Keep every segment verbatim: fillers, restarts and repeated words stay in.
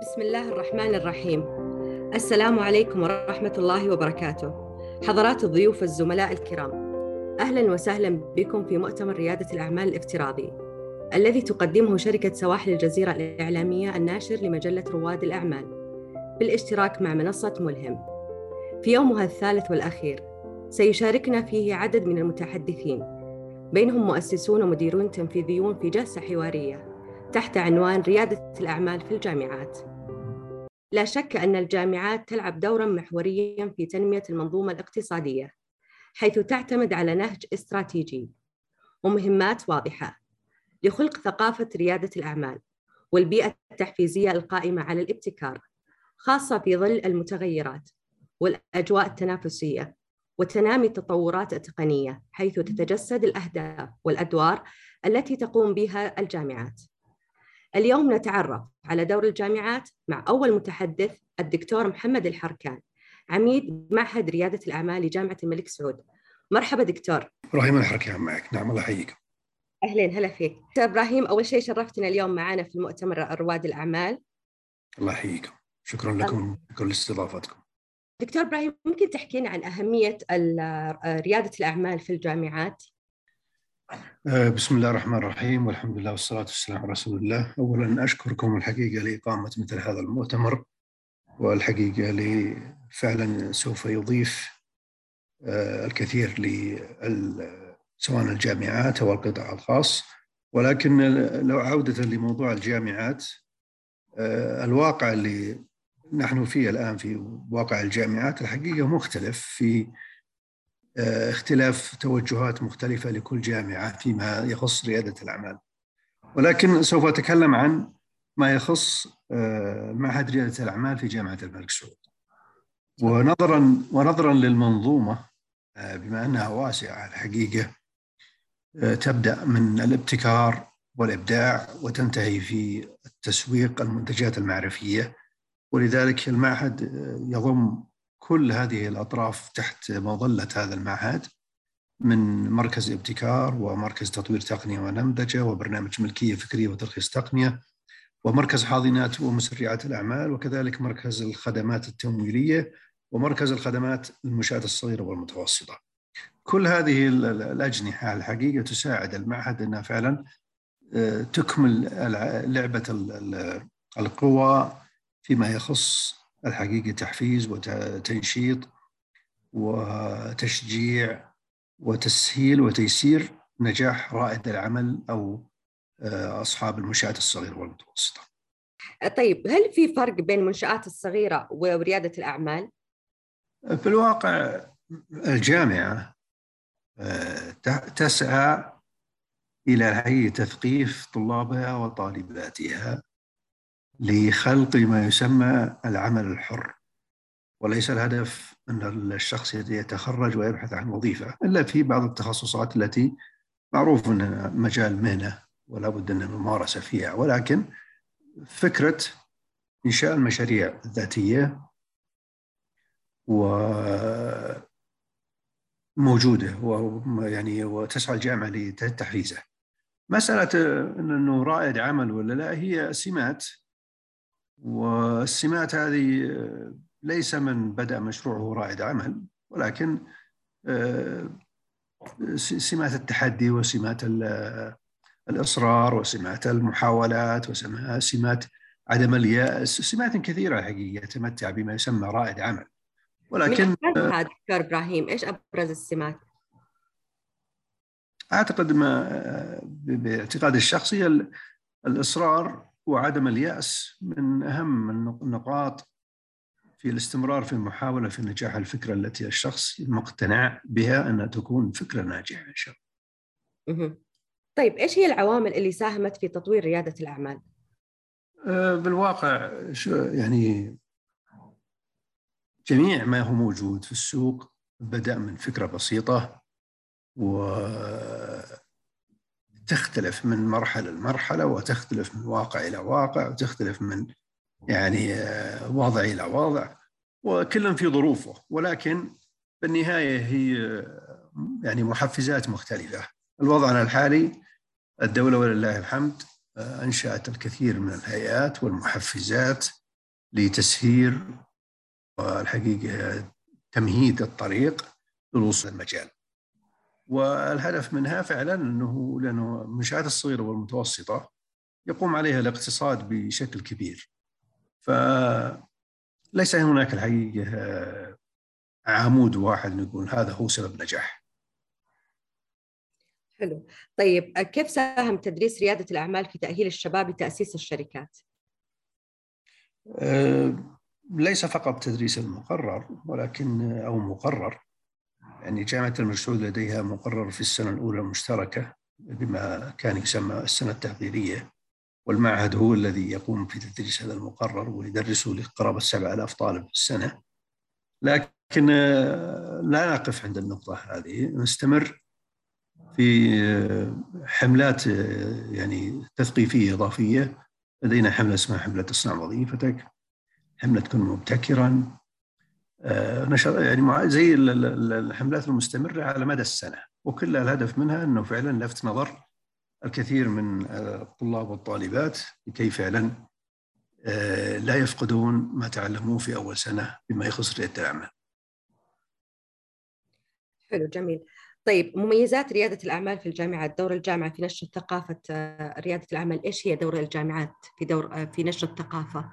بسم الله الرحمن الرحيم. السلام عليكم ورحمة الله وبركاته. حضرات الضيوف الزملاء الكرام، أهلا وسهلا بكم في مؤتمر ريادة الأعمال الافتراضي الذي تقدمه شركة سواحل الجزيرة الإعلامية الناشر لمجلة رواد الأعمال بالاشتراك مع منصة ملهم. في يومها الثالث والأخير سيشاركنا فيه عدد من المتحدثين، بينهم مؤسسون ومديرون تنفيذيون في جلسة حوارية تحت عنوان ريادة الأعمال في الجامعات. لا شك أن الجامعات تلعب دوراً محورياً في تنمية المنظومة الاقتصادية، حيث تعتمد على نهج استراتيجي ومهمات واضحة لخلق ثقافة ريادة الأعمال والبيئة التحفيزية القائمة على الابتكار، خاصة في ظل المتغيرات والأجواء التنافسية وتنامي التطورات التقنية، حيث تتجسد الأهداف والأدوار التي تقوم بها الجامعات. اليوم نتعرف على دور الجامعات مع أول متحدث، الدكتور محمد الحركان، عميد معهد ريادة الأعمال لجامعة الملك سعود. مرحبا دكتور. إبراهيم الحركان معك. نعم، الله يحييك. أهلين، هلا فيك دكتور إبراهيم. أول شيء شرفتنا اليوم معنا في المؤتمر رواد الأعمال. الله يحييكم، شكرا لكم لكل استضافتكم. دكتور إبراهيم، ممكن تحكينا عن أهمية ريادة الأعمال في الجامعات؟ بسم الله الرحمن الرحيم، والحمد لله والصلاة والسلام على رسول الله. أولا أشكركم الحقيقة لإقامة مثل هذا المؤتمر، والحقيقة فعلا سوف يضيف الكثير سواء الجامعات أو القطاع الخاص. ولكن لو عودة لموضوع الجامعات، الواقع اللي نحن فيه الآن في واقع الجامعات الحقيقة مختلف، في اختلاف توجهات مختلفة لكل جامعة فيما يخص ريادة الأعمال. ولكن سوف أتكلم عن ما يخص معهد ريادة الأعمال في جامعة الملك سعود. ونظرا ونظرا للمنظومة، بما أنها واسعة الحقيقة، تبدأ من الابتكار والإبداع وتنتهي في التسويق المنتجات المعرفية، ولذلك المعهد يضم كل هذه الأطراف تحت مظلة هذا المعهد، من مركز ابتكار ومركز تطوير تقنية ونمذجة وبرنامج ملكية فكرية وترخيص تقنية ومركز حاضنات ومسرعات الأعمال، وكذلك مركز الخدمات التمويلية ومركز الخدمات المنشآت الصغيرة والمتوسطة. كل هذه الأجنحة الحقيقة تساعد المعهد أنها فعلا تكمل لعبة القوى فيما يخص الحقيقة تحفيز وتنشيط وتشجيع وتسهيل وتيسير نجاح رائد العمل أو أصحاب المنشآت الصغيرة والمتوسطة. طيب، هل في فرق بين المنشآت الصغيرة وريادة الأعمال؟ في الواقع الجامعة تسعى إلى تثقيف طلابها وطالباتها لخلق ما يسمى العمل الحر، وليس الهدف أن الشخص يتخرج ويبحث عن وظيفة، إلا في بعض التخصصات التي معروف أنها مجال مهنة ولا بد من الممارسة فيها. ولكن فكرة إنشاء المشاريع الذاتية وموجودة، ويعني وتسعى الجامعة لتحفيزه. مسألة أنه رائد عمل ولا لا هي سمات، والسمات هذه ليس من بدأ مشروعه رائد عمل، ولكن سمات التحدي وسمات الإصرار وسمات المحاولات وسمات عدم اليأس، سمات كثيرة حقيقة يتمتع بما يسمى رائد عمل. ولكن من أبرزها دكتور إبراهيم، إيش أبرز السمات؟ أعتقد ما باعتقاد الشخصي الإصرار وعدم اليأس من أهم النقاط في الاستمرار في المحاولة في نجاح الفكرة التي الشخص مقتنع بها أنها تكون فكرة ناجحة إن شاء الله. طيب، إيش هي العوامل اللي ساهمت في تطوير ريادة الأعمال؟ بالواقع يعني جميع ما هو موجود في السوق بدأ من فكرة بسيطة وتختلف من مرحلة لمرحلة، وتختلف من واقع إلى واقع، وتختلف من يعني وضع إلى وضع، وكل في ظروفه. ولكن بالنهاية هي يعني محفزات مختلفة. الوضع الحالي الدولة ولله الحمد أنشأت الكثير من الهيئات والمحفزات لتسهيل والحقيقة تمهيد الطريق للوصول المجال. والهدف منها فعلا أنه لأنه المنشآت الصغيرة والمتوسطة يقوم عليها الاقتصاد بشكل كبير، فليس هناك الحقيقة عمود واحد نقول هذا هو سبب نجاح. حلو. طيب كيف ساهم تدريس ريادة الأعمال في تأهيل الشباب لتأسيس الشركات؟ أه ليس فقط تدريس المقرر ولكن أو مقرر، يعني جامعة الملك سعود لديها مقرر في السنة الأولى المشتركة بما كان يسمى السنة التحضيرية، والمعهد هو الذي يقوم في تدريس هذا المقرر ويدرسه لقرابة سبعة آلاف طالب في السنة. لكن لا نقف عند النقطة هذه، نستمر في حملات يعني تثقيفية إضافية. لدينا حملة اسمها حملة اصنع وظيفتك، حملة كن مبتكرا، نشر يعني زي الحملات المستمرة على مدى السنة، وكل الهدف منها أنه فعلا لفت نظر الكثير من الطلاب والطالبات لكي فعلا لا يفقدون ما تعلموه في أول سنة بما يخص ريادة الأعمال. حلو، جميل. طيب مميزات ريادة الأعمال في الجامعات، دور الجامعة في نشر ثقافة ريادة الأعمال، إيش هي دور الجامعات في دور في نشر الثقافة؟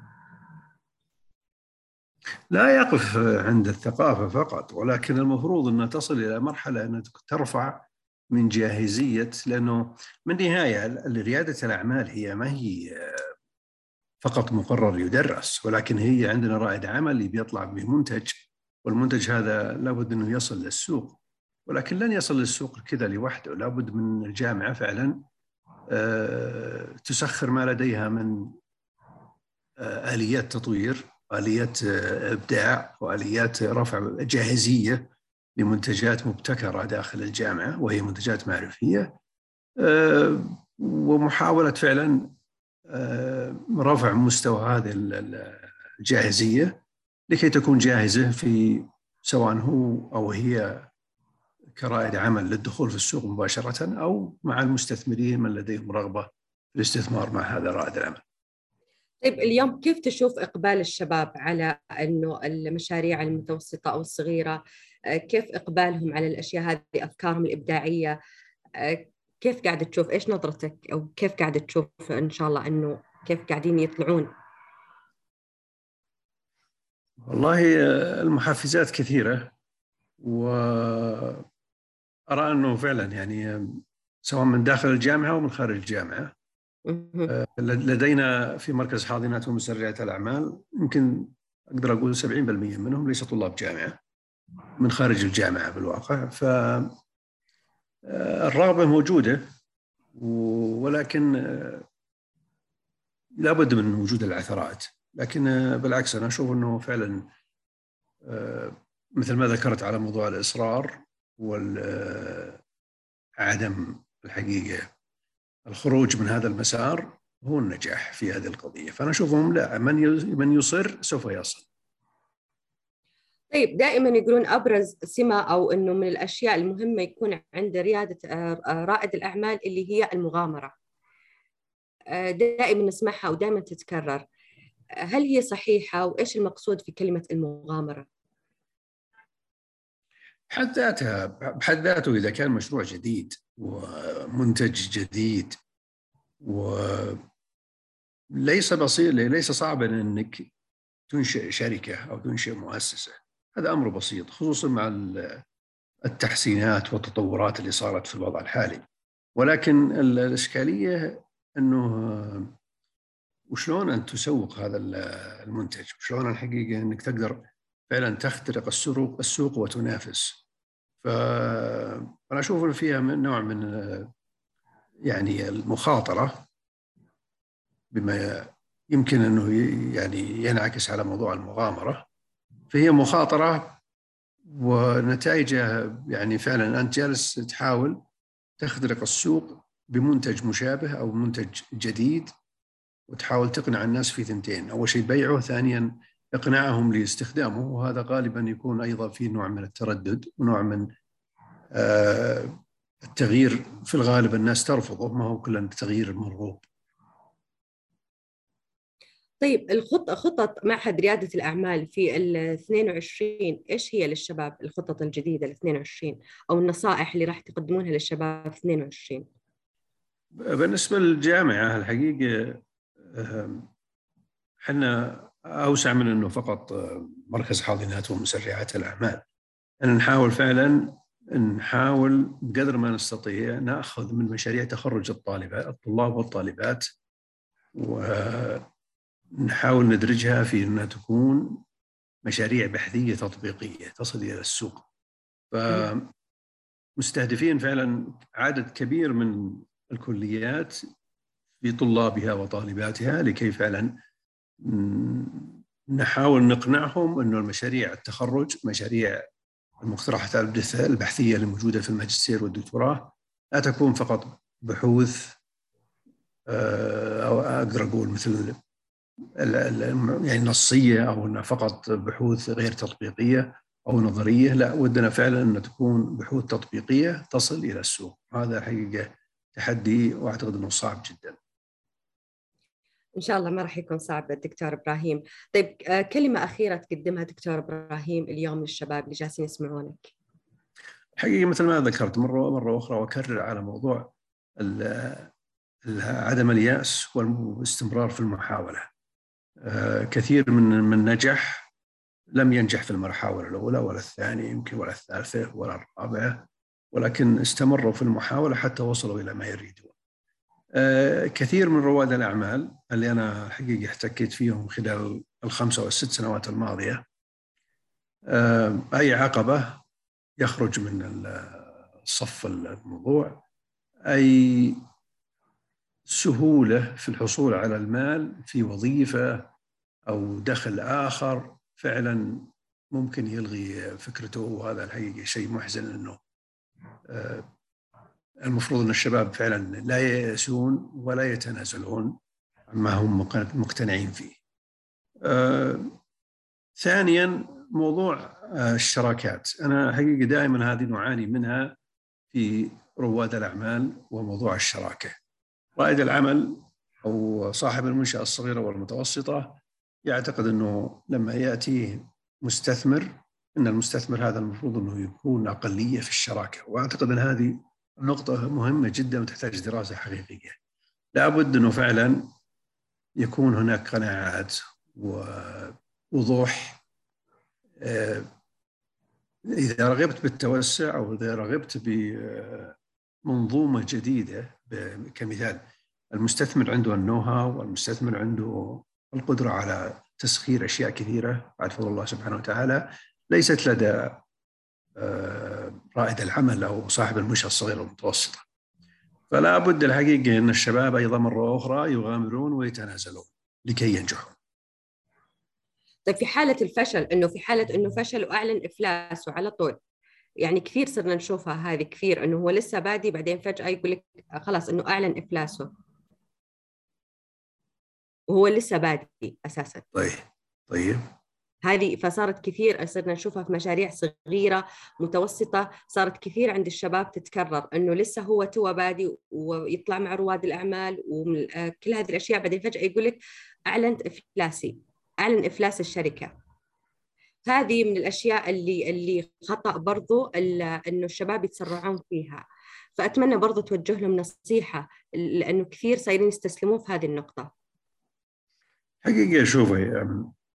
لا يقف عند الثقافة فقط، ولكن المفروض أن تصل إلى مرحلة أن ترفع من جاهزية، لأنه من نهاية ريادة الأعمال هي ما هي فقط مقرر يدرس، ولكن هي عندنا رائد عمل بيطلع بمنتج، والمنتج هذا لابد أنه يصل للسوق، ولكن لن يصل للسوق كذا لوحده، لابد من الجامعة فعلا تسخر ما لديها من آليات تطوير، آليات إبداع، وآليات رفع جاهزية لمنتجات مبتكرة داخل الجامعة وهي منتجات معرفية، ومحاولة فعلا رفع مستوى هذه الجاهزية لكي تكون جاهزة في سواء هو أو هي كرائد عمل للدخول في السوق مباشرة، أو مع المستثمرين من لديهم رغبة في الاستثمار مع هذا رائد العمل. طيب اليوم كيف تشوف إقبال الشباب على إنه المشاريع المتوسطة أو الصغيرة؟ كيف إقبالهم على الأشياء هذه، أفكارهم الإبداعية؟ كيف قاعدة تشوف، إيش نظرتك، أو كيف قاعدة تشوف إن شاء الله إنه كيف قاعدين يطلعون؟ والله المحفزات كثيرة، وأرى أنه فعلا يعني سواء من داخل الجامعة ومن خارج الجامعة. لدينا في مركز حاضنات ومسرعات الأعمال يمكن أقدر أقول سبعين بالمئة منهم ليس طلاب جامعة، من خارج الجامعة بالواقع. فالرغبة موجودة، ولكن لابد من وجود العثرات. لكن بالعكس أنا أشوف أنه فعلا مثل ما ذكرت على موضوع الإصرار والعدم الحقيقة الخروج من هذا المسار هو النجاح في هذه القضية. فأنا أشوفهم لا، من من يصر سوف يصل. طيب دائما يقولون أبرز سمة أو إنه من الأشياء المهمة يكون عند ريادة رائد الأعمال اللي هي المغامرة، دائما نسمعها ودائما تتكرر، هل هي صحيحة؟ وإيش المقصود في كلمة المغامرة؟ بحد ذاتها بحد ذاته إذا كان مشروع جديد ومنتج جديد وليس بسيط، ليس صعبا أنك تنشئ شركة أو تنشئ مؤسسة، هذا أمر بسيط خصوصا مع التحسينات والتطورات اللي صارت في الوضع الحالي. ولكن الإشكالية أنه وشلون أن تسوق هذا المنتج، وشلون الحقيقة أنك تقدر فعلا تخترق السوق السوق وتنافس. فأنا أشوف أن فيها نوع من يعني المخاطرة بما يمكن أنه يعني ينعكس على موضوع المغامرة. فهي مخاطرة ونتائجها يعني فعلا أنت جالس تحاول تخترق السوق بمنتج مشابه أو منتج جديد، وتحاول تقنع الناس في ثنتين، أول شيء بيعه، ثانيا إقناعهم لاستخدامه، وهذا غالبا يكون أيضا في نوع من التردد ونوع من آه التغيير. في الغالب الناس ترفضه، ما هو كل التغيير المرغوب. طيب الخطة خطط معهد ريادة الأعمال في ال اثنين وعشرين إيش هي للشباب؟ الخطط الجديدة ل اثنين وعشرين أو النصائح اللي راح تقدمونها للشباب في اثنين وعشرين؟ بالنسبة للجامعة الحقيقة احنا أوسع من أنه فقط مركز حاضنات ومسرعات الأعمال. أن نحاول فعلا نحاول بقدر ما نستطيع نأخذ من مشاريع تخرج الطالبات الطلاب والطالبات ونحاول ندرجها في أنها تكون مشاريع بحثية تطبيقية تصل إلى السوق. فمستهدفين فعلا عدد كبير من الكليات بطلابها وطالباتها لكي فعلا نحاول نقنعهم أنه المشاريع التخرج مشاريع المقترحات البحثية الموجودة في الماجستير والدكتوراه لا تكون فقط بحوث أو أقدر أقول مثل يعني نصية أو أنها فقط بحوث غير تطبيقية أو نظرية. لا، ودنا فعلا أن تكون بحوث تطبيقية تصل إلى السوق. هذا حقيقة تحدي وأعتقد أنه صعب جدا. إن شاء الله ما راح يكون صعب دكتور إبراهيم. طيب كلمة أخيرة تقدمها دكتور إبراهيم اليوم للشباب اللي جالسين يسمعونك. حقيقة مثل ما ذكرت مرة مرة أخرى وأكرر على موضوع عدم اليأس والاستمرار في المحاولة. كثير من من نجح لم ينجح في المحاولة الأولى ولا الثانية يمكن ولا الثالثة ولا الرابعة، ولكن استمروا في المحاولة حتى وصلوا إلى ما يريدون. كثير من رواد الأعمال اللي أنا حقيقة احتكيت فيهم خلال الخمسة والست سنوات الماضية، أي عقبة يخرج من الصف الموضوع، أي سهولة في الحصول على المال في وظيفة أو دخل آخر فعلا ممكن يلغي فكرته. وهذا الحقيقة شيء محزن، أنه المفروض أن الشباب فعلا لا ييأسون ولا يتنازلون عما هم مقتنعين فيه. ثانيا موضوع الشراكات. أنا حقيقة دائما هذه نعاني منها في رواد الأعمال، وموضوع الشراكة. رائد العمل أو صاحب المنشأة الصغيرة والمتوسطة يعتقد أنه لما يأتي مستثمر أن المستثمر هذا المفروض أنه يكون أقلية في الشراكة. وأعتقد أن هذه نقطة مهمة جدا وتحتاج دراسة حقيقية. لابد أنه فعلا يكون هناك قناعات ووضوح. إذا رغبت بالتوسع أو إذا رغبت بمنظومة جديدة، كمثال المستثمر عنده النوها والمستثمر عنده القدرة على تسخير أشياء كثيرة بعد فضل الله سبحانه وتعالى ليست لدى رائد العمل أو صاحب المنشأة الصغيرة والمتوسطة. فلا بد الحقيقة أن الشباب أيضا مرة أخرى يغامرون ويتنازلون لكي ينجحوا. طيب في حالة الفشل، إنه في حالة إنه فشل وأعلن إفلاسه على طول، يعني كثير صرنا نشوفها هذه كثير، إنه هو لسه بادي بعدين فجأة يقول لك خلاص إنه أعلن إفلاسه وهو لسه بادي أساساً. طيب طيب هذه فصارت كثير صرنا نشوفها في مشاريع صغيرة متوسطة، صارت كثير عند الشباب تتكرر، إنه لسه هو تو بادي ويطلع مع رواد الأعمال وكل هذه الأشياء، بعدين فجأة يقول لك أعلنت إفلاسي، أعلن إفلاس الشركة. هذه من الأشياء اللي اللي خطأ برضو إنه الشباب يتسرعون فيها. فأتمنى برضو توجه لهم نصيحة، لأنه كثير صايرين يستسلمون في هذه النقطة. حقيقة شوفي،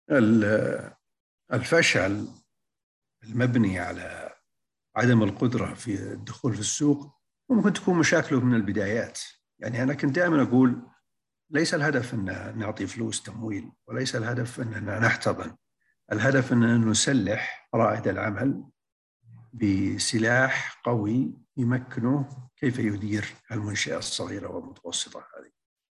الفشل المبني على عدم القدرة في الدخول في السوق ممكن تكون مشاكله من البدايات. يعني أنا كنت دائما أقول ليس الهدف أن نعطي فلوس تمويل، وليس الهدف أننا نحتضن. الهدف أن نسلح رائد العمل بسلاح قوي يمكنه كيف يدير المنشأة الصغيرة والمتوسطة هذه.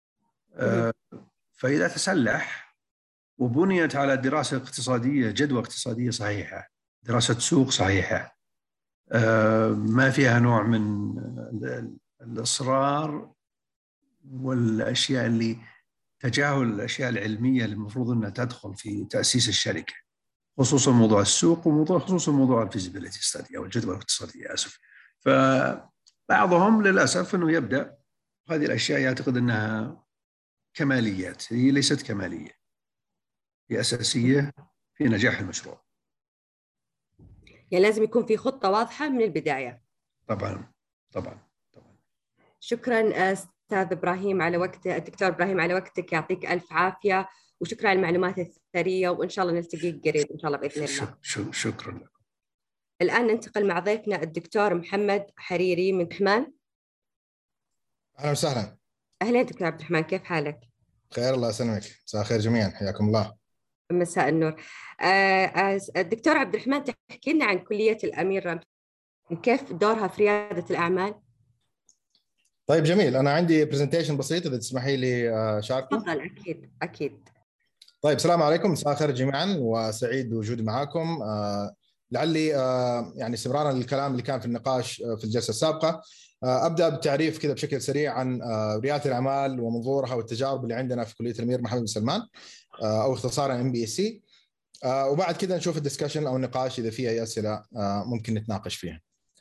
فإذا تسلح وبنيت على دراسة اقتصادية، جدوى اقتصادية صحيحة، دراسة سوق صحيحة، ما فيها نوع من الإصرار والأشياء اللي تجاهل الأشياء العلمية اللي المفروض أنها تدخل في تأسيس الشركة، خصوصا موضوع السوق وموضوع خصوصا موضوع الفيزيبيليتي ستادي أو الجدوى الاقتصادية. آسف. فبعضهم للأسف أنه يبدأ هذه الأشياء يعتقد أنها كماليات، هي ليست كمالية. هي أساسية في نجاح المشروع. يعني لازم يكون في خطة واضحة من البداية. طبعا طبعا طبعا. شكرا أستاذ إبراهيم على وقتك، الدكتور إبراهيم على وقتك، يعطيك ألف عافية، وشكرا على المعلومات الثرية، وإن شاء الله نلتقي قريب إن شاء الله بإذن الله. شكرا لك. الآن ننتقل مع ضيفنا الدكتور محمد حريري من الرحمن. أهلا وسهلا. أهلا دكتور عبد الرحمن، كيف حالك؟ خير الله يسلمك، مساء الخير جميعا، حياكم الله. مساء النور. الدكتور عبد الرحمن، تحكي لنا عن كلية الأمير، كيف دورها في ريادة الأعمال؟ طيب جميل، أنا عندي برزنتيشن بسيط إذا تسمحي لي أشاركه. تفضل. أكيد أكيد. طيب السلام عليكم، مساء الخير جميعا، وسعيد بوجودي معكم. لعلي يعني استمرارا للكلام اللي كان في النقاش في الجلسة السابقة، أبدأ بالتعريف كذا بشكل سريع عن ريادة الأعمال ومنظورها والتجارب اللي عندنا في كلية الأمير محمد بن سلمان، أو اختصارا إم بي إس سي، وبعد كذا نشوف الدسكشن أو النقاش إذا فيه أي أسئلة ممكن نتناقش فيها.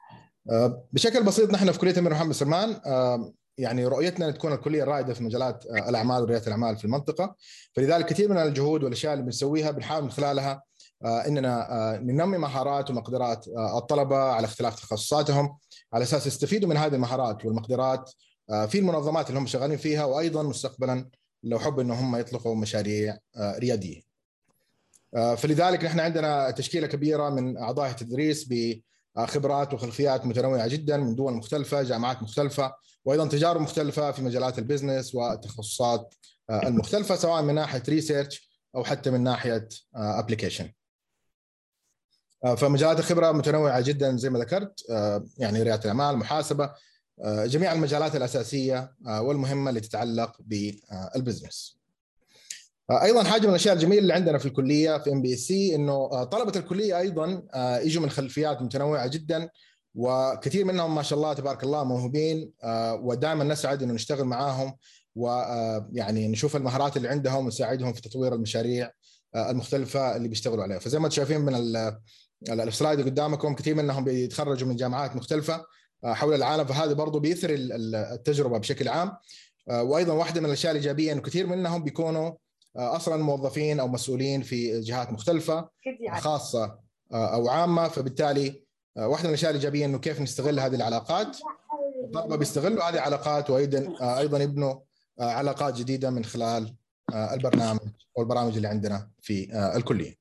بشكل بسيط، نحن في كلية الأمير محمد بن سلمان يعني رؤيتنا أن تكون الكلية الرائدة في مجالات الأعمال وريادة الأعمال في المنطقة، فلذلك كثير من الجهود والأشياء اللي بنسويها بنحاول من خلالها إننا ننمي مهارات ومقدرات الطلبة على اختلاف تخصصاتهم، على أساس يستفيدوا من هذه المهارات والمقدرات في المنظمات اللي هم شغالين فيها، وأيضا مستقبلا لو حب إنه هم يطلقوا مشاريع ريادية. فلذلك نحن عندنا تشكيلة كبيرة من أعضاء التدريس بخبرات وخلفيات متنوعة جدا من دول مختلفة، جامعات مختلفة، وأيضا تجارب مختلفة في مجالات البزنس والتخصصات المختلفة، سواء من ناحية ريسيرش أو حتى من ناحية أبليكيشن. فمجالات الخبرة متنوعة جدا زي ما ذكرت، يعني ريادة الأعمال، محاسبة، جميع المجالات الأساسية والمهمة اللي تتعلق بالبزنس. ايضا حاجه من الاشياء الجميله اللي عندنا في الكليه في ام بي اس سي انه طلبه الكليه ايضا يجوا من خلفيات متنوعه جدا، وكثير منهم ما شاء الله تبارك الله موهوبين، ودائما نسعد انه نشتغل معاهم ويعني نشوف المهارات اللي عندهم ونساعدهم في تطوير المشاريع المختلفه اللي بيشتغلوا عليها. فزي ما انتم شايفين من السلايد اللي قدامكم، كثير منهم بيتخرجوا من جامعات مختلفه حول العالم، فهذا برضه بيثر التجربه بشكل عام. وايضا واحده من الاشياء الايجابيه انه كثير منهم بيكونوا اصلا موظفين او مسؤولين في جهات مختلفه خاصه او عامه، فبالتالي واحده من الاشياء الايجابيه انه كيف نستغل هذه العلاقات. الطلبه بيستغلوا هذه العلاقات وايضا ايضا يبنوا علاقات جديده من خلال البرنامج او البرامج اللي عندنا في الكليه.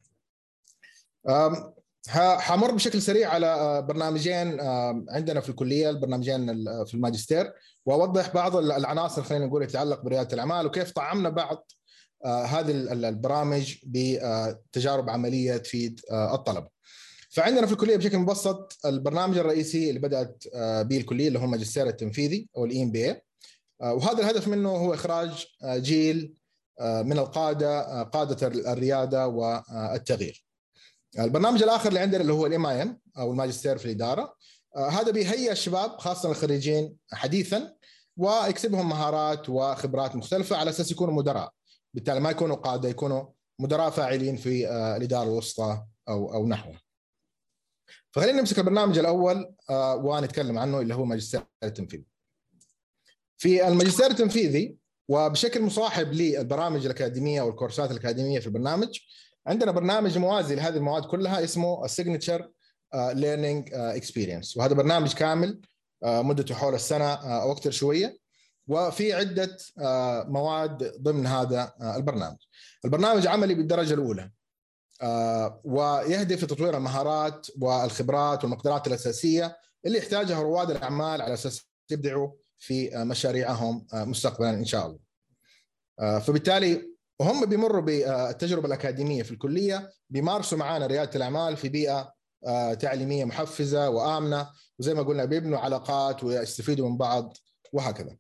حمر بشكل سريع على برنامجين عندنا في الكليه، البرنامجين في الماجستير، واوضح بعض العناصر خلينا نقول تتعلق برياده الاعمال، وكيف طعمنا بعض هذه البرامج بتجارب عمليه تفيد الطلبه. فعندنا في الكليه بشكل مبسط البرنامج الرئيسي اللي بدات به الكليه اللي هو الماجستير التنفيذي او الاي ام بي اي، وهذا الهدف منه هو اخراج جيل من القاده، قاده الرياده والتغيير. البرنامج الاخر اللي عندنا اللي هو الام اي ام او الماجستير في الاداره، هذا بيهيئ الشباب خاصه الخريجين حديثا ويكسبهم مهارات وخبرات مختلفه على اساس يكونوا مدراء، بالتالي ما يكونوا قاده، يكونوا مدراء فاعلين في الاداره الوسطى او او نحوه. فخلينا نمسك البرنامج الاول ونتكلم عنه اللي هو ماجستير التنفيذي. في الماجستير التنفيذي وبشكل مصاحب للبرامج الاكاديميه او الكورسات الاكاديميه في البرنامج، عندنا برنامج موازي لهذه المواد كلها اسمه السيجنتشر ليرنينج اكسبيرينس، وهذا برنامج كامل مدته حول السنه او اكثر شويه، وفي عده مواد ضمن هذا البرنامج. البرنامج عملي بالدرجه الاولى، ويهدف لتطوير المهارات والخبرات والمقدرات الاساسيه اللي يحتاجها رواد الاعمال على اساس يبدعوا في مشاريعهم مستقبلا ان شاء الله. فبالتالي وهم بيمروا بالتجربه الاكاديميه في الكليه بيمارسوا معانا رياده الاعمال في بيئه تعليميه محفزه وامنه، وزي ما قلنا بيبنوا علاقات ويستفيدوا من بعض وهكذا.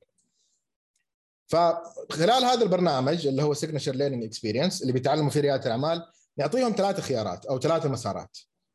فخلال هذا البرنامج اللي هو سيجنتشر ليرنينج اكسبيرينس اللي بيتعلموا فيه رياده الاعمال، نعطيهم ثلاث خيارات او ثلاث مسارات.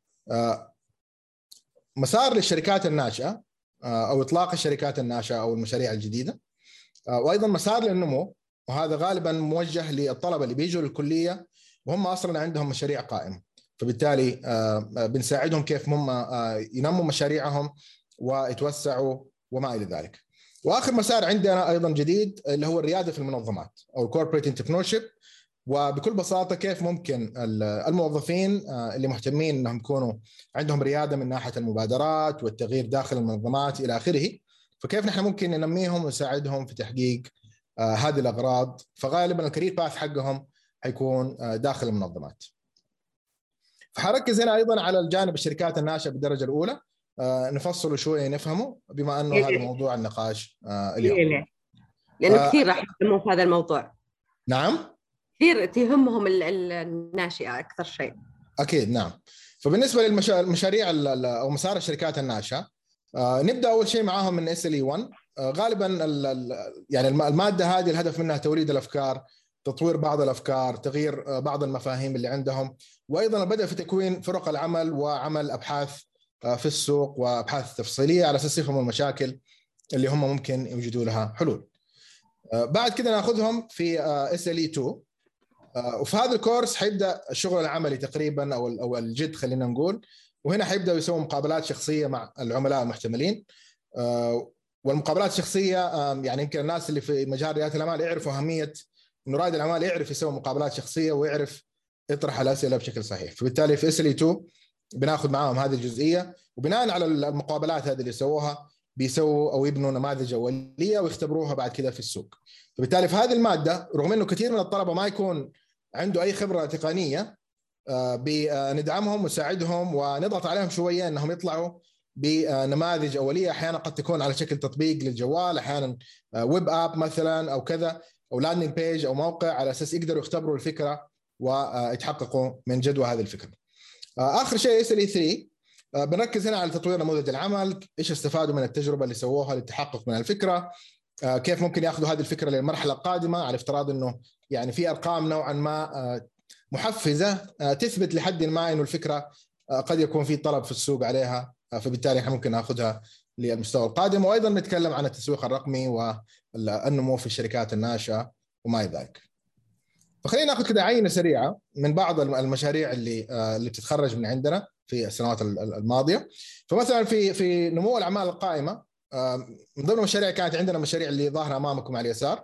مسار للشركات الناشئه او اطلاق الشركات الناشئه او المشاريع الجديده، وايضا مسار للنمو، وهذا غالبا موجه للطلبه اللي بيجوا للكليه وهم اصلا عندهم مشاريع قائمه، فبالتالي بنساعدهم كيف هم ينموا مشاريعهم ويتوسعوا وما الى ذلك. واخر مسار عندنا ايضا جديد اللي هو الرياده في المنظمات او الكوربريت انتربرنورشيب، وبكل بساطة كيف ممكن الموظفين اللي مهتمين أنهم يكونوا عندهم ريادة من ناحية المبادرات والتغيير داخل المنظمات إلى آخره، فكيف نحن ممكن ننميهم ونساعدهم في تحقيق هذه الأغراض. فغالبا الكارير باث حقهم حيكون داخل المنظمات. فحركز هنا أيضا على الجانب الشركات الناشئة بالدرجة الأولى، نفصله شوية نفهمه بما أنه هذا موضوع النقاش اليوم، لأنه كثير راح يهمهم في هذا الموضوع. نعم، كثير تهمهم الناشئة أكثر شيء. أكيد نعم. فبالنسبة للمشاريع أو مسار الشركات الناشئة، نبدأ أول شيء معاهم من إس إل إي واحد. غالبا يعني المادة هذه الهدف منها توليد الأفكار، تطوير بعض الأفكار، تغيير بعض المفاهيم اللي عندهم، وأيضا البدء في تكوين فرق العمل وعمل أبحاث في السوق وأبحاث تفصيلية على أساس يفهموا المشاكل اللي هم ممكن يوجدوا لها حلول. بعد كده ناخذهم في إس إل إي اثنين، وفي هذا الكورس حيبدأ الشغل العملي تقريبا أو أو الجد خلينا نقول، وهنا حيبدأوا يسووا مقابلات شخصية مع العملاء المحتملين. والمقابلات الشخصية يعني يمكن الناس اللي في مجال ريادة الأعمال يعرفوا أهمية إنه رائد الأعمال يعرف يسوي مقابلات شخصية ويعرف يطرح الأسئلة بشكل صحيح. فبالتالي في إس إل إي اثنين بناخذ معاهم هذه الجزئية، وبناء على المقابلات هذه اللي سووها بيسووا أو يبنوا نماذج أولية ويختبروها بعد كده في السوق. فبالتالي في هذه المادة رغم إنه كثير من الطلبة ما يكون عنده أي خبرة تقنية، بندعمهم ونساعدهم ونضغط عليهم شوية إنهم يطلعوا بنماذج أولية، أحيانا قد تكون على شكل تطبيق للجوال، أحيانا ويب آب مثلا أو كذا، أو لاندنج بيج أو موقع، على أساس يقدروا يختبروا الفكرة ويتحققوا من جدوى هذه الفكرة. آخر شيء إس إل إي ثلاثة بنركز هنا على تطوير نموذج العمل، إيش استفادوا من التجربة اللي سووها للتحقق من الفكرة، كيف ممكن يأخذوا هذه الفكرة للمرحلة القادمة، على افتراض إنه يعني في أرقام نوعا ما محفزة تثبت لحد ما إنه الفكرة قد يكون في طلب في السوق عليها، فبالتالي احنا ممكن ناخذها للمستوى القادم. وأيضا نتكلم عن التسويق الرقمي والنمو في الشركات الناشئة وما إلى ذلك. فخلينا ناخذ كده عينة سريعة من بعض المشاريع اللي اللي بتتخرج من عندنا في السنوات الماضية. فمثلا في في نمو الأعمال القائمة، من ضمن المشاريع كانت عندنا مشاريع اللي ظاهرة أمامكم على اليسار.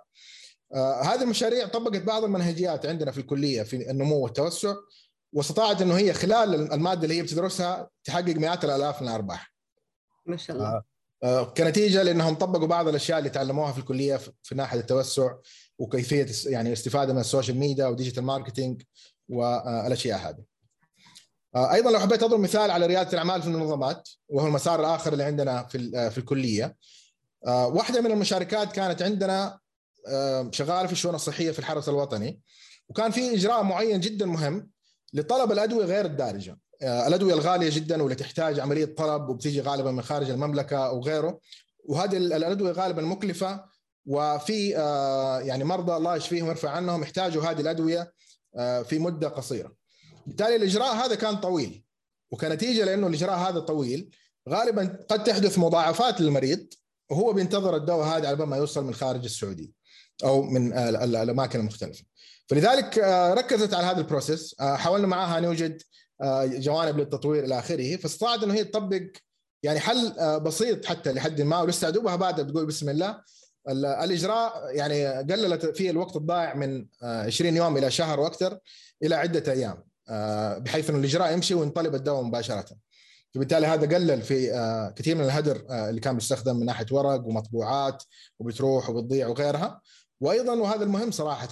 هذه المشاريع طبقت بعض المنهجيات عندنا في الكلية في النمو والتوسع، واستطاعت إنه هي خلال المادة اللي هي بتدرسها تحقق مئات الآلاف من الأرباح ما شاء الله. كنتيجة لأنهم طبقوا بعض الأشياء اللي تعلموها في الكلية في ناحية التوسع وكيفية يعني الاستفادة من السوشيال ميديا وديجيتال ماركتينج والأشياء هذه. أيضا لو حبيت أضرب مثال على ريادة الأعمال في المنظمات، وهو المسار الآخر اللي عندنا في في الكلية، واحدة من المشاركات كانت عندنا شغالة في الشؤون الصحية في الحرس الوطني، وكان في إجراء معين جدا مهم لطلب الأدوية غير الدارجة، الأدوية الغالية جدا واللي تحتاج عملية طلب وبتيجي غالبا من خارج المملكة أو غيره، وهذه الأدوية غالبا مكلفة، وفي يعني مرضى الله يشفيهم ويرفع عنهم يحتاجوا هذه الأدوية في مدة قصيرة. بالتالي الإجراء هذا كان طويل، وكنتيجة لأنه الإجراء هذا طويل غالبا قد تحدث مضاعفات للمريض وهو بينتظر الدواء هذا على ما يوصل من خارج السعودية أو من الأماكن المختلفة. فلذلك ركزت على هذا البروسيس، حاولنا معها نوجد جوانب للتطوير إلى آخره، فاستطاعت إنه هي تطبق يعني حل بسيط حتى لحد ما، ولسه دوبها بعد بتقول بسم الله. الإجراء يعني قللت فيه الوقت الضائع من عشرين يوم إلى شهر وأكثر إلى عدة أيام، بحيث إنه الإجراء يمشي وينطلب الدواء مباشرة. فبالتالي هذا قلل في كثير من الهدر اللي كان بيستخدم من ناحية ورق ومطبوعات وبتروح وبتضيع وغيرها. وأيضا وهذا المهم صراحة،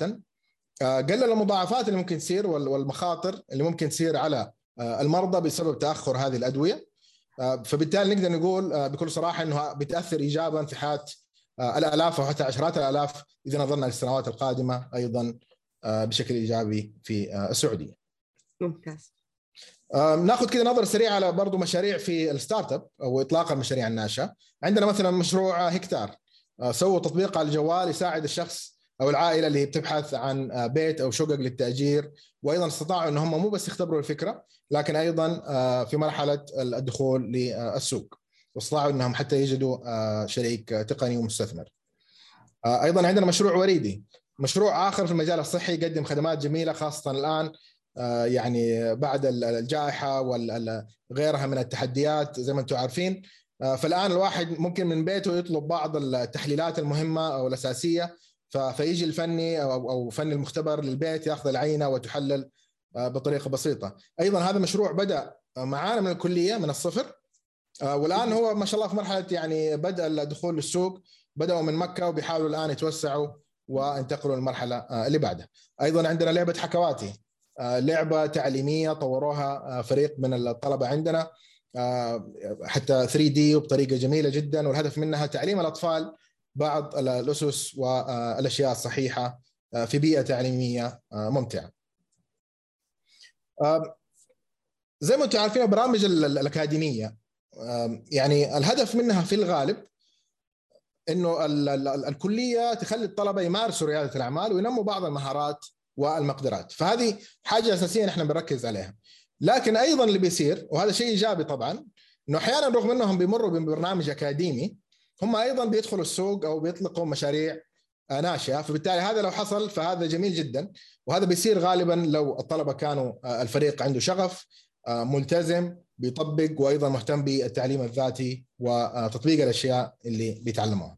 قلل المضاعفات اللي ممكن تصير والمخاطر اللي ممكن تصير على المرضى بسبب تأخر هذه الأدوية. فبالتالي نقدر نقول بكل صراحة إنه بتأثر إيجابا في حياة الآلاف وحتى عشرات الآلاف إذا نظرنا للسنوات القادمة أيضا بشكل إيجابي في السعودية. ممتاز. ناخذ كده نظرة سريعة على برضو مشاريع في الستارت اب أو إطلاق المشاريع الناشئة. عندنا مثلا مشروع هكتار، سووا تطبيق على الجوال يساعد الشخص أو العائلة اللي بتبحث عن بيت أو شقق للتأجير، وأيضا استطاعوا أن هم مو بس يختبروا الفكرة لكن أيضا في مرحلة الدخول للسوق، واستطاعوا أنهم حتى يجدوا شريك تقني ومستثمر. أيضا عندنا مشروع وريدي، مشروع آخر في المجال الصحي يقدم خدمات جميلة خاصة الآن يعني بعد الجائحة وغيرها من التحديات زي ما أنتم عارفين. فالآن الواحد ممكن من بيته يطلب بعض التحليلات المهمة أو الأساسية فيجي الفني او او فني المختبر للبيت ياخذ العينه وتحلل بطريقه بسيطه. ايضا هذا مشروع بدا معانا من الكليه من الصفر، والان هو ما شاء الله في مرحله يعني بدا الدخول للسوق، بداوا من مكه وبيحاولوا الان يتوسعوا وانتقلوا للمرحله اللي بعدها. ايضا عندنا لعبه حكواتي، لعبه تعليميه طوروها فريق من الطلبه عندنا حتى ثري دي وبطريقه جميله جدا، والهدف منها تعليم الاطفال بعض الاسس والاشياء الصحيحه في بيئه تعليميه ممتعه. زي ما انتم عارفين برامج الاكاديميه يعني الهدف منها في الغالب انه الكليه تخلي الطلبه يمارسوا رياده الاعمال وينموا بعض المهارات والمقدرات، فهذه حاجه اساسيه نحن بنركز عليها. لكن ايضا اللي بيصير وهذا شيء ايجابي طبعا انه احيانا رغم انهم بيمروا ببرنامج اكاديمي هم ايضا بيدخلوا السوق او بيطلقوا مشاريع ناشئه، فبالتالي هذا لو حصل فهذا جميل جدا، وهذا بيصير غالبا لو الطلبه كانوا الفريق عنده شغف ملتزم بيطبق وايضا مهتم بالتعليم الذاتي وتطبيق الاشياء اللي بيتعلموها.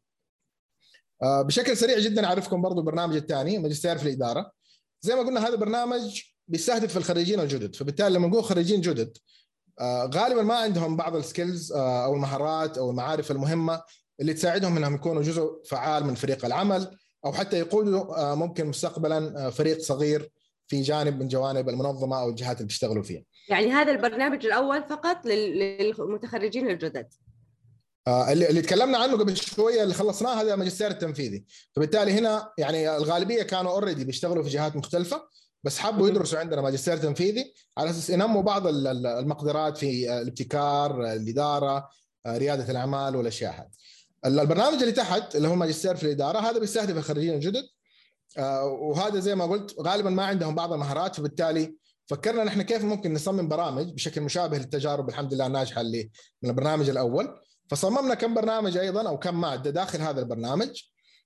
بشكل سريع جدا اعرفكم برضو البرنامج الثاني ماجستير في الاداره. زي ما قلنا هذا برنامج بيستهدف الخريجين الجدد، فبالتالي لما نقول خريجين جدد غالبا ما عندهم بعض السكيلز او المهارات او المعارف المهمه اللي تساعدهم انهم يكونوا جزء فعال من فريق العمل او حتى يقودوا ممكن مستقبلا فريق صغير في جانب من جوانب المنظمه او الجهات اللي بيشتغلوا فيها. يعني هذا البرنامج الاول فقط للمتخرجين الجدد. اللي اللي تكلمنا عنه قبل شويه اللي خلصناه هذا ماجستير التنفيذي، فبالتالي هنا يعني الغالبيه كانوا اوريدي بيشتغلوا في جهات مختلفه بس حبوا يدرسوا عندنا ماجستير تنفيذي على اساس ينموا بعض المقدرات في الابتكار، الاداره، رياده الاعمال والاشياء هذه. البرنامج اللي تحت اللي هو ماجستير في الاداره هذا بيستهدف الخريجين الجدد، وهذا زي ما قلت غالبا ما عندهم بعض المهارات، فبالتالي فكرنا نحن كيف ممكن نصمم برامج بشكل مشابه للتجارب الحمد لله الناجحه اللي من البرنامج الاول. فصممنا كم برنامج ايضا او كم ماده داخل هذا البرنامج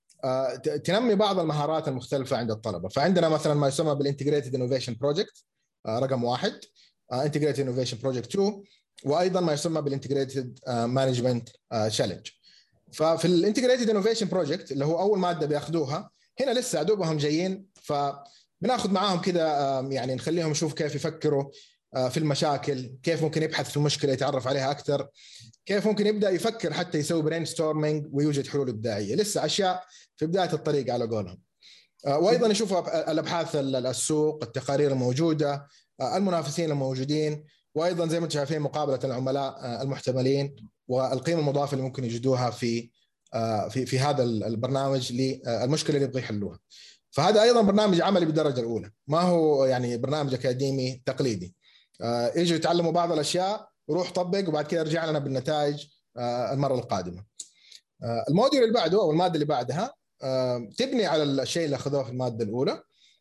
تنمي بعض المهارات المختلفه عند الطلبه. فعندنا مثلا ما يسمى بالانتجريتد انوفيشن بروجكت رقم واحد، انتجريتد انوفيشن بروجكت اثنين، وايضا ما يسمى بالانتجريتد مانجمنت تشالنج. ففي الانتجريتد انوفيشن بروجكت اللي هو اول ماده بياخذوها هنا لسه دوبهم جايين، فبناخذ معاهم كده يعني نخليهم يشوف كيف يفكروا في المشاكل، كيف ممكن يبحث في المشكله يتعرف عليها اكثر، كيف ممكن يبدا يفكر حتى يسوي برين ستورمينج ويوجد حلول ابداعيه، لسه اشياء في بدايه الطريق على قولهم. وايضا يشوفوا الابحاث السوق، التقارير الموجوده، المنافسين الموجودين، وايضا زي ما انتم شايفين مقابله العملاء المحتملين والقيمه المضافه اللي ممكن يجدوها في في في هذا البرنامج للمشكله اللي يبغوا يحلوها. فهذا ايضا برنامج عملي بالدرجه الاولى، ما هو يعني برنامج اكاديمي تقليدي. يجوا يتعلموا بعض الاشياء وروح طبق وبعد كده ارجع لنا بالنتائج المره القادمه. الموديول اللي بعده او الماده اللي بعدها تبني على الشيء اللي اخذوه في الماده الاولى،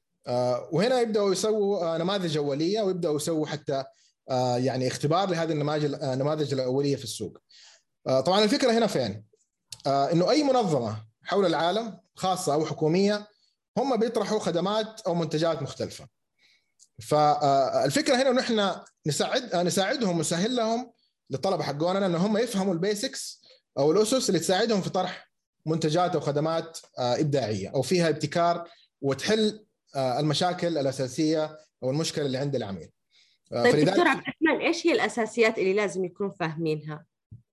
وهنا يبداوا يسووا نماذج اوليه ويبداوا يسووا حتى يعني اختبار لهذه النماذج النماذج الاوليه في السوق. طبعا الفكره هنا فين؟ انه اي منظمه حول العالم خاصه او حكوميه هم بيطرحوا خدمات او منتجات مختلفه. فالفكره هنا انه احنا نساعد نساعدهم ونسهل لهم للطلبه حقوننا ان هم يفهموا البيسكس او الاسس اللي تساعدهم في طرح منتجات او خدمات ابداعيه او فيها ابتكار وتحل المشاكل الاساسيه او المشكله اللي عند العميل. طيب دكتور عبد الرحمن ايش هي الاساسيات اللي لازم يكونوا فاهمينها؟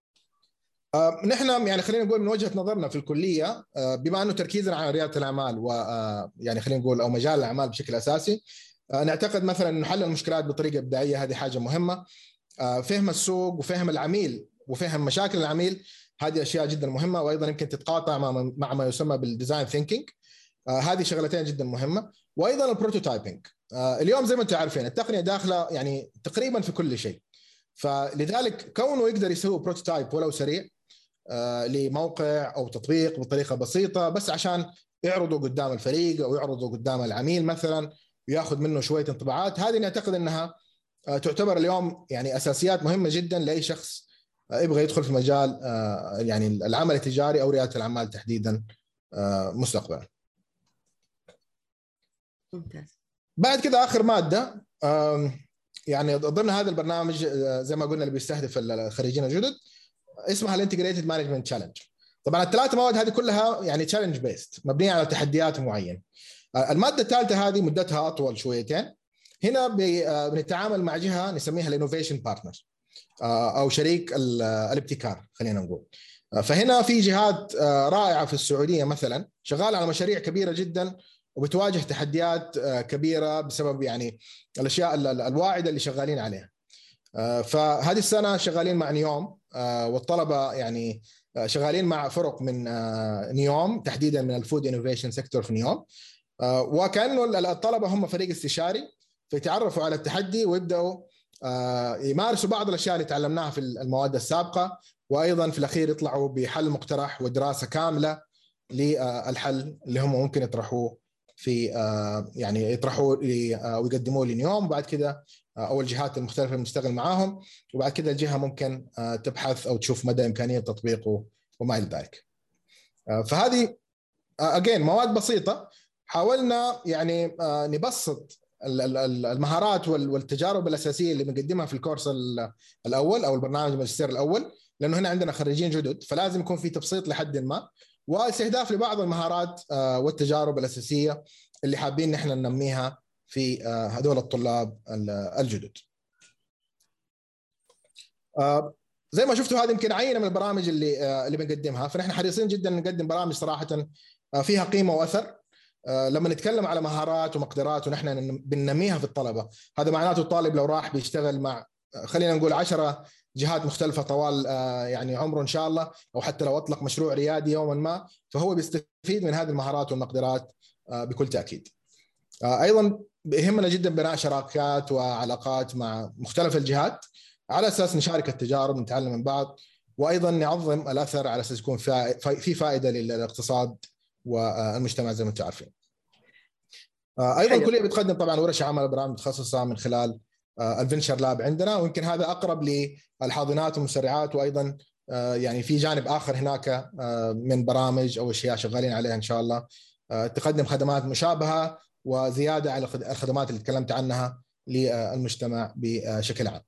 آه نحن يعني خلينا نقول من وجهة نظرنا في الكلية، آه بما أنه تركيزنا على ريادة الأعمال ويعني آه خلينا نقول أو مجال الأعمال بشكل أساسي، آه نعتقد مثلا أنه حل المشكلات بطريقة إبداعية هذه حاجة مهمة. آه فهم السوق وفهم العميل وفهم مشاكل العميل هذه أشياء جدا مهمة، وأيضا يمكن تتقاطع مع, مع ما يسمى بالديزاين ثينكينج. آه هذه شغلتين جدا مهمة. وأيضا البروتوتايبنج. آه اليوم زي ما أنتم عارفين التقنية داخلة يعني تقريبا في كل شيء، فلذلك كونه يقدر يسوي بروتوتايب ولو سريع آه لموقع أو تطبيق بطريقة بسيطة بس عشان يعرضوا قدام الفريق أو يعرضوا قدام العميل مثلا وياخذ منه شوية انطباعات، هذه نعتقد أنها آه تعتبر اليوم يعني أساسيات مهمة جدا لأي شخص آه يبغى يدخل في مجال آه يعني العمل التجاري أو ريادة الأعمال تحديدا آه مستقبلا. ممتاز. بعد كده آخر مادة آه يعني ضمن هذا البرنامج آه زي ما قلنا اللي بيستهدف الخريجين الجدد اسمها الانتجريتد مانجمنت تشالنج. طبعا الثلاث مواد هذه كلها يعني تشالنج بيست، مبنيه على تحديات معينه. الماده الثالثه هذه مدتها اطول شويتين. هنا بنتعامل مع جهه نسميها الانوفيشن بارتنر او شريك الابتكار خلينا نقول. فهنا في جهات رائعه في السعوديه مثلا شغاله على مشاريع كبيره جدا وبتواجه تحديات كبيره بسبب يعني الاشياء الواعده اللي شغالين عليها. فهذه السنه شغالين مع نيوم، والطلبه يعني شغالين مع فرق من نيوم تحديدا من الفود انوفيشن سيكتور في نيوم، وكانه الطلبه هم فريق استشاري فيتعرفوا على التحدي ويبداوا يمارسوا بعض الاشياء اللي تعلمناها في المواد السابقه، وايضا في الاخير يطلعوا بحل مقترح ودراسه كامله للحل اللي هم ممكن يطرحوه في يعني يطرحوه ويقدموه لنيوم، وبعد كده او الجهات المختلفه اللي نشتغل معاهم، وبعد كده الجهه ممكن تبحث او تشوف مدى امكانيه تطبيقه وما الى ذلك. فهذه اجين مواد بسيطه حاولنا يعني نبسط المهارات والتجارب الاساسيه اللي بنقدمها في الكورس الاول او البرنامج الماجستير الاول، لانه هنا عندنا خريجين جدد فلازم يكون في تبسيط لحد ما، واستهداف لبعض المهارات والتجارب الاساسيه اللي حابين نحن ننميها في هذول الطلاب الجدد. زي ما شفتوا هذه يمكن عينه من البرامج اللي اللي بنقدمها، فنحن حريصين جدا نقدم برامج صراحه فيها قيمه واثر. لما نتكلم على مهارات ومقدرات ونحن بننميها في الطلبه، هذا معناته الطالب لو راح بيشتغل مع خلينا نقول عشرة جهات مختلفه طوال يعني عمره ان شاء الله، او حتى لو اطلق مشروع ريادي يوما ما، فهو بيستفيد من هذه المهارات والمقدرات بكل تاكيد. ايضا يهمنا جدا بناء شراكات وعلاقات مع مختلف الجهات على اساس نشارك التجارب نتعلم من بعض، وايضا نعظم الاثر على اساس يكون في فائده للاقتصاد والمجتمع زي ما انتم عارفين. ايضا الكليه بتقدم طبعا ورش عمل برامج متخصصه من خلال الفينشر لاب عندنا، ويمكن هذا اقرب للحاضنات والمسرعات، وايضا يعني في جانب اخر هناك من برامج او اشياء شغالين عليها ان شاء الله تقدم خدمات مشابهه وزياده على الخدمات اللي تكلمت عنها للمجتمع بشكل عام.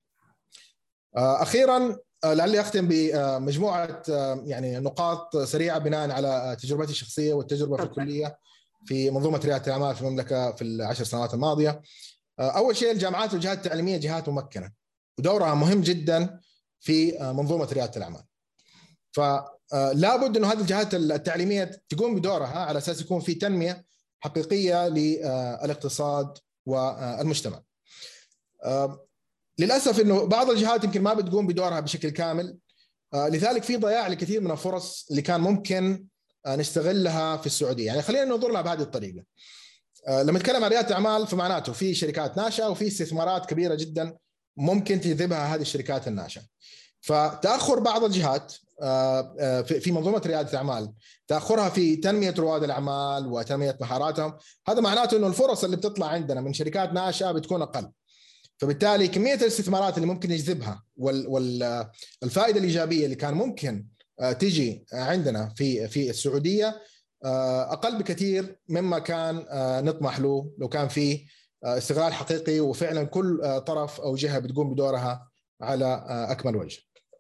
اخيرا لعلي اختم بمجموعه يعني نقاط سريعه بناء على تجربتي الشخصيه والتجربه في الكليه في منظومه رياده الاعمال في المملكه في العشر سنوات الماضيه. اول شيء الجامعات والجهات التعليميه جهات ممكنه ودورها مهم جدا في منظومه رياده الاعمال، فلا بد انه هذه الجهات التعليميه تقوم بدورها على اساس يكون في تنميه حقيقيه للاقتصاد والمجتمع. للاسف انه بعض الجهات يمكن ما بتقوم بدورها بشكل كامل، لذلك في ضياع لكثير من الفرص اللي كان ممكن نستغلها في السعوديه. يعني خلينا ننظر لها بهذه الطريقه. لما نتكلم عن رياده الاعمال فمعناته في شركات ناشئه وفي استثمارات كبيره جدا ممكن تجذبها هذه الشركات الناشئه. فتاخر بعض الجهات في منظومه رياده الاعمال، تاخرها في تنميه رواد الاعمال وتنميه مهاراتهم، هذا معناته انه الفرص اللي بتطلع عندنا من شركات ناشئه بتكون اقل، فبالتالي كميه الاستثمارات اللي ممكن يجذبها والفائده الايجابيه اللي كان ممكن تيجي عندنا في في السعوديه اقل بكثير مما كان نطمح له لو كان في استغلال حقيقي وفعلا كل طرف او جهه بتقوم بدورها على اكمل وجه.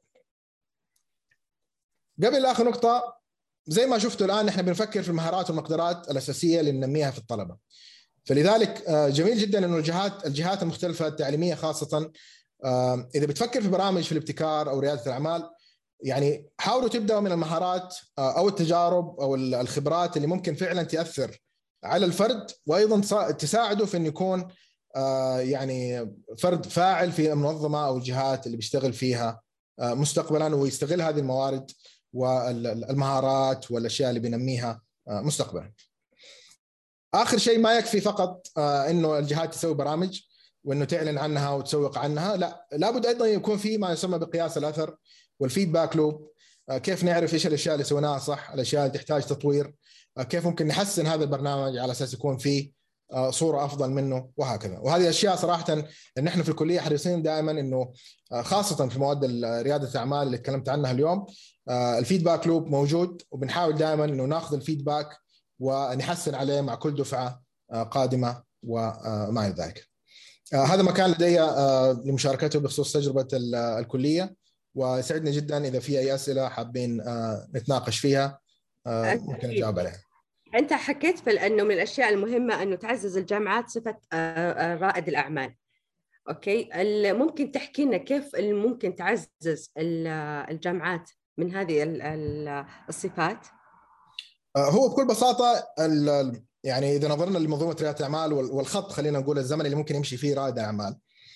قبل اخر نقطه، زي ما شفتوا الان احنا بنفكر في المهارات والمقدرات الاساسيه اللي ننميها في الطلبه، فلذلك جميل جدا انه الجهات الجهات المختلفه التعليميه خاصه اذا بتفكر في برامج في الابتكار او رياده الاعمال، يعني حاولوا تبداوا من المهارات او التجارب او الخبرات اللي ممكن فعلا تاثر على الفرد، وايضا تساعده في انه يكون يعني فرد فاعل في المنظمه او الجهات اللي بيشتغل فيها مستقبلا، ويستغل هذه الموارد والمهارات والاشياء اللي بينميها مستقبلا. اخر شيء، ما يكفي فقط انه الجهات تسوي برامج وانه تعلن عنها وتسوق عنها، لا، لابد ايضا يكون في ما يسمى بقياس الاثر والفيدباك لوب. كيف نعرف ايش الاشياء اللي سويناها صح، الاشياء اللي تحتاج تطوير، كيف ممكن نحسن هذا البرنامج على اساس يكون فيه صوره افضل منه، وهكذا. وهذه اشياء صراحه ان احنا في الكليه حريصين دائما انه خاصه في مواد رياده الاعمال اللي تكلمت عنها اليوم الفيدباك لوب موجود، وبنحاول دائما انه ناخذ الفيدباك ونحسن عليه مع كل دفعه قادمه وما الى ذلك. هذا ما كان لدي لمشاركته بخصوص تجربه الكليه. وسعدني جدا إذا في أي أسئلة حابين نتناقش فيها ممكن أجاوب عليها. أنت حكيت في أنه من الأشياء المهمة أنه تعزز الجامعات صفة رائد الأعمال. أوكي، ممكن تحكي لنا كيف ممكن تعزز الجامعات من هذه الصفات؟ هو بكل بساطة يعني إذا نظرنا لمنظومة ريادة الأعمال والخط خلينا نقول الزمن اللي ممكن يمشي فيه رائد الأعمال،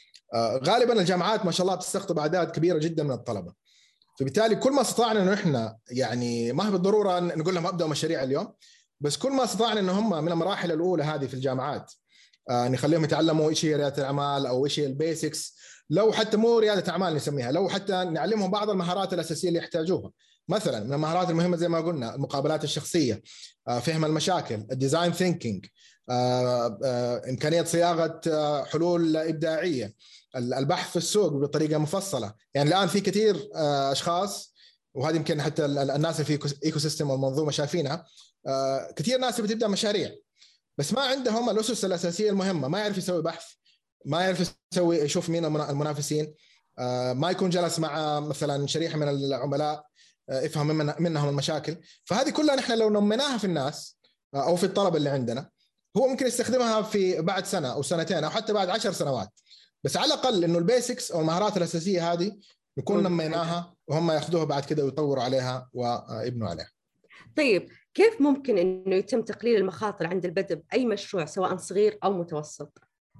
غالبا الجامعات ما شاء الله بتستقطب أعداد كبيرة جدا من الطلبة، فبالتالي كل ما استطعنا إنه إحنا يعني ما هي بالضرورة نقول لهم أبدأوا مشاريع اليوم، بس كل ما استطعنا إنه هم من المراحل الأولى هذه في الجامعات آه نخليهم يتعلموا إيش هي ريادة الأعمال أو إيش هي البيسكس، لو حتى مو ريادة أعمال نسميها، لو حتى نعلمهم بعض المهارات الأساسية اللي يحتاجوها. مثلا من المهارات المهمة زي ما قلنا المقابلات الشخصية، آه فهم المشاكل، الديزاين ثينكينج، آه آه إمكانية صياغة آه حلول إبداعية، البحث في السوق بطريقة مفصلة. يعني الآن في كثير آه أشخاص، وهذه يمكن حتى الناس في ايكو سيستم والمنظومة شايفينها، آه كثير ناس بتبدأ مشاريع بس ما عندهم الأسس الأساسية المهمة، ما يعرف يسوي بحث، ما يعرف يسوي يشوف مين المنافسين، ما يكون جلس مع مثلا شريحة من العملاء يفهم من منهم المشاكل. فهذه كلها نحن لو نمناها في الناس أو في الطلبة اللي عندنا، هو ممكن يستخدمها في بعد سنة أو سنتين أو حتى بعد عشر سنوات، بس على الأقل إنه البيسكس أو المهارات الأساسية هذه نكون نميناها وهم يأخذوها بعد كده ويطوروا عليها ويبنوا عليها. طيب كيف ممكن إنه يتم تقليل المخاطر عند البدء بأي مشروع سواء صغير أو متوسط؟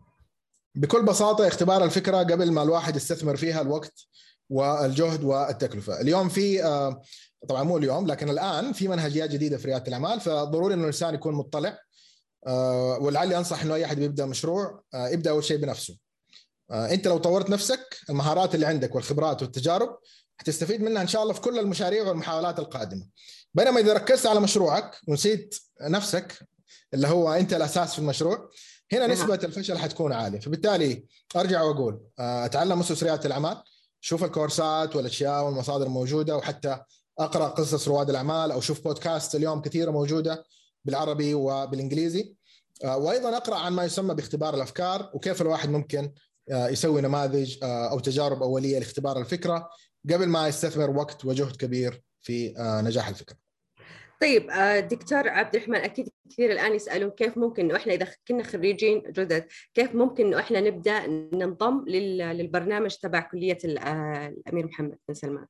بكل بساطة اختبار الفكرة قبل ما الواحد يستثمر فيها الوقت والجهد والتكلفة. اليوم في طبعا مو اليوم لكن الآن في منهجيات جديدة في ريادة الأعمال، فضروري إنه الإنسان يكون مطلع، ولعلي أنصح إنه أي أحد بيبدأ مشروع يبدأ أول شيء بنفسه. أنت لو طورت نفسك المهارات اللي عندك والخبرات والتجارب هتستفيد منها إن شاء الله في كل المشاريع والمحاولات القادمة. بينما إذا ركزت على مشروعك ونسيت نفسك اللي هو أنت الأساس في المشروع، هنا نسبة الفشل حتكون عالية. فبالتالي أرجع وأقول أتعلم أسس ريادة الأعمال، شوف الكورسات والأشياء والمصادر الموجودة، وحتى أقرأ قصص رواد الأعمال أو شوف بودكاست اليوم كثيرة موجودة بالعربي وبالإنجليزي، وأيضا أقرأ عن ما يسمى باختبار الأفكار وكيف الواحد ممكن يسوي نماذج أو تجارب أولية لاختبار الفكرة قبل ما يستثمر وقت وجهد كبير في نجاح الفكرة. طيب دكتور عبد الرحمن، أكيد كثير الآن يسألون كيف ممكن إنه إحنا إذا كنا خريجين جدد كيف ممكن إنه إحنا نبدأ ننضم للبرنامج تبع كلية الأمير محمد بن سلمان؟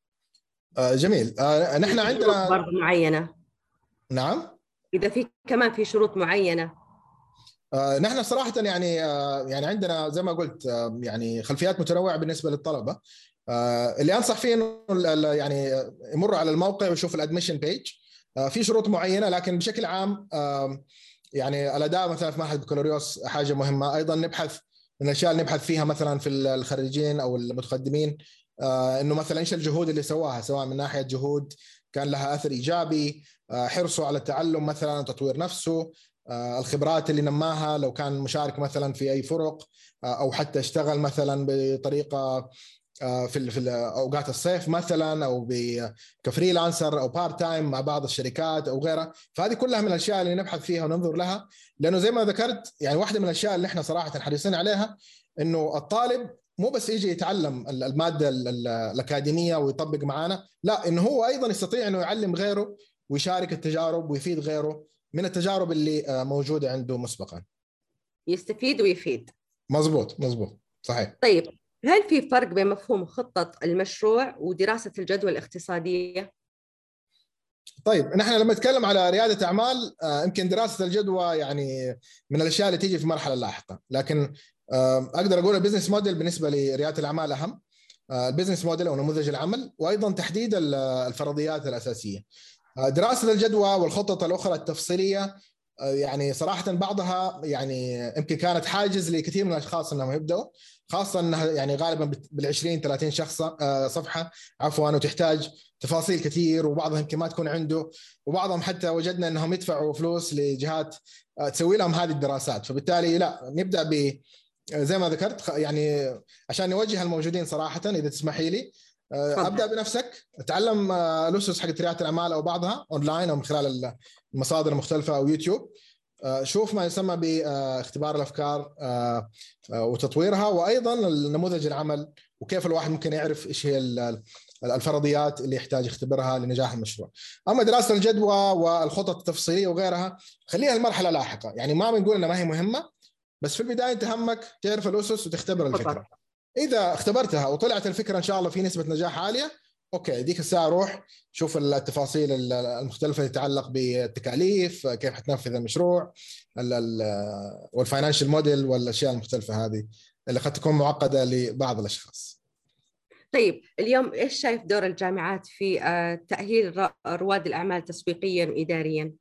جميل. نحن عندنا شروط معينة. نعم. إذا في كمان في شروط معينة. آه نحن صراحة يعني آه يعني عندنا زي ما قلت آه يعني خلفيات متنوعة بالنسبة للطلبة. آه اللي أنصح فيه إنه يعني يمر على الموقع ويشوف الادميشن بيج. آه في شروط معينة لكن بشكل عام آه يعني الأداء مثلا في معهد بكالوريوس حاجة مهمة. أيضا نبحث من الأشياء اللي نبحث فيها مثلا في الخريجين أو المتقدمين، آه إنه مثلا إيش الجهود اللي سواها، سواء من ناحية جهود كان لها أثر إيجابي، آه حرصه على التعلم مثلا وتطوير نفسه، الخبرات اللي نماها لو كان مشارك مثلا في أي فرق أو حتى اشتغل مثلا بطريقة في في أوقات الصيف مثلا أو كفريلانسر أو بارت تايم مع بعض الشركات أو غيرها. فهذه كلها من الأشياء اللي نبحث فيها وننظر لها، لأنه زي ما ذكرت يعني واحدة من الأشياء اللي احنا صراحة حريصين عليها إنه الطالب مو بس يجي يتعلم المادة الأكاديمية ويطبق معانا، لا، إنه هو أيضا يستطيع إنه يعلم غيره ويشارك التجارب ويفيد غيره من التجارب اللي موجودة عنده مسبقا. يستفيد ويفيد. مزبوط مزبوط صحيح. طيب هل في فرق بين مفهوم خطة المشروع ودراسة الجدوى الاقتصادية؟ طيب نحن لما نتكلم على ريادة أعمال يمكن دراسة الجدوى يعني من الأشياء اللي تيجي في مرحلة لاحقة، لكن أقدر أقول البزنس موديل بالنسبة لريادة الأعمال أهم. البزنس موديل أو نموذج العمل، وأيضا تحديد الفرضيات الأساسية. دراسة الجدوى والخطط الأخرى التفصيلية يعني صراحة بعضها يعني يمكن كانت حاجز لكثير من الأشخاص أنهم يبدأوا، خاصة أنها يعني غالبا بالعشرين ثلاثين شخص صفحة عفوا، وتحتاج تفاصيل كثير، وبعضهم يمكن ما تكون عنده، وبعضهم حتى وجدنا أنهم يدفعوا فلوس لجهات تسوي لهم هذه الدراسات. فبالتالي لا، نبدأ ب زي ما ذكرت يعني عشان نوجه الموجودين صراحة إذا تسمحي لي، ابدا بنفسك، اتعلم الاسس حق رياده الاعمال او بعضها اونلاين او من خلال المصادر المختلفه او يوتيوب. شوف ما يسمى باختبار الأفكار وتطويرها، وأيضا النموذج العمل وكيف الواحد ممكن يعرف إيش هي الفرضيات اللي يحتاج يختبرها لنجاح المشروع. أما دراسة الجدوى والخطط التفصيلية وغيرها خليها المرحلة لاحقة، يعني ما بنقول إنها ما هي مهمة، بس في البداية أنت همك تعرف الأسس وتختبر الفكرة. إذا اختبرتها وطلعت الفكرة إن شاء الله في نسبة نجاح عالية، أوكي ديك الساعة روح شوف التفاصيل المختلفة اللي تتعلق بالتكاليف، كيف حتنفذ المشروع، والفاينانشال موديل والأشياء المختلفة هذه اللي قد تكون معقدة لبعض الأشخاص. طيب اليوم إيش شايف دور الجامعات في تأهيل رواد الأعمال تسويقياً وإدارياً؟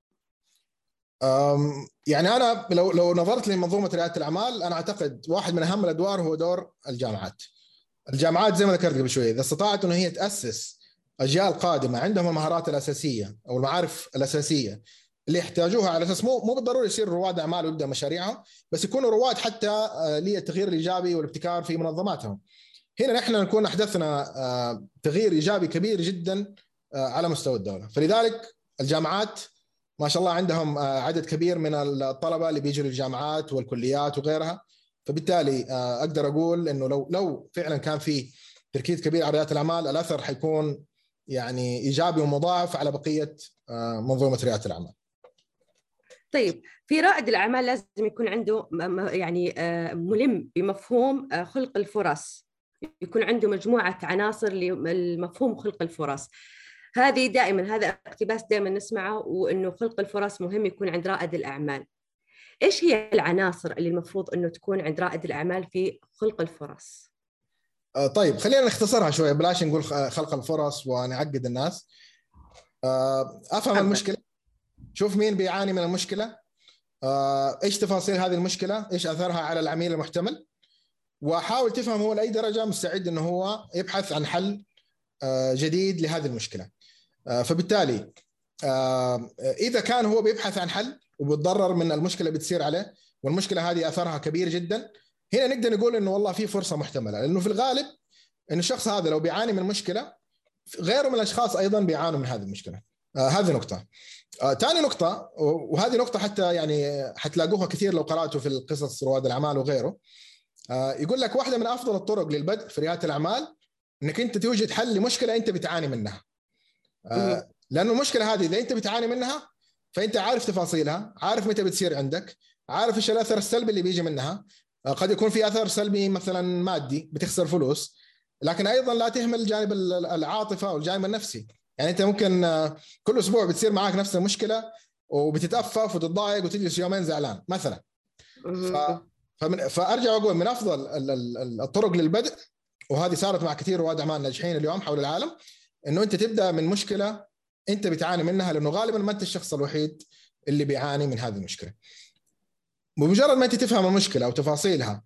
يعني أنا لو لو نظرت لمنظومة ريادة الأعمال، أنا أعتقد واحد من أهم الأدوار هو دور الجامعات. الجامعات زي ما ذكرت قبل شوي، إذا استطاعت إنه هي تأسس أجيال قادمة عندهم المهارات الأساسية أو المعارف الأساسية اللي يحتاجوها، على أساس مو مو بالضروري يصيروا رواد أعمال ويبدأ مشاريعهم، بس يكونوا رواد حتى للتغيير الإيجابي والابتكار في منظماتهم. هنا نحن نكون أحدثنا تغيير إيجابي كبير جدا على مستوى الدولة. فلذلك الجامعات ما شاء الله عندهم عدد كبير من الطلبة اللي بيجوا للجامعات والكليات وغيرها، فبالتالي أقدر أقول إنه لو لو فعلا كان في تركيز كبير على ريادة الأعمال، الأثر حيكون يعني إيجابي ومضاعف على بقية منظومة ريادة الأعمال. طيب في رائد الأعمال لازم يكون عنده يعني ملم بمفهوم خلق الفرص، يكون عنده مجموعة عناصر لمفهوم خلق الفرص. هذه دائما هذا اقتباس دائما نسمعه، وإنه خلق الفرص مهم يكون عند رائد الأعمال. إيش هي العناصر اللي المفروض إنه تكون عند رائد الأعمال في خلق الفرص؟ طيب خلينا نختصرها شوية، بلاش نقول خلق الفرص ونعقد الناس. أفهم المشكلة، شوف مين بيعاني من المشكلة، إيش تفاصيل هذه المشكلة، إيش أثرها على العميل المحتمل، وحاول تفهم هو لأي درجة مستعد إنه هو يبحث عن حل جديد لهذه المشكلة. فبالتالي إذا كان هو بيبحث عن حل وبيتضرر من المشكلة بتصير عليه، والمشكلة هذه أثرها كبير جدا، هنا نقدر نقول إنه والله في فرصة محتملة. لأنه في الغالب إن الشخص هذا لو بيعاني من مشكلة، غيره من الأشخاص أيضا بيعانوا من هذه المشكلة. آه هذه نقطة. آه ثاني نقطة، وهذه نقطة حتى يعني حتلاقوها كثير لو قرأتوا في القصص رواد الأعمال وغيره. آه يقول لك واحدة من أفضل الطرق للبدء في ريادة الأعمال إنك أنت توجد حل لمشكلة أنت بتعاني منها. آه لأنه المشكلة هذه إذا أنت بتعاني منها فأنت عارف تفاصيلها، عارف متى بتصير عندك، عارف إيش الأثر السلبي اللي بيجي منها. آه قد يكون في أثر سلبي مثلا مادي، بتخسر فلوس، لكن أيضا لا تهمل الجانب العاطفة والجانب النفسي. يعني أنت ممكن آه كل أسبوع بتصير معك نفس المشكلة وبتتأفف وتتضايق وتجلس يومين زعلان مثلا. ف... فمن... فأرجع أقول من أفضل الطرق للبدء، وهذه صارت مع كثير رواد أعمال ناجحين اليوم حول العالم، إنه أنت تبدأ من مشكلة أنت بتعاني منها، لأنه غالبا ما أنت الشخص الوحيد اللي بيعاني من هذه المشكلة. بمجرد ما أنت تفهم المشكلة وتفاصيلها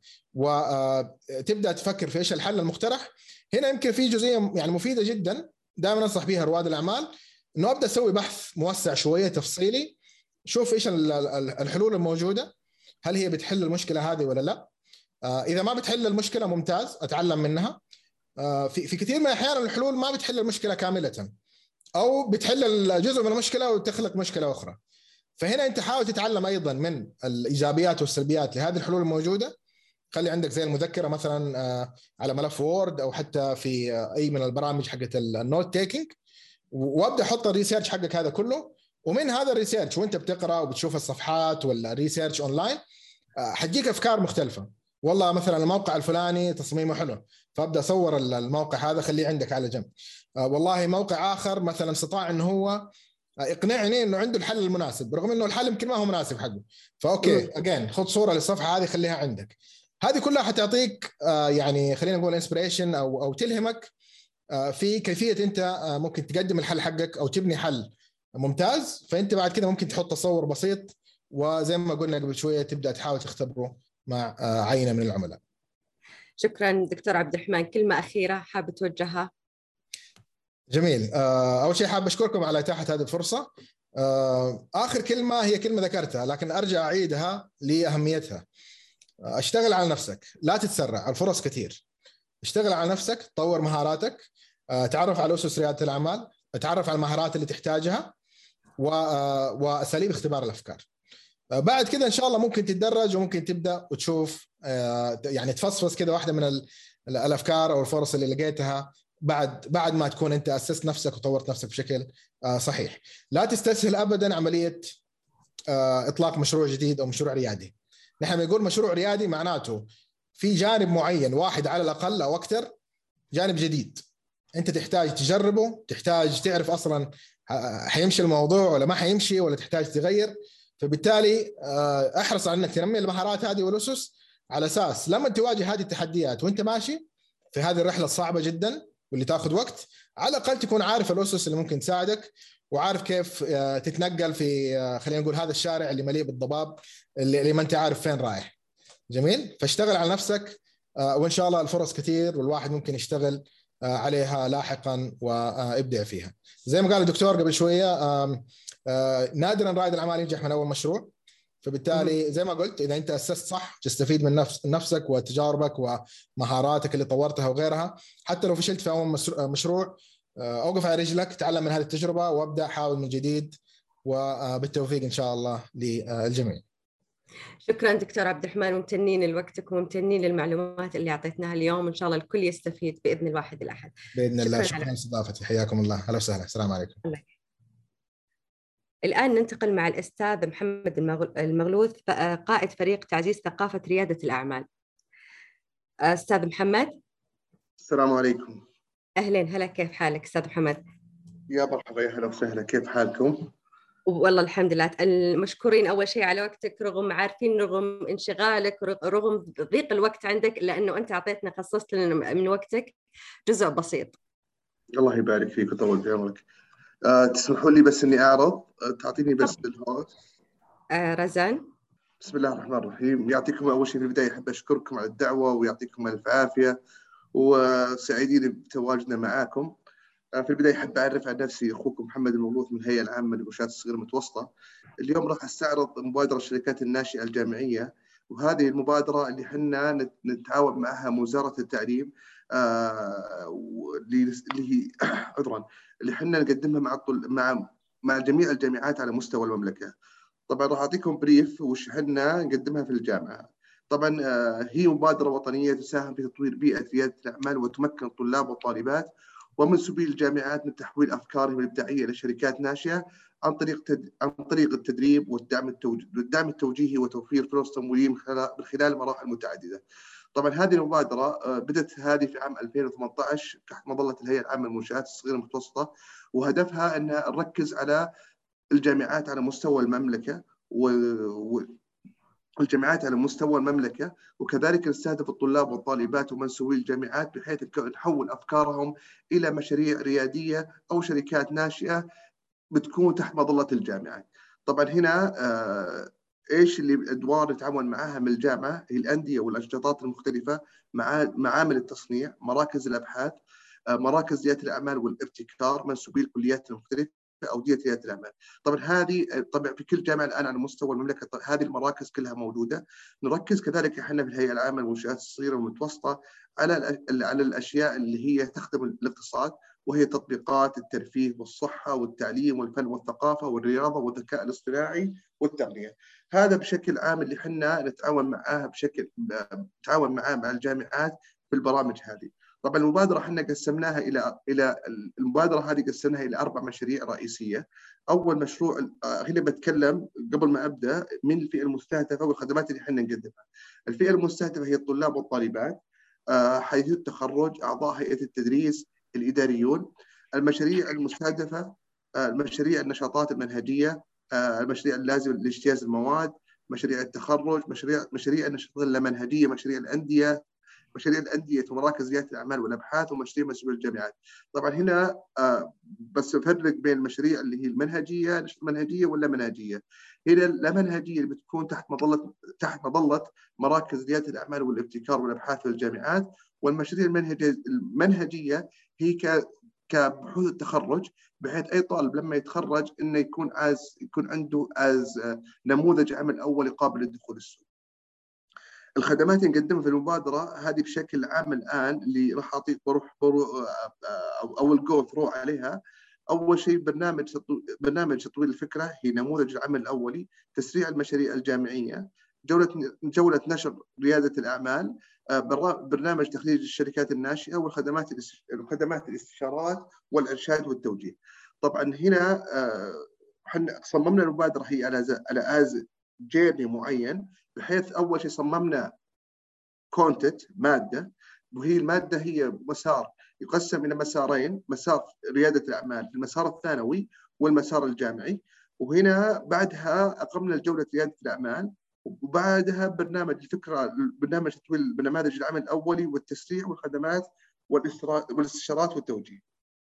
وتبدأ تفكر في إيش الحل المقترح، هنا يمكن في جزئية يعني مفيدة جدا دائما أنصح بها رواد الأعمال، إنه أبدأ أسوي بحث موسع شوية تفصيلي، شوف إيش الحلول الموجودة، هل هي بتحل المشكلة هذه ولا لا. إذا ما بتحل المشكلة ممتاز، أتعلم منها. في في كثير من الأحيان الحلول ما بتحل المشكلة كاملة، أو بتحل جزء من المشكلة وتخلق مشكلة أخرى. فهنا أنت حاول تتعلم أيضا من الإيجابيات والسلبيات لهذه الحلول الموجودة. خلي عندك زي المذكرة مثلا على ملف وورد، أو حتى في أي من البرامج حقت النوت تيكينج، وابدأ حط الريسيرش حقك هذا كله. ومن هذا الريسيرش وانت بتقرأ وبتشوف الصفحات ولا ريسيرش أونلاين، حتجيك أفكار مختلفة. والله مثلا الموقع الفلاني تصميمه حلو، فابدأ أصور الموقع هذا خليه عندك على جنب. والله موقع آخر مثلا استطاع إنه هو اقنعني انه عنده الحل المناسب، رغم انه الحل يمكن ما هو مناسب حقه. فاوكي اجين خذ صوره للصفحه هذه خليها عندك. هذه كلها حتعطيك آه يعني خلينا نقول انسبريشن او او تلهمك آه في كيفيه انت آه ممكن تقدم الحل حقك او تبني حل ممتاز. فانت بعد كده ممكن تحط تصور بسيط، وزي ما قلنا قبل شويه تبدا تحاول تختبره مع آه عينه من العملاء. شكرا دكتور عبد الرحمن، كلمه اخيره حابب توجهها؟ جميل. أول شيء حاب أشكركم على إتاحة هذه الفرصة. آخر كلمة هي كلمة ذكرتها لكن أرجع أعيدها لأهميتها. اشتغل على نفسك، لا تتسرع، الفرص كثير. اشتغل على نفسك، طور مهاراتك، تعرف على أسس ريادة الأعمال، تعرف على المهارات اللي تحتاجها، وأساليب اختبار الأفكار. بعد كده ان شاء الله ممكن تتدرج وممكن تبدا وتشوف يعني تفصفص كده واحده من الافكار او الفرص اللي لقيتها بعد بعد ما تكون انت اسست نفسك وطورت نفسك بشكل صحيح. لا تستسهل ابدا عمليه اطلاق مشروع جديد او مشروع ريادي. نحن بنقول مشروع ريادي معناته في جانب معين واحد على الاقل او اكثر، جانب جديد انت تحتاج تجربه، تحتاج تعرف اصلا حيمشي الموضوع ولا ما حيمشي ولا تحتاج تغير. فبالتالي احرص على انك تنمي المهارات هذه والاسس على اساس لما تواجه هذه التحديات وانت ماشي في هذه الرحله الصعبه جدا واللي تاخذ وقت، على الاقل تكون عارف الاسس اللي ممكن تساعدك وعارف كيف تتنقل في خلينا نقول هذا الشارع اللي مليء بالضباب اللي ما انت عارف فين رايح. جميل. فاشتغل على نفسك وان شاء الله الفرص كثير والواحد ممكن يشتغل عليها لاحقا وابدع فيها. زي ما قال الدكتور قبل شويه نادرا رائد الاعمال ينجح من اول مشروع. فبالتالي زي ما قلت اذا انت اسست صح تستفيد من نفس نفسك وتجاربك ومهاراتك اللي طورتها وغيرها. حتى لو فشلت في اول مشروع اوقف على رجلك، تعلم من هذه التجربه وابدا حاول من جديد، وبالتوفيق ان شاء الله للجميع. شكرا دكتور عبد الرحمن، ممتنين لوقتك وممتنين للمعلومات اللي اعطيتناها اليوم. ان شاء الله الكل يستفيد باذن الواحد الاحد. باذن الله. شكرا لاستضافتي. حياكم الله. اهلا وسهلا. السلام عليكم. الله. الآن ننتقل مع الأستاذ محمد المغلوث قائد فريق تعزيز ثقافة ريادة الأعمال. أستاذ محمد. السلام عليكم. أهلين، هلا، كيف حالك أستاذ محمد؟ يا مرحبا، يا هلا وسهلا، كيف حالكم؟ والله الحمد لله. المشكورين أول شيء على وقتك، رغم عارفين رغم انشغالك رغم ضيق الوقت عندك، لأنه أنت أعطيتنا خصصت لنا من وقتك جزء بسيط. الله يبارك فيك ويطول في عمرك. أه تسمحوا لي بس إني أعرض، تعطيني بس الهوست. أه رزان. بسم الله الرحمن الرحيم. يعطيكم أول شيء في البداية أحب أشكركم على الدعوة ويعطيكم ألف عافية وسعيدين بتواجدنا معاكم. في البداية أحب أعرف عن نفسي، أخوكم محمد المغلوث من الهيئة العامة للمنشآت الصغيرة المتوسطة. اليوم راح أستعرض مبادرة الشركات الناشئة الجامعية، وهذه المبادرة اللي حنا نتعاون معها وزارة التعليم آه اللي هي عذرا اللي حنا نقدمها مع مع مع جميع الجامعات على مستوى المملكة. طبعا راح أعطيكم بريف وش حنا نقدمها في الجامعة. طبعا آه هي مبادرة وطنية تساهم في تطوير بيئة ريادة الأعمال وتمكن الطلاب والطالبات ومنسوبي الجامعات من تحويل أفكارهم الإبداعية لشركات ناشئة عن طريق تد... عن طريق التدريب والدعم التوج... والدعم التوجيهي وتوفير فرص تمويلية من خلال من خلال مراحل متعددة. طبعا هذه المبادرة بدأت هذه في عام ألفين وثمانية عشر تحت مظلة الهيئة العامة للمنشآت الصغيرة المتوسطة، وهدفها أنها نركز على الجامعات على مستوى المملكة و... و... الجامعات على مستوى المملكة، وكذلك نستهدف الطلاب والطالبات ومنسوبي الجامعات بحيث نحول أفكارهم إلى مشاريع ريادية أو شركات ناشئة بتكون تحت مظلة الجامعات. طبعا هنا آه إيش اللي الأدوار نتعاون معها من الجامعة؟ هي الأندية والأنشطات المختلفة، مع معامل التصنيع، مراكز الأبحاث، آه مراكز ريادة الأعمال والابتكار، منسوبي الكليات المختلفة، أودية ريادة الأعمال. طبعا هذه طبعا في كل جامعة الآن على مستوى المملكة هذه المراكز كلها موجودة. نركز كذلك احنا في الهيئة العامة للمنشآت الصغيرة والمتوسطة على على الأشياء اللي هي تخدم الاقتصاد، وهي تطبيقات الترفيه والصحة والتعليم والفن والثقافة والرياضة والذكاء الاصطناعي والتقنية. هذا بشكل عام اللي احنا نتعاون معاه بشكل نتعاون معاه مع الجامعات في البرامج هذه. طبعا المبادرة احنا قسمناها إلى إلى المبادرة هذه قسمناها إلى أربع مشاريع رئيسية. أول مشروع هنا بتكلم قبل ما أبدأ من الفئة المستهدفة والخدمات اللي احنا نقدمها. الفئة المستهدفة هي الطلاب والطالبات حيث التخرج، أعضاء هيئة التدريس، الإداريون. المشاريع المستهدفة المشاريع النشاطات المنهجية، المشاريع اللازمة لاجتياز المواد، مشاريع التخرج، مشاريع مشاريع النشاطات اللامنهجية، مشاريع الأندية، مشاريع الأندية ومراكز ريادة الأعمال والأبحاث، ومشاريع مسؤولية الجامعات. طبعا هنا بس أفرق بين المشاريع اللي هي المنهجية المنهجية ولا منهجية. هنا اللامنهجية اللي بتكون تحت مظلة تحت مظلة مراكز ريادة الأعمال والابتكار والأبحاث في الجامعات. والمشاريع المنهجية المنهجية هي ك كبحوث التخرج، بحيث أي طالب لما يتخرج إنه يكون عايز يكون عنده از نموذج عمل أولي قابل للدخول السوق. الخدمات اللي نقدمها في المبادرة هذه بشكل عام الآن اللي راح أعطيك بروح برو أو الجو ثرو عليها. أول شيء برنامج برنامج تطوير الفكرة، هي نموذج العمل الأولي، تسريع المشاريع الجامعية، جولة جولة نشر ريادة الأعمال، برنامج تخريج الشركات الناشئة، والخدمات الخدمات الاستشارات والإرشاد والتوجيه. طبعا هنا احنا صممنا المبادرة هي على على از جيرني معين، بحيث أول شيء صممنا كونتنت مادة، وهي المادة هي مسار يقسم إلى مسارين، مسار ريادة الأعمال في المسار الثانوي والمسار الجامعي. وهنا بعدها أقمنا الجولة ريادة الأعمال، وبعدها برنامج الفكرة برنامج تطوير برنامج العمل الأولي والتسريع والخدمات والاستشارات والتوجيه.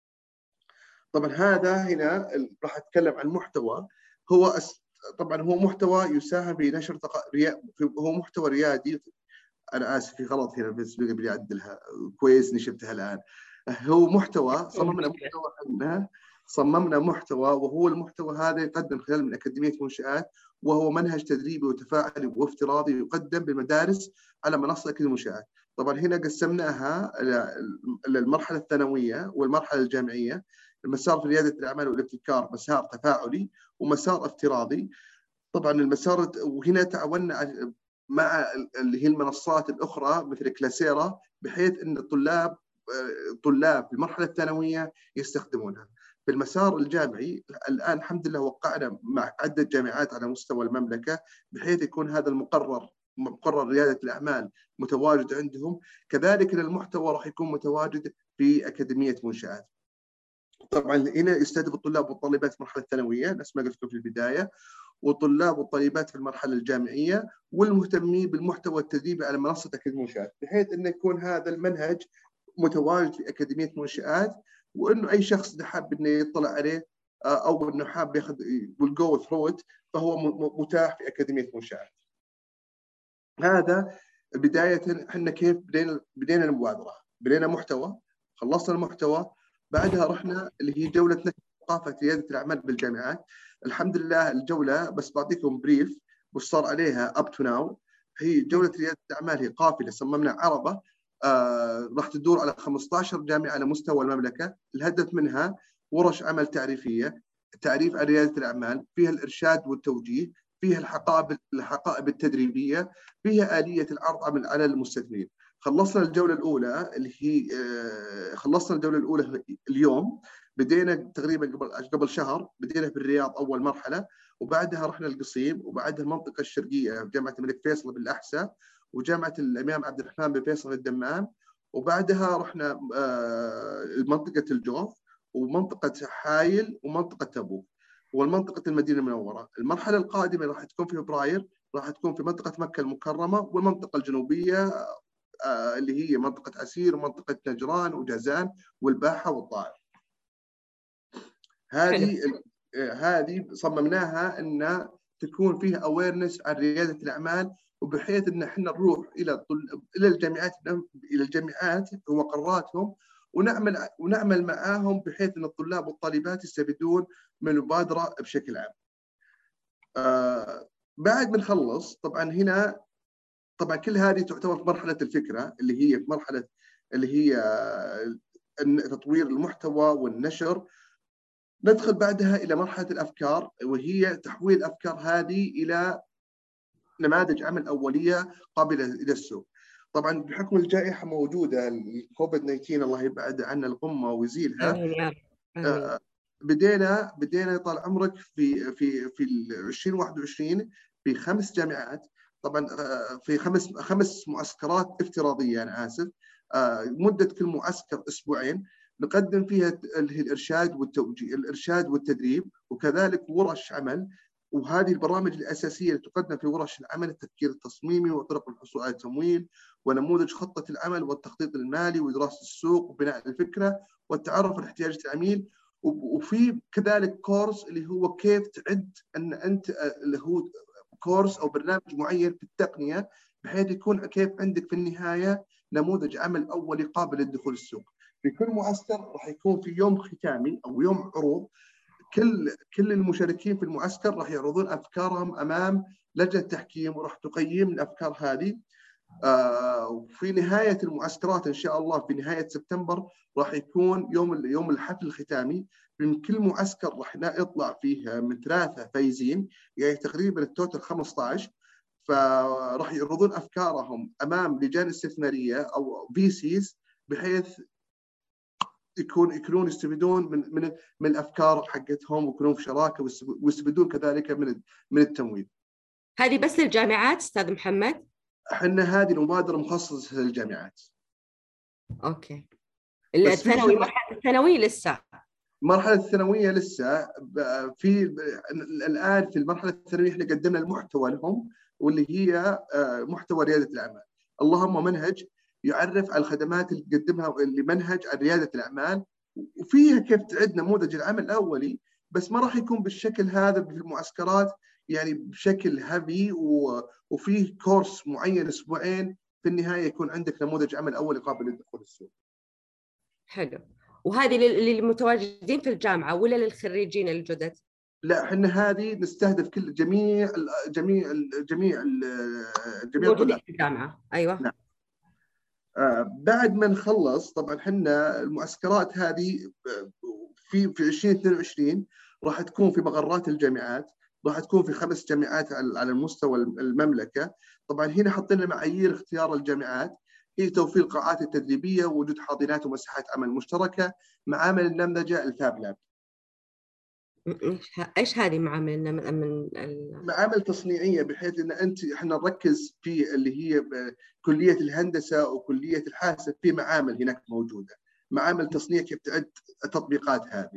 طبعا هذا هنا راح أتكلم عن محتوى، هو أس... طبعا هو محتوى يساهم بنشر تق... ريا... هو محتوى ريادي. أنا آسف في غلط هنا بس بدي أعدلها، كويس إني شفتها الآن. هو محتوى صممنا محتوى عندنا صممنا محتوى وهو المحتوى هذا يقدم خلال من أكاديمية منشآت، وهو منهج تدريبي وتفاعلي وافتراضي يقدم بالمدارس على منصة أكاديمية المنشآت. طبعا هنا قسمناها للمرحلة الثانوية والمرحلة الجامعية. المسار في ريادة الأعمال والابتكار مسار تفاعلي ومسار افتراضي. طبعا المسار، وهنا تعاوننا مع اللي هي المنصات الأخرى مثل كلاسيرا، بحيث أن الطلاب طلاب في المرحلة الثانوية يستخدمونها. في المسار الجامعي الآن الحمد لله وقعنا مع عدة جامعات على مستوى المملكة، بحيث يكون هذا المقرر مقرر ريادة الأعمال متواجد عندهم. كذلك المحتوى راح يكون متواجد في أكاديمية منشآت. طبعا هنا يستهدف الطلاب والطالبات في المرحلة الثانوية نفس ما قلت لكم في البداية، والطلاب والطالبات في المرحلة الجامعية، والمهتمين بالمحتوى التدريبي على منصة أكاديمية منشآت، بحيث أن يكون هذا المنهج متواجد في أكاديمية منشآت، وأنه أي شخص حاب أنه يطلع عليه أو أنه حاب ياخذ والجو ثرو فهو متاح في أكاديمية منشآت. هذا بداية احنا كيف بدينا بدينا المبادرة. بدينا محتوى، خلصنا المحتوى، بعدها رحنا اللي هي جولة نشر ثقافة ريادة الأعمال بالجامعات. الحمد لله الجولة بس بعطيكم بريف وش صار عليها up to now. هي جولة ريادة الأعمال هي قافلة صممنا عربة آه راح تدور على خمسة عشر جامعة على مستوى المملكة. الهدف منها ورش عمل تعريفية، تعريف على ريادة الأعمال، فيها الإرشاد والتوجيه، فيها الحقائب الحقائب التدريبية، فيها آلية العرض على المستثمرين. خلصنا الجولة الأولى اللي هي آه خلصنا الجولة الأولى اليوم. بدينا تقريبا قبل قبل شهر بدينا في الرياض أول مرحلة، وبعدها رحنا القصيم، وبعدها المنطقة الشرقية في جامعة الملك فيصل بالأحساء، وجامعة الإمام عبد الرحمن بن فيصل الدمام، وبعدها رحنا آه منطقة الجوف ومنطقة حايل ومنطقة تبوك والمنطقة المدينة المنورة. المرحلة القادمة راح تكون في فبراير، راح تكون في منطقة مكة المكرمة والمنطقة الجنوبية آه اللي هي منطقة عسير ومنطقة نجران وجازان والباحة والطائف. هذه هذه صممناها ان تكون فيها اويرنس عن رياده الاعمال، وبحيث ان احنا نروح الى الى الجامعات الى الجامعات ومقراتهم ونعمل ونعمل معاهم بحيث ان الطلاب والطالبات يستفيدون من المبادره بشكل عام. آه بعد ما نخلص طبعا هنا طبعا كل هذه تعتبر في مرحله الفكره اللي هي في مرحله اللي هي تطوير المحتوى والنشر. ندخل بعدها إلى مرحلة الأفكار، وهي تحويل الأفكار هذه إلى نماذج عمل أولية قابلة إلى السوق. طبعا بحكم الجائحة موجودة الكوفيد تسعة عشر الله يبعد عنا الغمة ويزيلها. آمين. آه بدينا بدينا طال عمرك في في في ألفين وواحد وعشرين في خمس جامعات، طبعا في خمس خمس معسكرات افتراضية. أنا آسف. آه مدة كل معسكر أسبوعين، نقدم فيها الإرشاد والتوجيه الإرشاد والتدريب، وكذلك ورش عمل. وهذه البرامج الأساسية اللي تقدم في ورش العمل التفكير التصميمي وطرق الحصول على التمويل ونموذج خطة العمل والتخطيط المالي ودراسة السوق وبناء الفكرة والتعرف على احتياجات العميل. وفي كذلك كورس اللي هو كيف تعد أن أنت اللي هو كورس أو برنامج معين في التقنية، بحيث يكون كيف عندك في النهاية نموذج عمل أولي قابل للدخول السوق. في كل معسكر راح يكون في يوم ختامي أو يوم عروض، كل كل المشاركين في المعسكر راح يعرضون أفكارهم أمام لجنة تحكيم، وراح تقيم الأفكار هذه. وفي نهاية المعسكرات إن شاء الله في نهاية سبتمبر راح يكون يوم يوم الحفل الختامي. من كل معسكر راح يطلع فيه من ثلاثة فايزين، يعني تقريبا التوتال خمسة عشر. فراح يعرضون أفكارهم أمام لجان استثمارية أو في سيز، بحيث يكون يكونون يستفيدون من من من الأفكار حقتهم، ويكونون في شراكة، ويستفيدون كذلك من من التمويل. هذه بس للجامعات أستاذ محمد؟ احنا هذه المبادرة مخصصة للجامعات. أوكي. الثانوي، مرحلة الثانوي لسه؟ مرحلة الثانوية لسه. في الآن في المرحلة الثانوية احنا قدمنا المحتوى لهم، واللي هي محتوى ريادة الأعمال. اللهم منهج يعرف على الخدمات اللي تقدمها لمنهج ريادة الأعمال، وفيها كيف تعد نموذج العمل الأولي، بس ما راح يكون بالشكل هذا في المعسكرات، يعني بشكل هافي، وفيه كورس معين اسبوعين، في النهاية يكون عندك نموذج عمل أولي قابل للدخول السوق. حلو. وهذه للمتواجدين في الجامعة ولا للخريجين الجدد؟ لا، احنا هذه نستهدف كل جميع جميع جميع جميع الطلاب في الجامعة. ايوه. نعم. آه بعد ما نخلص طبعا احنا المعسكرات هذه في في ألفين واثنين وعشرين راح تكون في مقرات الجامعات، راح تكون في خمس جامعات على المستوى المملكة. طبعا هنا حطينا معايير اختيار الجامعات، هي توفير القاعات التدريبية، ووجود حاضنات ومساحات عمل مشتركة، معامل النمذجة الفاب لاب. ايش هذه معامل من معامل تصنيعيه، بحيث ان انت احنا نركز في اللي هي كليه الهندسه وكليه الحاسب، في معامل هناك موجوده، معامل تصنيع كيف تعد التطبيقات هذه.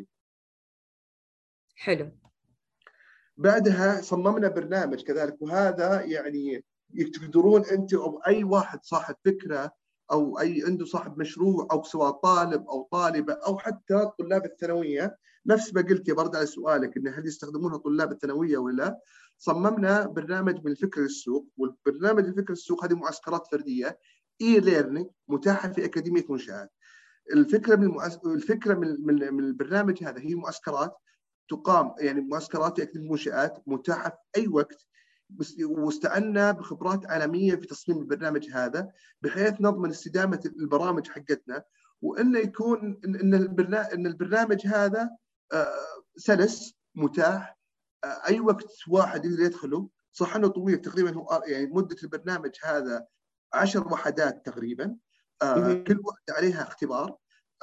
حلو. بعدها صممنا برنامج كذلك، وهذا يعني يقدرون انت او اي واحد صاحب فكره او اي عنده صاحب مشروع، او سواء طالب او طالبه او حتى طلاب الثانويه، نفس ما قلت يا برد على سؤالك ان هل يستخدمونها طلاب الثانويه ولا لا. صممنا برنامج من الفكر للسوق، والبرنامج الفكر للسوق هذه معسكرات فرديه اي ليرنينج متاحه في اكاديميه منشآت. الفكره من المؤس... الفكره من من, من البرنامج هذا هي معسكرات تقام، يعني معسكرات في اكاديميه منشآت متاحه في اي وقت، واستعنا بخبرات عالميه في تصميم البرنامج هذا، بحيث نضمن استدامه البرامج حقتنا، وانه يكون ان البرنامج ان البرنامج هذا سلس متاح اي وقت واحد يقدر يدخله. صح انه طويل، تقريبا هو يعني مده البرنامج هذا عشر وحدات تقريبا، كل واحده عليها اختبار.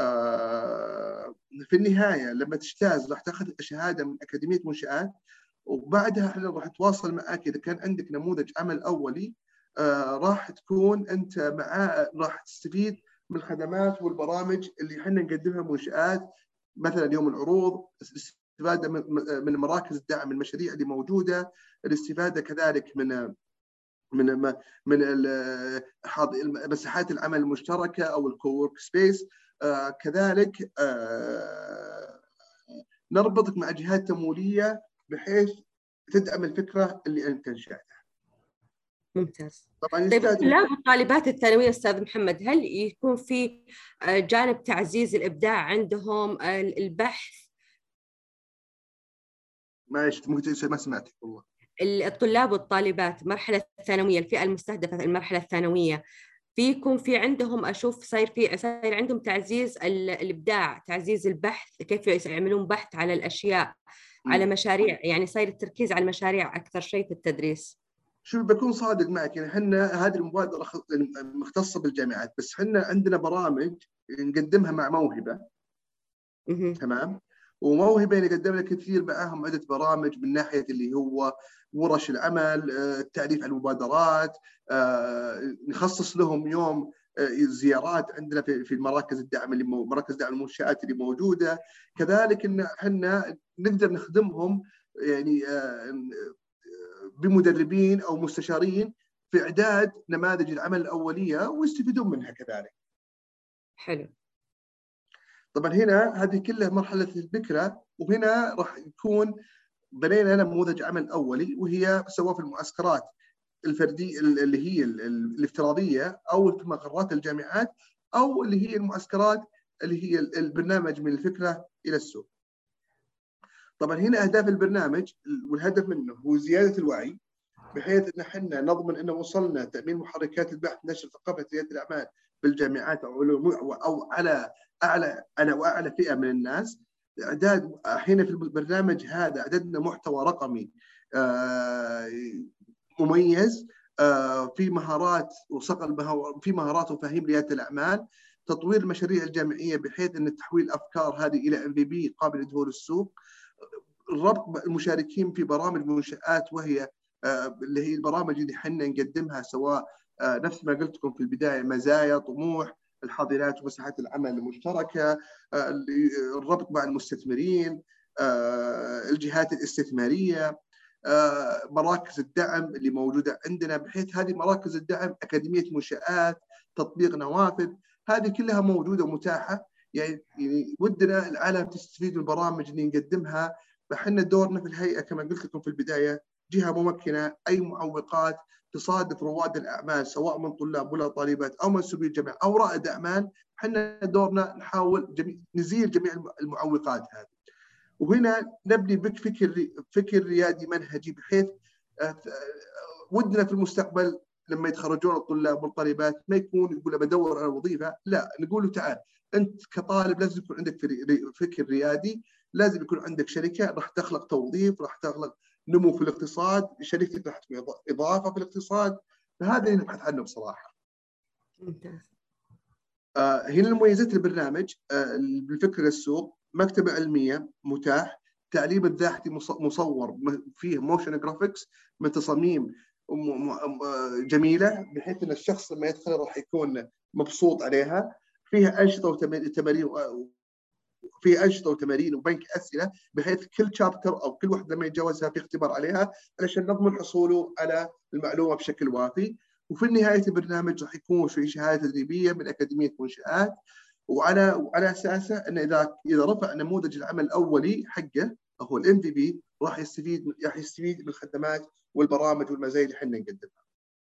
في النهايه لما تجتاز راح تاخذ شهاده من اكاديميه منشآت، وبعدها احنا راح نتواصل معك اذا كان عندك نموذج عمل اولي، آه راح تكون انت معاه، راح تستفيد من الخدمات والبرامج اللي احنا نقدمها منشآت، مثلا يوم العروض، الاستفاده من من مراكز الدعم المشاريع اللي موجوده، الاستفاده كذلك من من من مساحات العمل المشتركه او الكوورك سبيس. آه كذلك آه نربطك مع جهات تمويليه بحيث تدعم الفكره اللي انت انشاتها. ممتاز. طبعا طيب الطلاب وطالبات الثانويه استاذ محمد، هل يكون في جانب تعزيز الابداع عندهم، البحث؟ ما ممكن ما سمعتك والله. الطلاب والطالبات مرحله الثانويه، الفئه المستهدفه المرحله الثانويه، فيكم في عندهم اشوف صاير في صاير عندهم تعزيز الابداع، تعزيز البحث، كيف يعملون بحث على الاشياء، على مشاريع، يعني صاير التركيز على المشاريع اكثر شيء في التدريس. شو بكون صادق معك، يعني احنا هذه المبادره مختصه بالجامعات، بس احنا عندنا برامج نقدمها مع موهبه. م- تمام. وموهبه نقدم لك كثير معاهم عده برامج من ناحيه اللي هو ورش العمل، التعريف على المبادرات، نخصص لهم يوم زيارات عندنا في في مراكز الدعم اللي مراكز دعم المنشآت اللي موجوده. كذلك ان احنا نقدر نخدمهم يعني بمدربين او مستشارين في اعداد نماذج العمل الاوليه ويستفيدون منها كذلك. حلو. طبعا هنا هذه كلها مرحله الفكره، وهنا راح يكون بنينا نموذج عمل اولي، وهي سواء في المعسكرات الفرديه اللي هي الافتراضيه او في مقرات الجامعات، او اللي هي المعسكرات اللي هي البرنامج من الفكره الى السوق. طبعا هنا اهداف البرنامج والهدف منه هو زياده الوعي، بحيث ان احنا نضمن ان وصلنا تامين محركات البحث نشر ثقافه رياده الاعمال بالجامعات او او على اعلى على واعلى فئه من الناس. اعداد هنا في البرنامج هذا اعددنا محتوى رقمي مميز في مهارات وصقل في مهارات ومفاهيم رياده الاعمال، تطوير المشاريع الجامعيه بحيث ان تحويل الافكار هذه الى ام في بي قابل لدخول السوق، الربط المشاركين في برامج منشآت وهي اللي هي البرامج اللي احنا نقدمها، سواء نفس ما قلت لكم في البدايه مزايا، طموح، الحاضنات ومساحات العمل المشتركه، الربط مع المستثمرين، الجهات الاستثماريه، مراكز الدعم اللي موجوده عندنا، بحيث هذه مراكز الدعم اكاديميه منشآت، تطبيق نوافذ، هذه كلها موجوده ومتاحه. يعني ودنا العالم تستفيد من البرامج اللي نقدمها. فاحنا دورنا في الهيئه كما قلت لكم في البدايه جهه ممكنه، اي معوقات تصادف رواد الاعمال سواء من طلاب ولا طالبات او منسوبي الجامعه او رائد اعمال، احنا دورنا نحاول جميع نزيل جميع المعوقات هذه. وهنا نبني بك فكر فكر ريادي منهجي، بحيث ودنا في المستقبل لما يتخرجون الطلاب والطالبات ما يكون يقول بدور على وظيفه، لا نقول له تعال انت كطالب لازم يكون عندك فكر ريادي، لازم يكون عندك شركه راح تخلق توظيف، راح تخلق نمو في الاقتصاد، شركتك راح تكون اضافه في الاقتصاد. فهذا اللي نبحث عنه بصراحه. ممتاز. آه هنا المميزات البرنامج، آه بالفكر للسوق، مكتبه علميه متاح، تعليم الذاحتي مصور فيه موشن جرافيكس من تصاميم جميله، بحيث ان الشخص لما يدخل راح يكون مبسوط عليها. فيها انشطه وتمارين في أنشطة وتمارين وبنك أسئلة، بحيث كل شابتر أو كل واحد لما يتجاوزها في اختبار عليها علشان نضمن حصوله على المعلومة بشكل وافي. وفي نهاية البرنامج راح يكون في شهادة تدريبية من أكاديمية منشآت، وعلى وعلى أساسه أن إذا إذا رفع نموذج العمل الأولي حقه هو الام في بي راح يستفيد راح يستفيد من الخدمات والبرامج والمزايا اللي احنا نقدمها.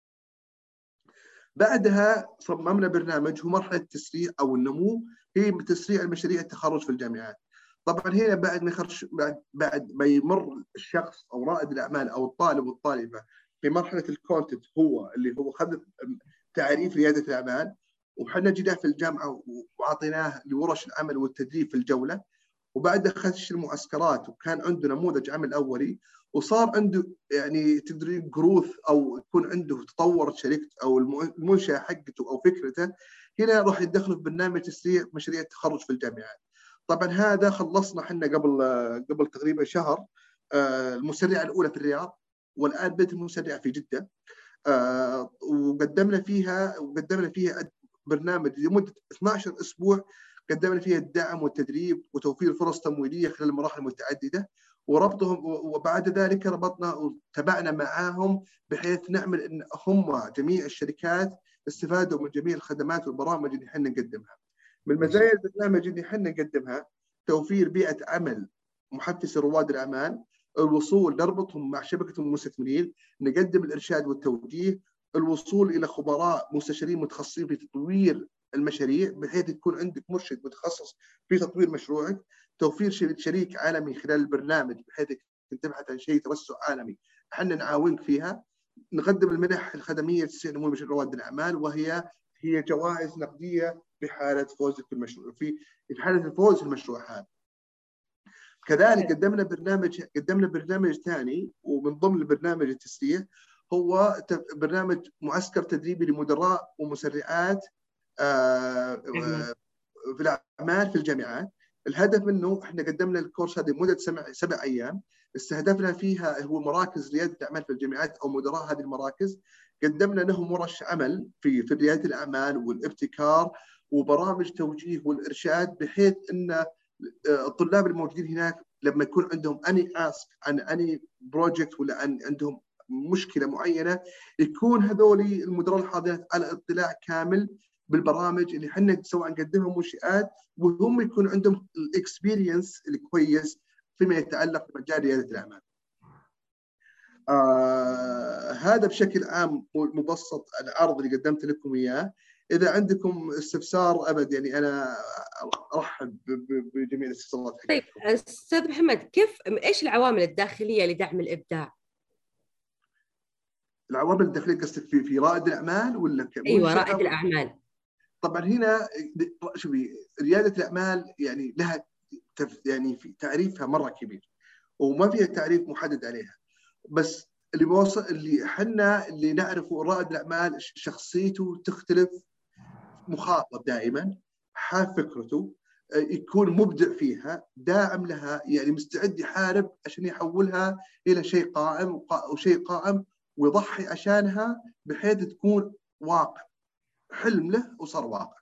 بعدها صممنا برنامج هو مرحلة التسريع أو النمو، هي تسريع المشاريع التخرج في الجامعات. طبعا هنا بعد ما يخرج بعد بعد ما يمر الشخص أو رائد الأعمال أو الطالب والطالبة في مرحلة الكونتنت، هو اللي هو خذ تعريف ريادة الأعمال، وحنا جينا في الجامعة وأعطيناه لورش العمل والتدريب في الجولة، وبعدها خش المعسكرات وكان عنده نموذج عمل أولي، وصار عنده يعني تدري جروث او يكون عنده تطور شركته او المنشاه حقته او فكرته. هنا راح يدخل في برنامج تسريع مشاريع التخرج في الجامعات. طبعا هذا خلصنا احنا قبل قبل تقريبا شهر المسرعه الاولى في الرياض، والان بدت المسرعه في جده، وقدمنا فيها وقدمنا فيها برنامج لمده اثني عشر اسبوع، قدمنا فيها الدعم والتدريب وتوفير فرص تمويليه خلال المراحل المتعدده، وربطهم. وبعد ذلك ربطنا وتابعنا معاهم بحيث نعمل ان هم جميع الشركات استفادوا من جميع الخدمات والبرامج اللي احنا نقدمها. من مزايا البرنامج اللي احنا نقدمها توفير بيئه عمل محفزه لرواد الاعمال، الوصول نربطهم مع شبكه المستثمرين، نقدم الارشاد والتوجيه، الوصول الى خبراء مستشارين متخصصين في تطوير المشاريع بحيث يكون عندك مرشد متخصص في تطوير مشروعك، توفير شريك عالمي خلال البرنامج بحيث تبحث عن شيء توسع عالمي احنا نعاونك فيها، نقدم المنح الخدميه لتسهيل نمو رواد الاعمال، وهي هي جوائز نقديه في حاله فوزك في المشروع في في حاله الفوز في المشروع هذا. كذلك قدمنا برنامج قدمنا برنامج ثاني ومن ضمن البرنامج التسريع هو برنامج معسكر تدريبي لمدراء ومسرعات في الاعمال في الجامعات. الهدف منه احنا قدمنا الكورس هذه مده سبع سبع ايام، استهدفنا فيها هو مراكز رياده الاعمال في الجامعات او مدراء هذه المراكز، قدمنا لهم ورش عمل في في رياده الاعمال والابتكار وبرامج توجيه والارشاد، بحيث ان الطلاب الموجودين هناك لما يكون عندهم اني اسك عن اني بروجكت ولا عن عندهم مشكله معينه، يكون هذول المدراء الحاضرين على اطلاع كامل بالبرامج اللي احنا سواء نقدمها منشآت وهم يكون عندهم الاكسبيرينس الكويس فيما يتعلق بمجال رياده الاعمال. آه هذا بشكل عام مبسط العرض اللي قدمت لكم اياه. اذا عندكم استفسار ابد يعني انا ارحب بجميع الاستفسارات. طيب استاذ محمد، كيف ايش العوامل الداخليه لدعم الابداع؟ العوامل الداخليه قصدك في في رائد الاعمال ولا ايوه رائد الاعمال. طبعا هنا شوفي رياده الاعمال يعني لها يعني في تعريفها مره كبير وما فيها تعريف محدد عليها، بس اللي بوصل اللي احنا اللي نعرفه رائد الاعمال شخصيته تختلف، مخاطب دائما، حاب فكرته، يكون مبدع فيها، داعم لها، يعني مستعد يحارب عشان يحولها الى شيء قائم وشيء قائم ويضحي عشانها بحيث تكون واقع، حلم له وصار واقع.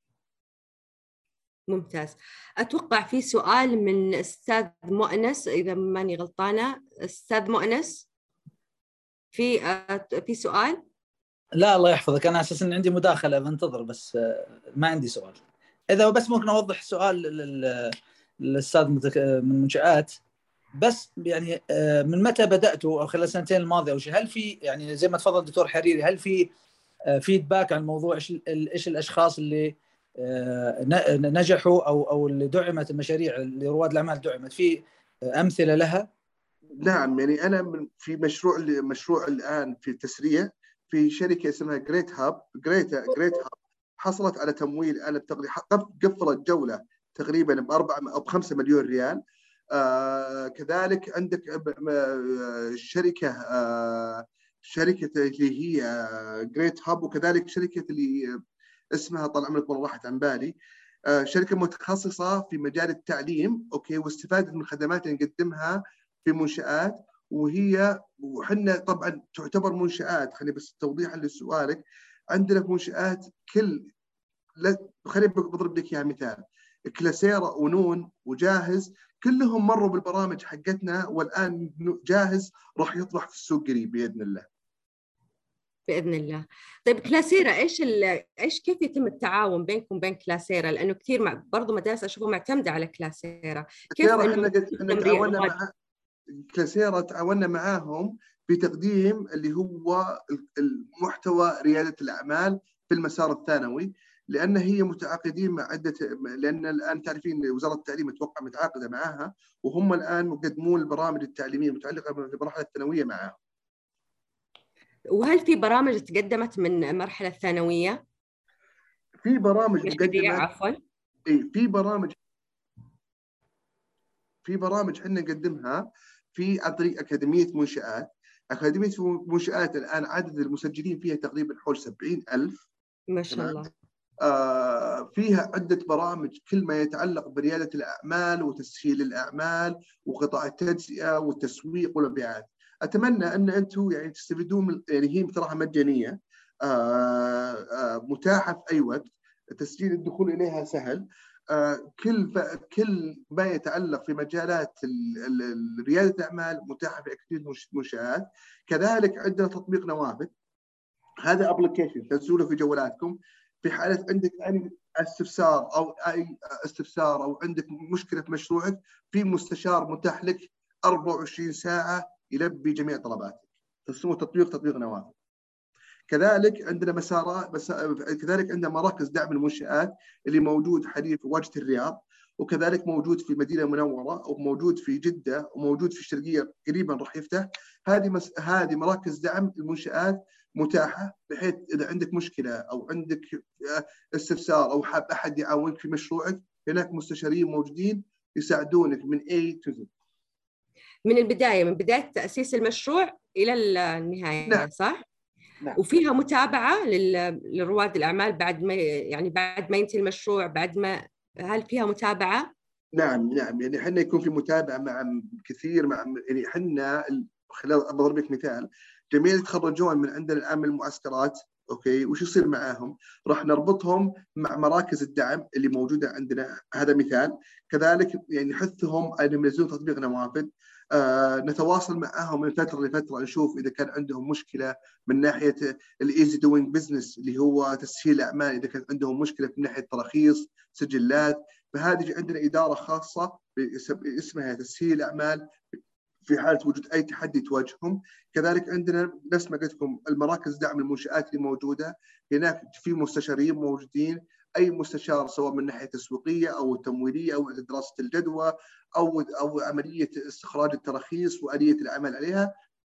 ممتاز. أتوقع في سؤال من أستاذ مؤنس إذا ماني غلطانة. أستاذ مؤنس في في سؤال؟ لا الله يحفظك، أنا أساساً عندي مداخلة بنتظر بس ما عندي سؤال. إذا بس ممكن أوضح سؤال للأستاذ من منشآت، بس يعني من متى بدأتوا أو خلال السنتين الماضية أو شيء، هل في يعني زي ما تفضل دكتور حريري هل في فيدباك عن الموضوع، إيش إيش الأشخاص اللي نجحوا أو أو اللي دعمت المشاريع اللي رواد الأعمال دعمت، في أمثلة لها؟ نعم، يعني أنا في مشروع مشروع الآن في التسرية في شركة اسمها جريت هاب. جريت جريت هاب حصلت على تمويل الآن تقريبا قفلت جولة تقريبا بأربعة أو بخمسة مليون ريال. آه كذلك عندك شركة آه شركة اللي هي جريت هاب، وكذلك شركة اللي اسمها طال عمرك والله راحت عن بالي، آه شركة متخصصة في مجال التعليم، أوكي، واستفادت من الخدمات اللي نقدمها في منشآت. وهي وحنا طبعا تعتبر منشآت، خليني بس توضيحا لسؤالك، عندنا في منشآت كل خليني بضرب لك اياها مثال، كلاسيرا ونون وجاهز كلهم مروا بالبرامج حقتنا والآن جاهز راح يطرح في السوق قريب بإذن الله. بإذن الله. طيب كلاسيرا ايش ايش كيف يتم التعاون بينكم وبين كلاسيرا؟ لأنه كثير مع... برضو مدارس اشوفها معتمدة على كلاسيرا. كيف احنا احنا تعاوننا مع كلاسيرا، تعاوننا معاهم في تقديم اللي هو المحتوى ريادة الأعمال في المسار الثانوي، لأن هي متعاقدين مع عدة، لأن الآن تعرفين وزارة التعليم اتوقع متعاقدة معاها، وهم الآن مقدمون البرامج التعليمية المتعلقة بالمرحلة الثانوية معاهم. وهل في برامج تقدمت من المرحلة الثانوية؟ في برامج مقدمة عفوا اي في برامج في برامج احنا نقدمها في عن طريق أكاديمية منشآت. أكاديمية منشآت الآن عدد المسجلين فيها تقريبا حول سبعين ألف ما شاء الله. آه فيها عدة برامج كل ما يتعلق بريادة الأعمال وتسهيل الأعمال وقطاع التجزئة والتسويق والمبيعات. أتمنى أن أنتم يعني تستفيدون من، يعني هي بصراحة مجانية، آه آه متاحة في أي وقت، تسجيل الدخول إليها سهل. آه كل كل ما يتعلق في مجالات ريادة الأعمال متاحة في أكاديمية منشآت. كذلك عندنا تطبيق نوافذ، هذا ابلكيشن تنزلوه في جوالاتكم في حالة عندك أي استفسار أو أي استفسار أو عندك مشكلة في مشروعك، في مستشار متاح لك أربعة وعشرين ساعة يلبي جميع طلباتك. تسموه تطبيق تطبيق نوافذ. كذلك عندنا مسارات بس... كذلك عندنا مراكز دعم المنشآت اللي موجود حاليا في واجهة الرياض، وكذلك موجود في المدينة المنورة، وموجود في جدة، وموجود في الشرقية قريبا راح يفتح. هذه مس... هذه مراكز دعم المنشآت متاحة، بحيث إذا عندك مشكلة أو عندك استفسار أو حاب أحد يعاونك في مشروعك، هناك مستشارين موجودين يساعدونك من A to Z. من البداية، من بداية تأسيس المشروع إلى النهاية. نعم. صح؟ نعم. وفيها متابعة للرواد الأعمال بعد ما يعني بعد ما ينتهي المشروع، بعد ما هل فيها متابعة؟ نعم نعم، يعني احنا يكون في متابعة مع كثير، مع يعني احنا خلال أضرب لك مثال، جميع يتخرجون من عندنا الآن من المعسكرات، أوكي، وش يصير معاهم؟ راح نربطهم مع مراكز الدعم اللي موجودة عندنا، هذا مثال. كذلك يعني نحثهم أنهم ينزلون تطبيق نوافذ، آه نتواصل معهم من فترة لفترة نشوف إذا كان عندهم مشكلة من ناحية الإيزي دوينج بزنس اللي هو تسهيل الأعمال، إذا كان عندهم مشكلة من ناحية تراخيص سجلات، فهذه عندنا إدارة خاصة اسمها تسهيل الأعمال في حالة وجود أي تحدي تواجههم. كذلك عندنا نفس ما قلت لكم المراكز دعم المنشآت اللي موجودة، هناك في مستشارين موجودين، أي مستشار سواء من ناحية تسويقية أو تمويلية أو دراسة الجدوى أو أو عملية استخراج التراخيص وآلية العمل عليها،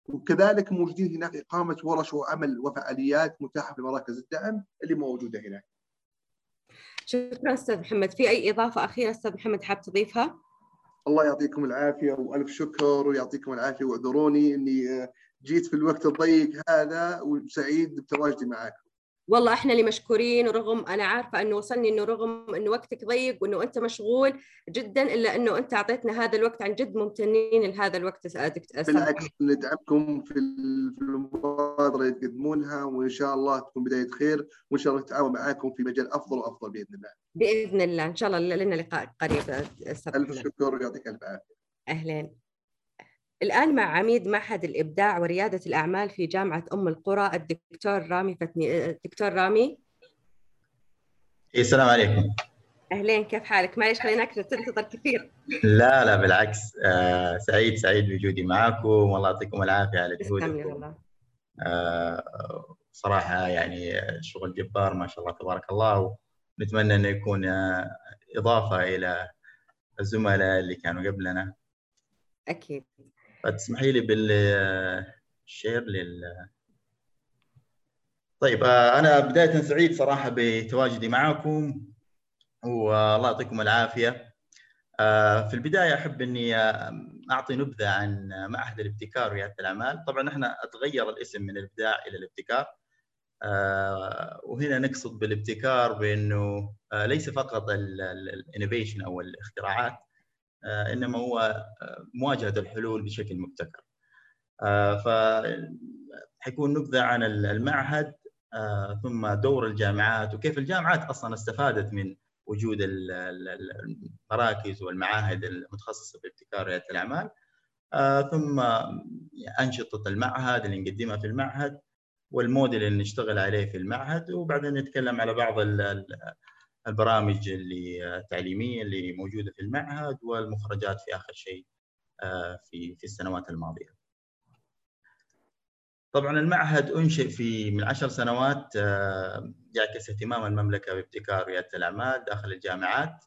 وكذلك موجودين هناك إقامة ورش وعمل وفعاليات متاحة في مراكز الدعم اللي موجودة هناك. شكرا أستاذ محمد. في أي إضافة أخيرة أستاذ محمد حاب تضيفها؟ الله يعطيكم العافية وألف شكر ويعطيكم العافية، واعذروني إني جيت في الوقت الضيق هذا، وسعيد بتواجدي معاكم. والله احنا اللي مشكورين، ورغم انا عارفه انه وصلني انه رغم انه وقتك ضيق وانه انت مشغول جدا، الا انه انت اعطيتنا هذا الوقت، عن جد ممتنين لهذا الوقت. بالعكس، ندعمكم في المبادره اللي تقدمونها، وان شاء الله تكون بدايه خير، وان شاء الله نتعاون معاكم في مجال افضل وافضل باذن الله. باذن الله ان شاء الله لنا لقاء قريب. الف شكر ويعطيك الف عافيه. اهلين. الآن مع عميد معهد الإبداع وريادة الأعمال في جامعة أم القرى الدكتور رامي فتني. الدكتور رامي. السلام عليكم. أهلين، كيف حالك؟ معليش خليناك تنتظر كثير. لا لا بالعكس، آه سعيد سعيد بوجودي معكم، والله يعطيكم العافية على جهودكم. آه صراحة يعني شغل جبار ما شاء الله تبارك الله، ونتمنى أنه يكون آه إضافة إلى الزملاء اللي كانوا قبلنا. أكيد. فتسمحي لي بالشير لل طيب. آه أنا بداية سعيد صراحة بتواجدي معكم، والله يعطيكم العافية. آه في البداية أحب أني أعطي نبذة عن معهد الابتكار وريادة الأعمال. طبعا احنا تغير الاسم من الإبداع إلى الابتكار، آه وهنا نقصد بالابتكار بأنه آه ليس فقط الانوفيشن أو الاختراعات، آه إنما هو مواجهة الحلول بشكل مبتكر. آه فحيكون نبذة عن المعهد، آه ثم دور الجامعات وكيف الجامعات أصلا استفادت من وجود المراكز والمعاهد المتخصصة في ابتكار ريادة الأعمال، آه ثم أنشطة المعهد اللي نقدمها في المعهد، والموديل اللي نشتغل عليه في المعهد، وبعدين نتكلم على بعض البرامج اللي التعليمية اللي موجودة في المعهد، والمخرجات في آخر شيء آه في في السنوات الماضية. طبعا المعهد أنشئ في من عشر سنوات، يعكس اهتمام المملكة بابتكار ريادة الأعمال داخل الجامعات،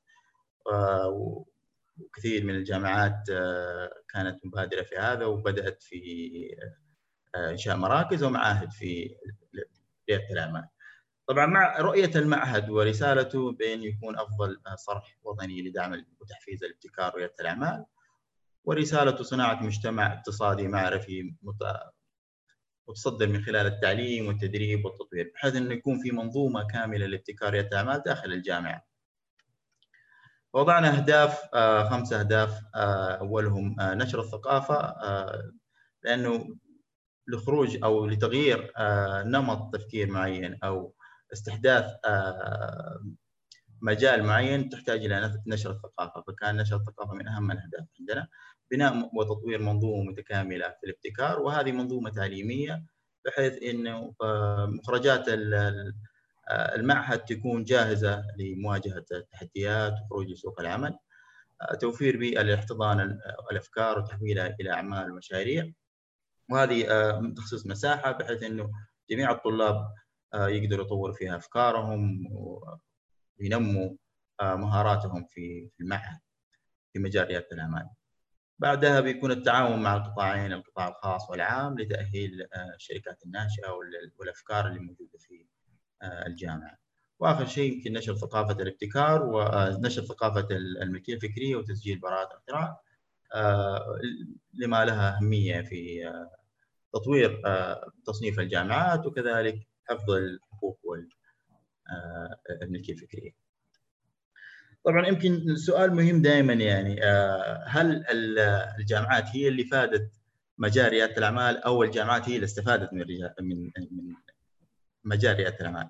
وكثير من الجامعات كانت مبادرة في هذا، وبدأت في إنشاء مراكز ومعاهد في ريادة الأعمال. طبعا مع رؤية المعهد ورسالته بأن يكون أفضل صرح وطني لدعم وتحفيز الابتكار وريادة الأعمال، ورسالته صناعة مجتمع اقتصادي معرفي وتصدر من خلال التعليم والتدريب والتطوير، بحيث انه يكون في منظومه كامله لابتكار رياده الاعمال داخل الجامعه. وضعنا اهداف، آه خمس اهداف، آه اولهم آه نشر الثقافه، آه لانه لخروج او لتغيير آه نمط تفكير معين او استحداث آه مجال معين تحتاج الى نشر الثقافه، فكان نشر الثقافه من اهم الاهداف عندنا. بناء وتطوير منظومه متكامله في الابتكار، وهذه منظومه تعليميه بحيث انه مخرجات المعهد تكون جاهزه لمواجهه التحديات وخروج لسوق العمل، توفير بيئه لاحتضان الافكار وتحويلها الى اعمال ومشاريع، وهذه تخصيص مساحه بحيث انه جميع الطلاب يقدروا يطوروا فيها افكارهم وينموا مهاراتهم في المعهد في مجال رياده الاعمال. بعدها بيكون التعاون مع القطاعين، القطاع الخاص والعام، لتأهيل الشركات الناشئة والأفكار اللي موجودة في الجامعة. وآخر شيء يمكن نشر ثقافة الابتكار ونشر ثقافة الملكية الفكرية وتسجيل براءات الاختراع، لما لها أهمية في تطوير تصنيف الجامعات وكذلك حفظ الحقوق والملكية الفكرية. طبعا يمكن سؤال مهم دائما، يعني هل الجامعات هي اللي فادت مجال رياده الاعمال او الجامعات هي اللي استفادت من من من مجال رياده الاعمال؟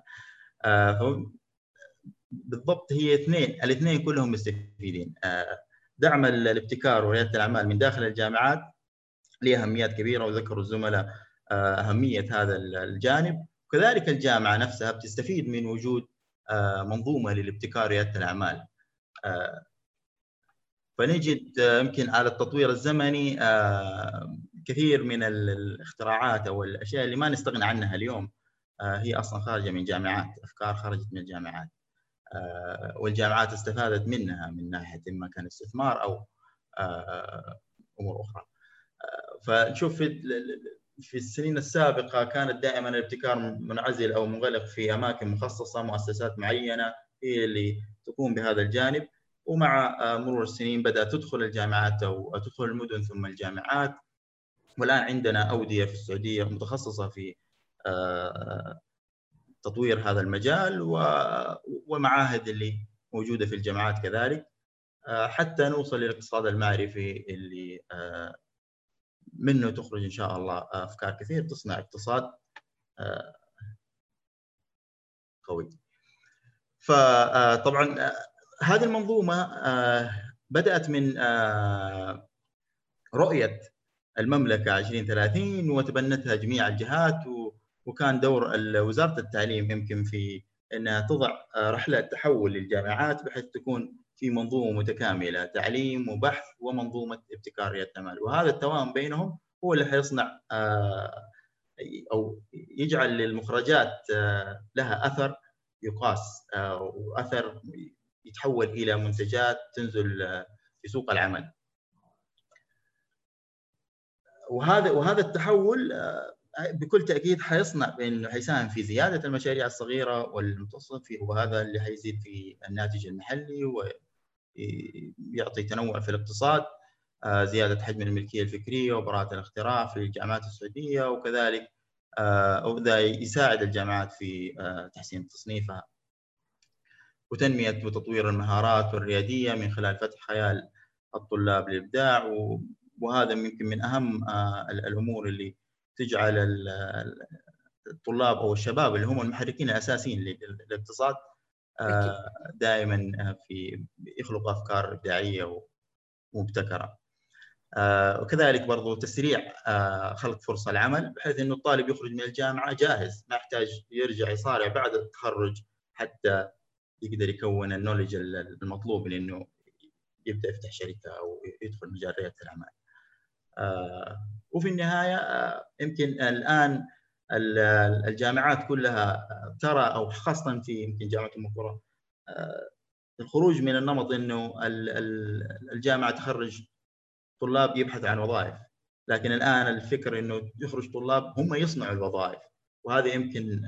بالضبط هي اثنين، الاثنين كلهم مستفيدين. دعم الابتكار ورياده الاعمال من داخل الجامعات له اهميات كبيره، وذكروا الزملاء اهميه هذا الجانب، وكذلك الجامعه نفسها بتستفيد من وجود منظومه للابتكار ورياده الاعمال. فنجد يمكن على التطوير الزمني كثير من الاختراعات او الاشياء اللي ما نستغنى عنها اليوم هي اصلا خارجه من جامعات، افكار خرجت من الجامعات، والجامعات استفادت منها من ناحيه اما كان استثمار او امور اخرى. فنشوف في السنين السابقة كانت دائما الابتكار منعزل أو منغلق في أماكن مخصصة، مؤسسات معينة هي اللي تقوم بهذا الجانب. ومع مرور السنين بدأت تدخل الجامعات أو تدخل المدن ثم الجامعات، والآن عندنا أودية في السعودية متخصصة في تطوير هذا المجال، ومعاهد اللي موجودة في الجامعات كذلك، حتى نوصل للاقتصاد المعرفي اللي منه تخرج إن شاء الله أفكار كثير تصنع اقتصاد قوي. فطبعا هذه المنظومة بدأت من رؤية المملكة عشرين ثلاثين وتبنتها جميع الجهات، وكان دور وزارة التعليم يمكن في أنها تضع رحلة تحول للجامعات بحيث تكون في منظومة متكاملة، تعليم وبحث ومنظومة ابتكار ريادة الأعمال، وهذا التوام بينهم هو اللي حيصنع أو يجعل للمخرجات لها أثر يقاس، وأثر يتحول إلى منتجات تنزل في سوق العمل. وهذا وهذا التحول بكل تأكيد حيصنع بأنه حيساهم في زيادة المشاريع الصغيرة والمتوسطة، وهذا اللي حيزيد في الناتج المحلي ويعطي تنوع في الاقتصاد، زيادة حجم الملكية الفكرية وبراءة الاختراع في الجامعات السعودية، وكذلك وذا يساعد الجامعات في تحسين تصنيفها وتنمية وتطوير المهارات الريادية من خلال فتح خيال الطلاب للإبداع. وهذا يمكن من أهم الأمور اللي تجعل الطلاب أو الشباب اللي هم المحركين الأساسيين للاقتصاد دائما في يخلق أفكار إبداعية ومبتكرة. وكذلك برضو تسريع خلق فرصة العمل بحيث أنه الطالب يخرج من الجامعة جاهز، ما يحتاج يرجع يصارع بعد التخرج حتى يقدر يكون النولج المطلوب لأنه يبدأ يفتح شركة أو يدخل مجال ريادة الأعمال. وفي النهاية يمكن الآن الجامعات كلها ترى، أو خاصة في يمكن جامعة أم القرى، الخروج من النمط أنه الجامعة تخرج طلاب يبحث عن وظائف، لكن الآن الفكر أنه يخرج طلاب هم يصنعوا الوظائف، وهذا يمكن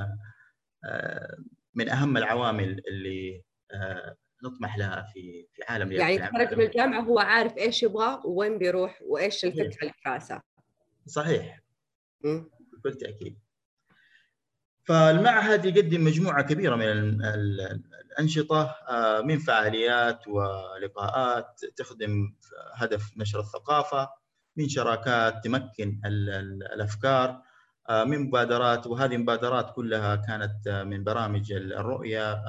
من أهم العوامل اللي نطمح لها في في عالم ريادة يعني الأعمال. يتخرج من الجامعة هو عارف إيش يبغى وين بيروح وإيش الفكرة اللي في راسه. صحيح بكل تأكيد. فالمعهد يقدم مجموعة كبيرة من الأنشطة من فعاليات ولقاءات تخدم هدف نشر الثقافة، من شراكات تمكن الأفكار، من مبادرات، وهذه المبادرات كلها كانت من برامج الرؤية،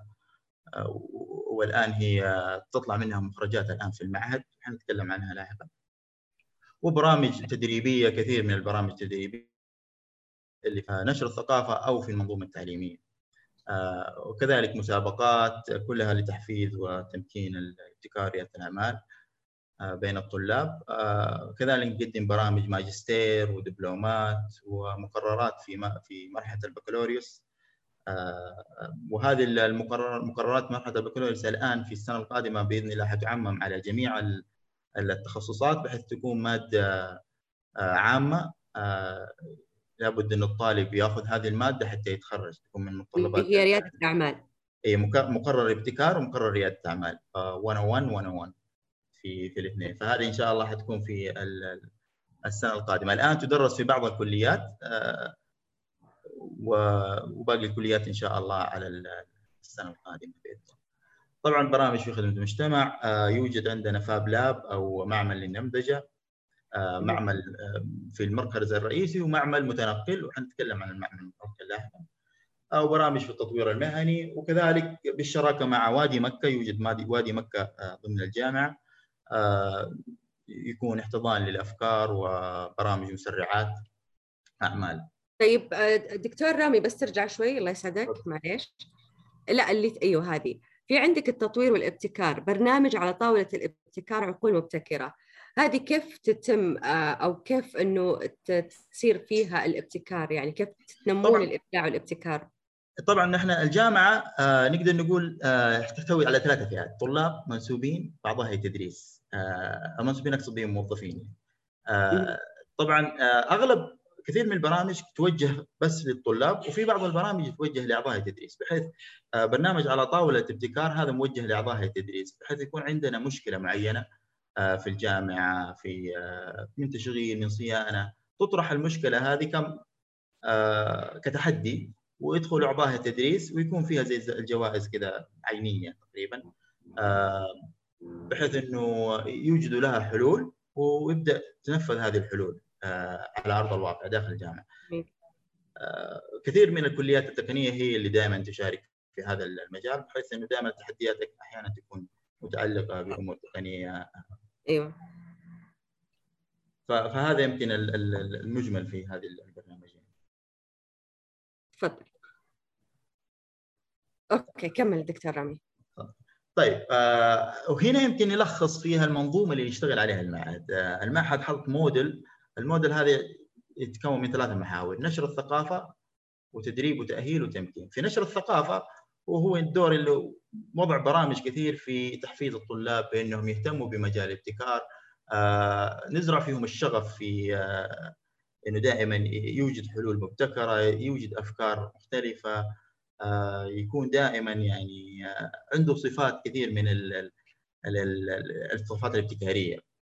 والآن هي تطلع منها مخرجات الآن في المعهد حنتكلم عنها لاحقا. وبرامج تدريبية، كثير من البرامج التدريبية اللي في نشر الثقافة أو في المنظومة التعليمية، وكذلك مسابقات كلها لتحفيز وتمكين الابتكار ريادة الأعمال بين الطلاب. كذلك نقدم برامج ماجستير ودبلومات ومقررات في في مرحلة البكالوريوس، وهذه المقررات مقررات مرحلة البكالوريوس الآن في السنة القادمة بإذن الله حتعمم على جميع التخصصات بحيث تكون مادة عامة لابد أن الطالب يأخذ هذه المادة حتى يتخرج، تكون من متطلبات هي ريادة الأعمال. أي مقرر ابتكار ومقرر ريادة الأعمال مئة وواحد مئة وواحد في في الاثنين. فهذه إن شاء الله حتكون في السنة القادمة. الآن تدرس في بعض الكليات وباقي الكليات إن شاء الله على السنة القادمة بإذن الله. طبعا برامج في خدمة المجتمع، يوجد عندنا فاب لاب أو معمل للنمذجة، معمل في المركز الرئيسي ومعمل متنقل، وحنتكلم عن المعمل المتنقل لاحقا، أو برامج في التطوير المهني، وكذلك بالشراكة مع وادي مكة. يوجد وادي مكة ضمن الجامعة يكون احتضان للأفكار وبرامج مسرعات أعمال. طيب دكتور رامي بس ترجع شوي الله يسعدك معليش. لا اللي أيوه هذه في عندك التطوير والابتكار، برنامج على طاولة الابتكار عقول مبتكرة، هذه كيف تتم أو كيف إنه تصير فيها الابتكار، يعني كيف تنمون الإبداع والابتكار؟ طبعا نحن الجامعة نقدر نقول تحتوي على ثلاثة فئات: طلاب، منسوبين، بعضها هي تدريس. المنسوبين أقصد بهم موظفين. طبعا اغلب كثير من البرامج توجه بس للطلاب، وفي بعض البرامج توجه لاعضاء التدريس، بحيث برنامج على طاوله ابتكار هذا موجه لاعضاء التدريس، بحيث يكون عندنا مشكله معينه في الجامعه، في من تشغيل من صيانه، تطرح المشكله هذه كم كتحدي، ويدخل اعضاء التدريس ويكون فيها زي الجوائز كذا عينيه تقريبا، بحيث انه يوجدوا لها حلول ويبدا تنفذ هذه الحلول على ارض الواقع داخل الجامعه. كثير من الكليات التقنيه هي اللي دائما تشارك في هذا المجال، بحيث انه دائما التحديات احيانا تكون متعلقه بامور تقنيه. ايوه. فهذا يمكن المجمل في هذه البرنامجين. تفضل. اوكي كمل دكتور رامي. طيب آه وهنا يمكن نلخص فيها المنظومه اللي يشتغل عليها المعهد. آه المعهد حط موديل، الموديل هذا يتكون من ثلاث محاور: نشر الثقافه وتدريب وتاهيل وتمكين. في نشر الثقافه وهو الدور اللي وضع برامج كثير في تحفيز الطلاب بانهم يهتموا بمجال الابتكار، آه نزرع فيهم الشغف في آه انه دائما يوجد حلول مبتكره، يوجد افكار مختلفه، آه يكون دائما يعني آه عنده صفات كثير من ال ال ال الصفات الابتكاريه.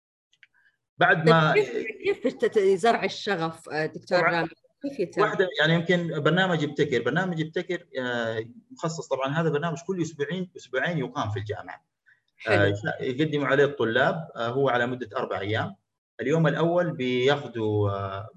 بعد ما كيف كيف زرع الشغف دكتور رامي؟ كيف يتم؟ واحده يعني يمكن برنامج ابتكر، برنامج ابتكر آه مخصص، طبعا هذا برنامج كل اسبوعين اسبوعين يقام في الجامعه. آه يقدموا عليه الطلاب، آه هو على مده اربع ايام. اليوم الاول بياخذوا آه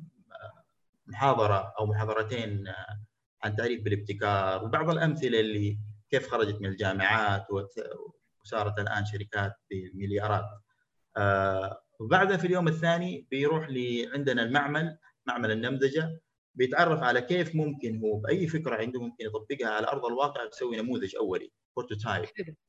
محاضره او محاضرتين آه عن تعريف بالابتكار وبعض الامثله اللي كيف خرجت من الجامعات وصارت الان شركات بمليارات. آه وبعدها في اليوم الثاني بيروح لي عندنا المعمل، معمل النمذجه، بيتعرف على كيف ممكن هو باي فكره عنده ممكن يطبقها على ارض الواقع، يسوي نموذج اولي بروتوتايب.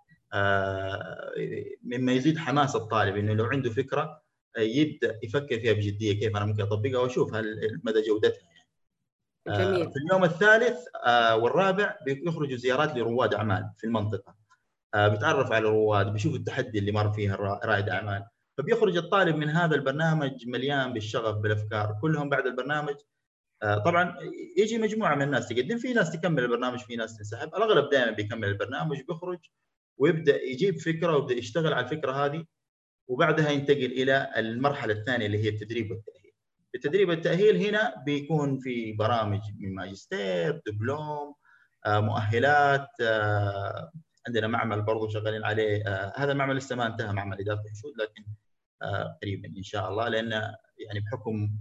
آه مما يزيد حماس الطالب انه لو عنده فكره يبدا يفكر فيها بجديه، كيف انا ممكن اطبقها واشوف هل مدى جودتها. جميل. في اليوم الثالث والرابع بيخرجوا زيارات لرواد اعمال في المنطقه، بيتعرف على الرواد، بيشوف التحدي اللي مر فيها رائد اعمال، فبيخرج الطالب من هذا البرنامج مليان بالشغف بالافكار. كلهم بعد البرنامج طبعا يجي مجموعه من الناس تقدم، في ناس تكمل البرنامج، في ناس تنسحب، الاغلب دائما بيكمل البرنامج، بيخرج ويبدا يجيب فكره ويبدا يشتغل على الفكره هذه، وبعدها ينتقل الى المرحله الثانيه اللي هي التدريب والتاهيل. التدريب والتاهيل هنا بيكون في برامج من ماجستير، دبلوم، مؤهلات. عندنا معمل برضو شغالين عليه، هذا المعمل لسه ما انتهى، معمل اداره الحشود، لكن قريبا ان شاء الله، لان يعني بحكم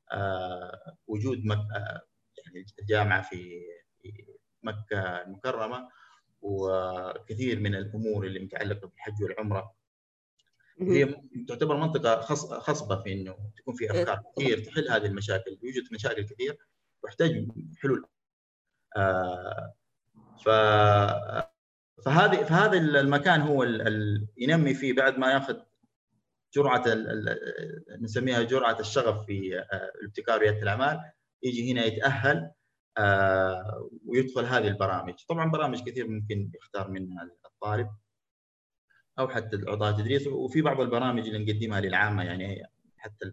وجود مكة يعني الجامعه في مكه المكرمه وكثير من الامور اللي متعلقه بالحج والعمره، هي تعتبر منطقه خصبه في انه تكون في افكار كثير تحل هذه المشاكل، يوجد مشاكل كثير ويحتاج حلول. ف فهذه فهذا المكان هو ال ينمي فيه بعد ما ياخذ جرعه نسميها جرعه الشغف في الابتكار ورياده الاعمال، يجي هنا يتاهل ويدخل هذه البرامج. طبعا برامج كثير ممكن يختار منها الطالب او حتى اعضاء التدريس، وفي بعض البرامج اللي نقدمها للعامه، يعني حتى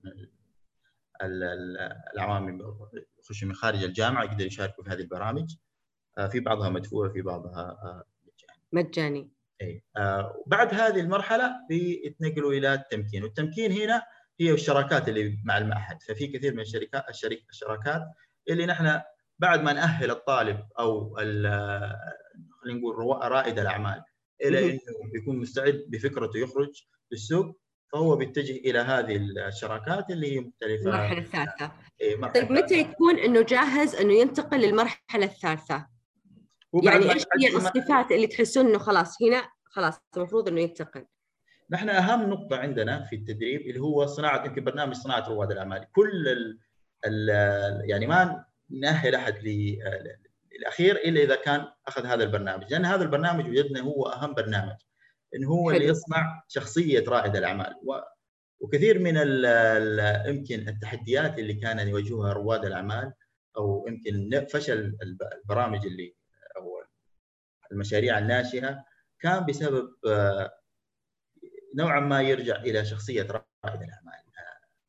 العوام يخشوا من خارج الجامعه يقدروا يشاركوا في هذه البرامج. في بعضها مدفوع، في بعضها مجاني. مجاني. اي آه بعد هذه المرحله بيتنقلوا الى التمكين، والتمكين هنا هي الشراكات اللي مع المعهد. ففي كثير من الشركات الشركات الشراكات اللي نحن بعد ما نأهل الطالب او خلينا نقول رائد الاعمال الى انه بيكون مستعد بفكرته يخرج للسوق، فهو بيتجه الى هذه الشراكات اللي هي مختلفه. المرحله الثالثه. إيه طيب متى يكون انه جاهز انه ينتقل للمرحله الثالثه؟ يعني ايش هي الصفات اللي تحسون انه خلاص هنا خلاص المفروض انه ينتقل؟ نحن اهم نقطه عندنا في التدريب اللي هو صناعه، يمكن برنامج صناعه رواد الاعمال. كل ال ال يعني ما نأهل احد للاخير الا اذا كان اخذ هذا البرنامج، لان هذا البرنامج وجدنا هو اهم برنامج، انه هو حلو. اللي يصنع شخصيه رائد الاعمال. وكثير من يمكن التحديات اللي كان يواجهها رواد الاعمال او يمكن فشل البرامج اللي او المشاريع الناشئه كان بسبب نوعا ما يرجع الى شخصيه رائد الاعمال.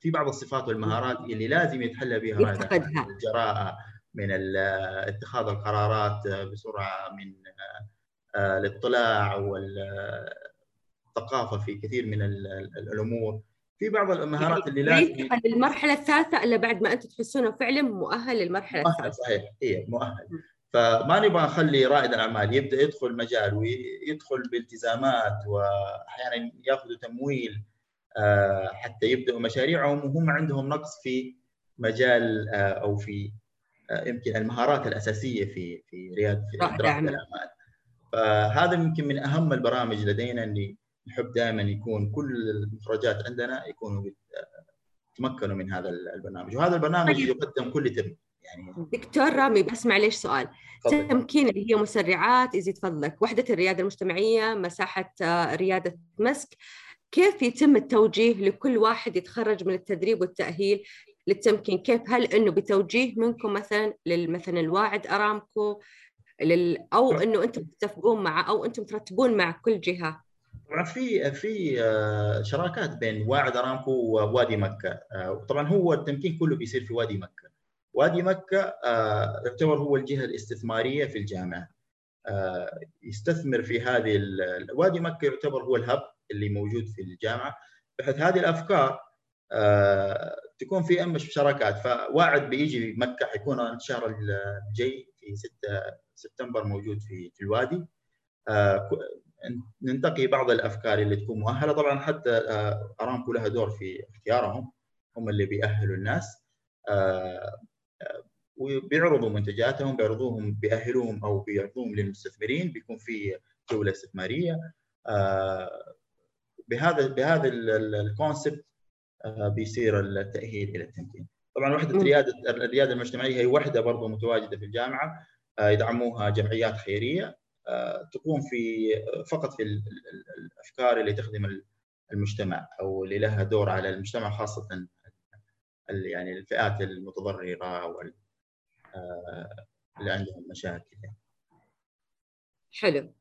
في بعض الصفات والمهارات اللي لازم يتحلى بها رائد الأعمال: الجراءة من اتخاذ القرارات بسرعة، من الاطلاع والثقافة في كثير من الأمور. في بعض المهارات اللي لازم ينتقل للمرحلة الثالثة إلا بعد ما أنت تحسونه فعلا مؤهل للمرحلة الثالثة. صحيح، هي مؤهل. فما نبغى نخلي رائد الأعمال يبدأ يدخل مجال ويدخل بالتزامات وأحيانا يأخذوا تمويل حتى يبدأوا مشاريعهم وهم عندهم نقص في مجال أو في يمكن المهارات الأساسية في في ريادة رائد الأعمال. فهذا يمكن من أهم البرامج لدينا، اللي نحب دائما يكون كل المخرجات عندنا يكونوا يتمكنوا من هذا البرنامج، وهذا البرنامج يقدم كل ترم. يعني دكتور رامي بس معليش سؤال، فضل. تمكين اللي هي مسرعات يزيد فضلك، وحدة الريادة المجتمعية، مساحة ريادة مسك، كيف يتم التوجيه لكل واحد يتخرج من التدريب والتأهيل للتمكين؟ كيف؟ هل إنه بتوجيه منكم مثلا للمثلا الواعد أرامكو لل... أو إنه أنتم تتفقون مع أو أنتم ترتبون مع كل جهة؟ طبعا في في شراكات بين واعد أرامكو ووادي مكة. طبعا هو التمكين كله بيصير في وادي مكة. وادي مكة يعتبر هو الجهة الاستثمارية في الجامعة، يستثمر في هذه وادي مكة يعتبر هو الهب اللي موجود في الجامعة، بحيث هذه الأفكار تكون في أمش شراكات. فواعد بيجي مكة، حيكون الشهر الجاي في ستة سبتمبر موجود في في الوادي. ننتقي بعض الأفكار اللي تكون مؤهلة. طبعا حتى أرامكو لها دور في اختيارهم، هم اللي بيأهلوا الناس وبيعرضوا منتجاتهم، بيعرضوهم بيأهلوهم أو بيعرضوهم للمستثمرين، بيكون في جولة استثمارية بهذا بهذا الكونسبت بيصير التأهيل إلى التمكين. طبعا وحدة ريادة الريادة المجتمعية هي وحدة برضو متواجدة في الجامعة، يدعموها جمعيات خيرية تقوم في فقط في الأفكار اللي تخدم المجتمع أو اللي لها دور على المجتمع، خاصة يعني الفئات المتضررة وال اللي عندهم مشاكل. حلو.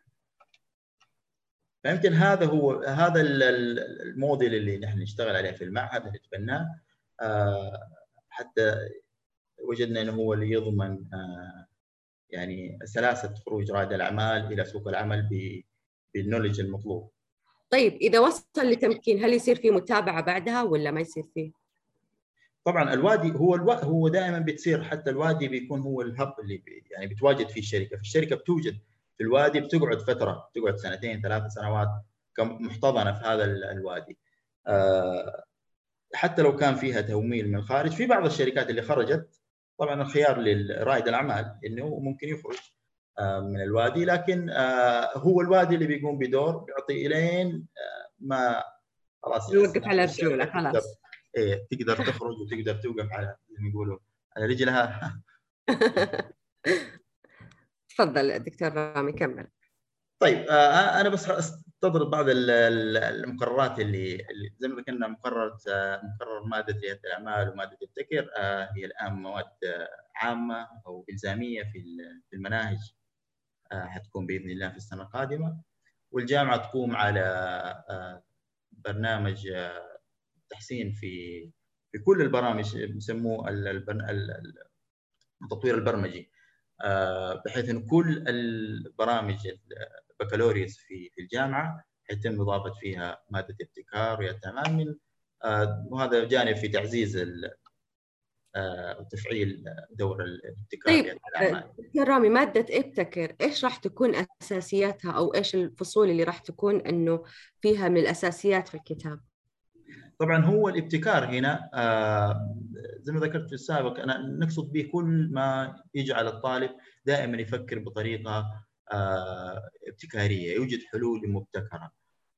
فيمكن هذا هو هذا الموديل اللي نحن نشتغل عليه في المعهد، اللي نتبناه حتى وجدنا انه هو اللي يضمن يعني سلاسة خروج رائد الأعمال إلى سوق العمل بالنولج المطلوب. طيب إذا وصل لتمكين هل يصير في متابعة بعدها ولا ما يصير فيه؟ طبعا الوادي هو الو... هو دائما بتصير، حتى الوادي بيكون هو الهب اللي بي... يعني بتواجد فيه الشركة. في الشركة بتوجد في الوادي، بتقعد فترة، بتقعد سنتين ثلاث سنوات محتضنة في هذا الوادي. أه... حتى لو كان فيها تمويل من الخارج، في بعض الشركات اللي خرجت طبعا الخيار للرائد الأعمال إنه ممكن يخرج من الوادي، لكن هو الوادي اللي بيقوم بدور بيعطي إلين ما خلاص يوقف على رجوله خلاص. إيه تقدر تخرج وتقدر توقف على زي ما يقولوا على رجلها. تفضل دكتور رامي كمل. طيب أنا بس استضرب بعض المقررات اللي زي ما ذكرنا. مقررة مقرر مادة ريادة الأعمال ومادة ابتكر هي الآن مواد عامة أو إلزامية في المناهج، حتكون بإذن الله في السنة القادمة. والجامعة تقوم على برنامج تحسين في في كل البرامج يسموه التطوير البرمجي، بحيث أن كل البرامج البكالوريوس في في الجامعة يتم إضافة فيها مادة ابتكار ريادة الأعمال، من وهذا جانب في تعزيز وتفعيل دور الابتكار. طيب دكتور رامي، مادة ابتكر ايش راح تكون اساسياتها او ايش الفصول اللي راح تكون انه فيها من الاساسيات في الكتاب؟ طبعا هو الابتكار هنا زي ما ذكرت في السابق، انا نقصد به كل ما يجعل الطالب دائما يفكر بطريقة ابتكارية، يوجد حلول مبتكرة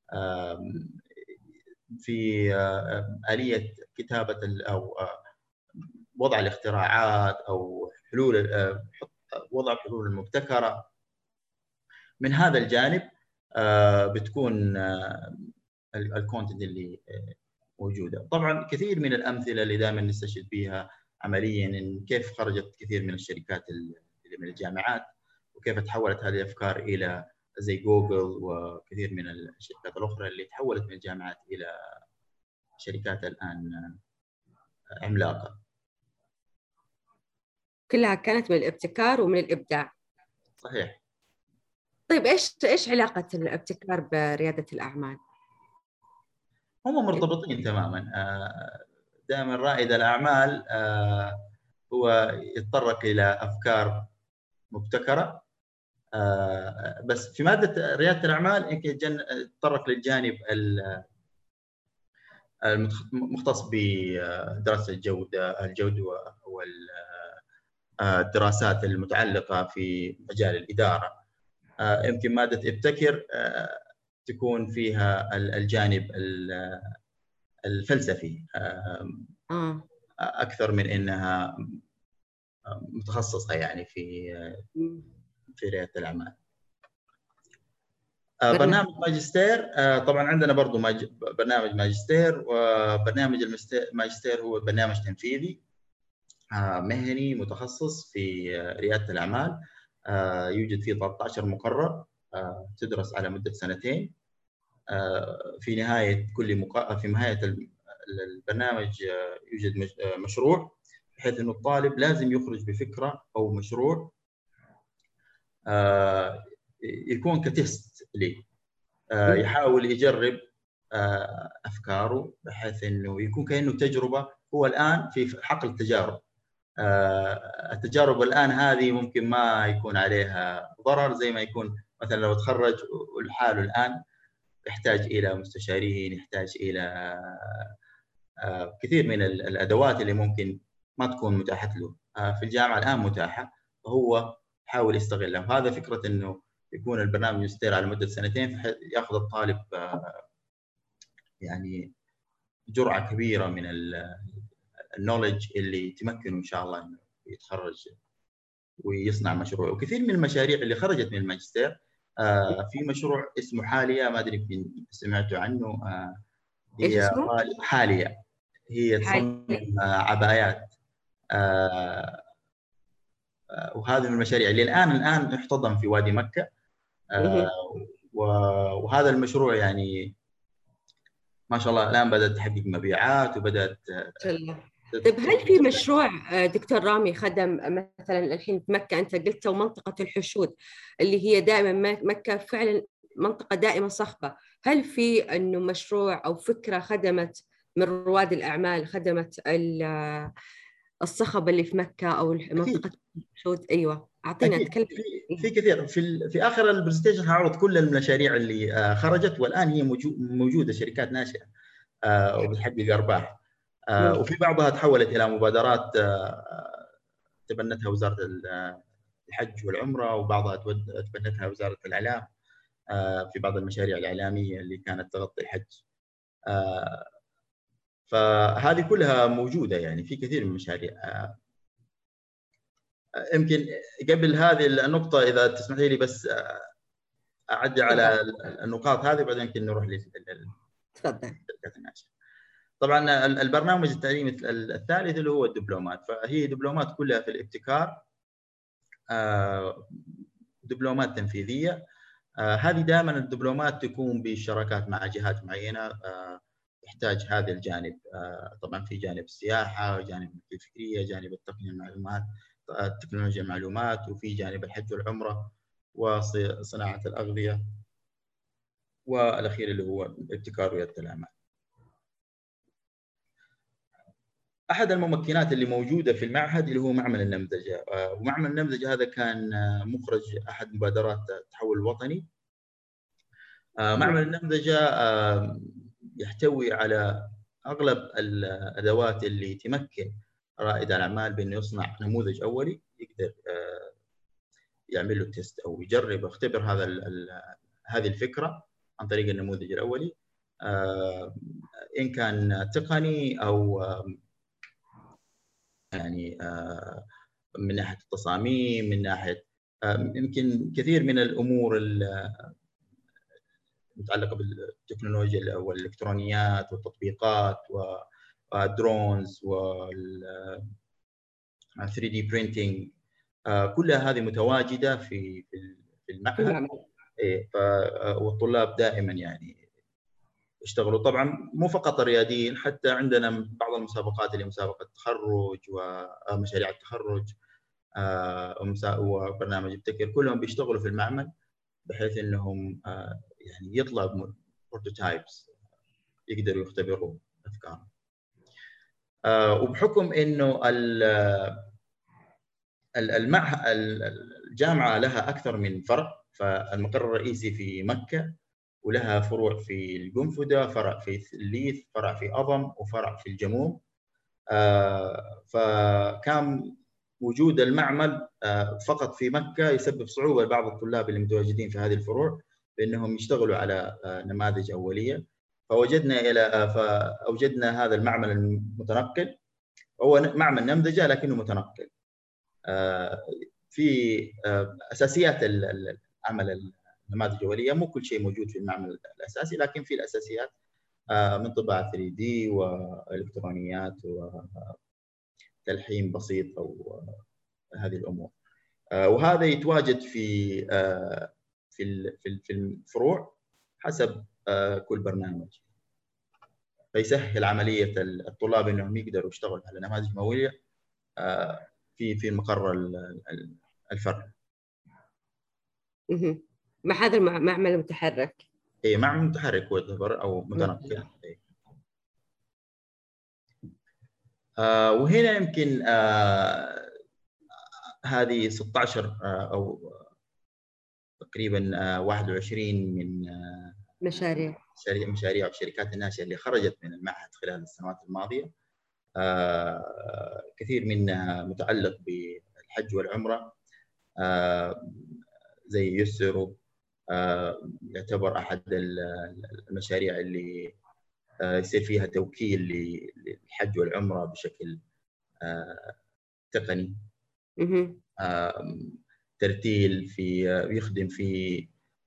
في آلية كتابة أو وضع الاختراعات أو حلول وضع الحلول المبتكرة. من هذا الجانب بتكون الكونتنت اللي موجودة. طبعا كثير من الأمثلة اللي دائما نستشهد بها عمليا إن كيف خرجت كثير من الشركات اللي من الجامعات وكيف تحولت هذه الأفكار إلى زي جوجل وكثير من الشركات الأخرى اللي تحولت من الجامعات إلى شركات الآن عملاقة. كلها كانت من الابتكار ومن الإبداع. صحيح. طيب إيش إيش علاقة الابتكار بريادة الأعمال؟ هم مرتبطين تماما. دائما رائد الأعمال هو يتطرق إلى أفكار مبتكرة، بس في مادة ريادة الأعمال يمكن يتطرق للجانب المختص بدراسة الجودة الجودة والدراسات المتعلقة في مجال الإدارة. يمكن مادة ابتكر تكون فيها الجانب الفلسفي أكثر من إنها متخصصة يعني في في ريادة الأعمال. برنامج ماجستير، طبعا عندنا برضو برنامج ماجستير، وبرنامج الماجستير هو برنامج تنفيذي مهني متخصص في ريادة الأعمال. يوجد فيه ثلاثة عشر مقرر تدرس على مدة سنتين. في نهاية كل مق... في نهاية البرنامج يوجد مشروع، بحيث إنه الطالب لازم يخرج بفكرة أو مشروع يكون كتست لي، يحاول يجرب أفكاره بحيث إنه يكون كأنه تجربة. هو الآن في حقل التجارب. التجارب الآن هذه ممكن ما يكون عليها ضرر زي ما يكون مثلا لو تخرج والحال الآن يحتاج إلى مستشارين، يحتاج إلى كثير من الأدوات اللي ممكن ما تكون متاحة له في الجامعة الآن متاحة، فهو حاول يستغلها. وهذا فكرة إنه يكون البرنامج يستير على مدة سنتين، يأخذ الطالب يعني جرعة كبيرة من النولج اللي تمكنه إن شاء الله إنه يتخرج ويصنع مشروع. وكثير من المشاريع اللي خرجت من الماجستير، آه في مشروع اسمه حالية، ما أدري يمكن سمعتوا عنه. آه هي حالية، هي تصمم آه عبايات. آه آه وهذه من المشاريع اللي الآن الآن احتضن في وادي مكة. آه وهذا المشروع يعني ما شاء الله الآن بدأت تحقق مبيعات وبدأت. طيب هل في مشروع دكتور رامي خدم مثلا الحين في مكة، أنت قلت منطقة الحشود اللي هي دائما مكة فعلا منطقة دائما صخبة، هل في أنه مشروع أو فكرة خدمت من رواد الأعمال خدمت الصخب اللي في مكة أو منطقة الحشود؟ أيوة أعطينا نتكلم. في, في كثير في في آخر البرزنتيشن هعرض كل المشاريع اللي خرجت والآن هي موجودة شركات ناشئة وبتحقق أرباح. آه وفي بعضها تحولت إلى مبادرات آه تبنتها وزارة الحج والعمرة، وبعضها تبنتها وزارة الإعلام آه في بعض المشاريع الإعلامية اللي كانت تغطي الحج. آه فهذه كلها موجودة يعني في كثير من المشاريع. آه يمكن قبل هذه النقطة إذا تسمحي لي بس أعدي على النقاط هذه وبعدين يمكن نروح للشركات الناشئة. طبعا البرنامج التعليمي الثالث اللي هو الدبلومات، فهي دبلومات كلها في الابتكار، دبلومات تنفيذيه. هذه دائما الدبلومات تكون بشراكات مع جهات معينه تحتاج هذا الجانب. طبعا في جانب السياحه، جانب الفكريه، جانب التقنيه المعلومات تكنولوجيا المعلومات، وفي جانب الحج والعمره وصناعه الاغذيه، والاخير اللي هو ابتكار رياده الاعمال. أحد الممكنات اللي موجودة في المعهد اللي هو معمل النمذجة، ومعمل النمذجة هذا كان مخرج أحد مبادرات التحول الوطني. معمل النمذجة يحتوي على أغلب الأدوات اللي تمكن رائد الأعمال بأنه يصنع نموذج أولي يقدر يعمل له تيست أو يجرب يختبر هذا هذه الفكرة عن طريق النموذج الأولي، إن كان تقني أو يعني من ناحية التصاميم، من ناحية يمكن كثير من الأمور المتعلقة بالتكنولوجيا والإلكترونيات والتطبيقات والدرونز وال ثري دي printing، كلها هذه متواجدة في في المعهد. والطلاب دائما يعني يشتغلوا. طبعا مو فقط الرياديين، حتى عندنا بعض المسابقات اللي مسابقه التخرج ومشاريع التخرج وبرنامج ابتكر، كلهم بيشتغلوا في المعمل بحيث انهم يعني يطلع بروتوتايبس يقدروا يختبروا افكارهم. وبحكم انه المعهد الجامعه لها اكثر من فرع، فالمقر الرئيسي في مكه ولها فروع في القنفذة، فرع في الليث، فرع في أضم، وفرع في الجموم. فكان وجود المعمل فقط في مكة يسبب صعوبة لبعض الطلاب اللي متواجدين في هذه الفروع بأنهم يشتغلوا على نماذج أولية. فوجدنا إلى فأوجدنا هذا المعمل المتنقل، هو معمل نمذجة لكنه متنقل. في أساسيات العمل النماذج الأولية مو كل شيء موجود في المعمل الأساسي، لكن في الأساسيات من طباعة ثري دي وإلكترونيات وتلحيم بسيط أو هذه الأمور. وهذا يتواجد في في في الفروع حسب كل برنامج، فيسهل عملية الطلاب أنهم يقدروا يشتغلوا على نماذج مولية في في مقر الفرع. مع هذا المعمل المتحرك. اي معمل متحرك هو يعتبر او متنقل. آه وهنا يمكن آه هذه ستة عشر آه او تقريبا آه واحد وعشرين من آه مشاريع مشاريع والشركات الناشئه اللي خرجت من المعهد خلال السنوات الماضيه. آه كثير منها متعلق بالحج والعمره، آه زي يسر آه يعتبر أحد المشاريع اللي آه يصير فيها توكيل للحج والعمرة بشكل آه تقني. آه ترتيل في يخدم في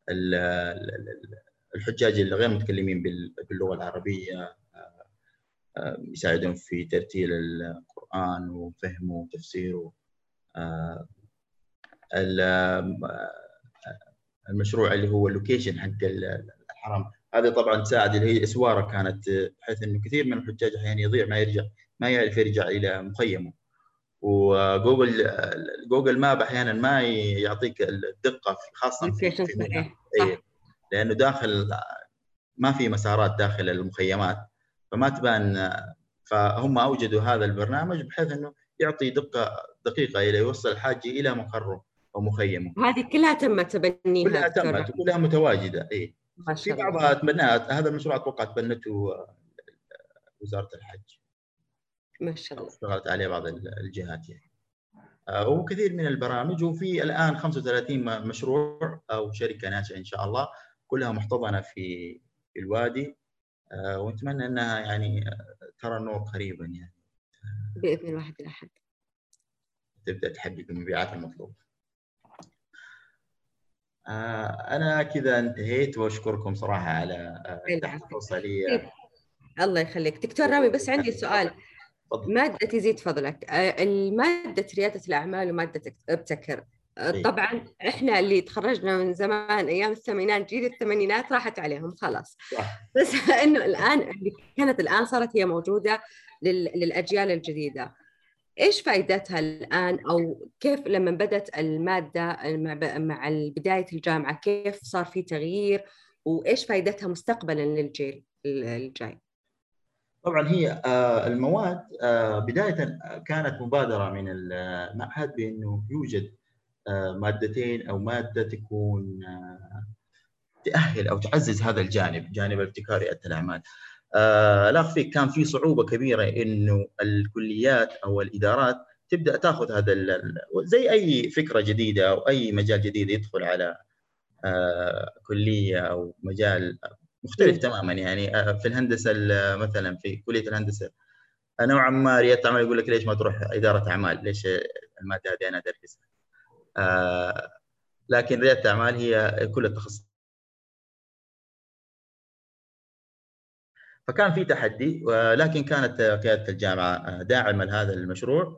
الحجاج الغير متكلمين باللغة العربية، آه يساعدهم في ترتيل القرآن وفهمه وتفسيره. آه المشروع اللي هو اللوكيشن حق الحرم، هذا طبعا تساعد اللي هي اسواره كانت، بحيث انه كثير من الحجاج احيانا يضيع ما يرجع ما يعرف يرجع الى مخيمه. وجوجل جوجل ماب احيانا ما يعطيك الدقه خاصه في, في منى، لانه داخل ما في مسارات داخل المخيمات فما تبان. فهم اوجدوا هذا البرنامج بحيث انه يعطي دقه دقيقه الى يوصل الحاج الى مقره او مخيمه. هذه كلها تم تبنيها؟ كلها تمت وكلها متواجده. اي في بعضها تبنات، هذا المشروع اتوقع تبنته وزاره الحج ما شاء الله، اشتغلت عليه بعض الجهات يعني. وكثير من البرامج، وفي الان خمسة وثلاثين مشروع او شركه ناشئه ان شاء الله كلها محتضنه في الوادي، ونتمنى انها يعني ترى النور قريبا يعني باذن الواحد الاحد تبدا تحقق المبيعات المطلوبه. انا كذا انتهيت، واشكركم صراحه على الفرصه لي. الله يخليك دكتور رامي، بس عندي سؤال. ماده يزيد فضلك، الماده رياده الاعمال وماده ابتكر، طبعا احنا اللي تخرجنا من زمان ايام الثمانينات، جيل الثمانينات راحت عليهم خلاص، بس انه الان اللي كانت الان صارت هي موجوده للاجيال الجديده. ايش فائدتها الان، او كيف لما بدت الماده مع بدايه الجامعه كيف صار في تغيير، وايش فائدتها مستقبلا للجيل الجاي؟ طبعا هي المواد بدايه كانت مبادره من المعهد بانه يوجد مادتين او ماده تكون تأهل او تعزز هذا الجانب، جانب الابتكار رياده الاعمال. لا اخفيك كان في صعوبه كبيره انه الكليات او الادارات تبدا تاخذ هذا زي اي فكره جديده او اي مجال جديد يدخل على كليه او مجال مختلف تماما. يعني في الهندسه مثلا في كليه الهندسه نوعا ما رياده الاعمال يقول لك ليش ما تروح اداره اعمال، ليش الماده هذه انا ادرسها. آه لكن رياده الاعمال هي كل التخصص. فكان في تحدي، ولكن كانت قياده الجامعه داعمه لهذا المشروع،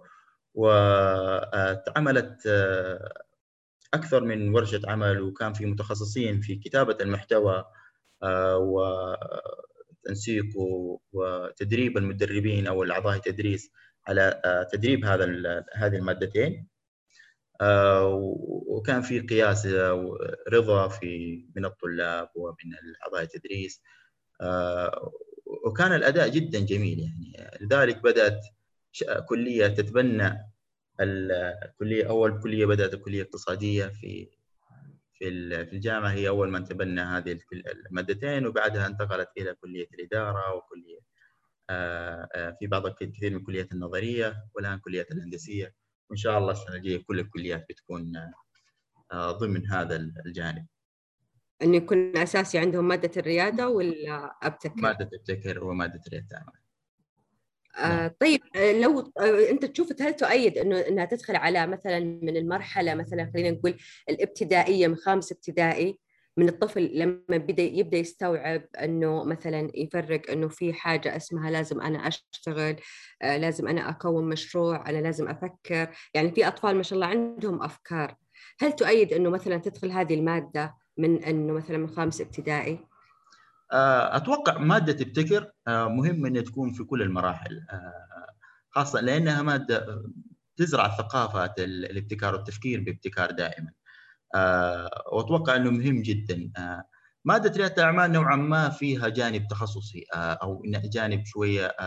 وعملت اكثر من ورشه عمل، وكان في متخصصين في كتابه المحتوى تنسيق وتدريب المدربين أو الأعضاء التدريس على تدريب هذا هذه المادتين. وكان في قياس رضا في من الطلاب ومن أعضاء التدريس، وكان الأداء جدا جميل يعني. لذلك بدأت كلية تتبنى الكلية، أول كلية بدأت الكلية الاقتصادية في في الجامعة، هي أول من تبنى هذه المادتين، وبعدها انتقلت إلى كلية الإدارة وكلية في بعض الكثير من الكليات النظرية، والآن كليات الهندسية، وإن شاء الله السنة الجاية كل الكليات بتكون ضمن هذا الجانب. أن يكون أساسي عندهم مادة الريادة ولا أبتكر؟ مادة ابتكر ومادة ريادة الأعمال. آه طيب، لو آه أنت تشوف هل تؤيد إنه إنها تدخل على مثلا من المرحلة مثلا خلينا نقول الابتدائية من خامس ابتدائي، من الطفل لما بدأ يبدأ يستوعب إنه مثلا يفرق إنه في حاجة اسمها لازم أنا أشتغل، آه لازم أنا أكون مشروع، أنا لازم أفكر، يعني في أطفال ما شاء الله عندهم أفكار. هل تؤيد إنه مثلا تدخل هذه المادة من إنه مثلا من خامس ابتدائي؟ أتوقع مادة ابتكر مهم أن تكون في كل المراحل، خاصة لأنها مادة تزرع ثقافة الابتكار والتفكير بابتكار دائما، وأتوقع أنه مهم جدا. مادة ريادة الأعمال نوعا ما فيها جانب تخصصي أو جانب شوية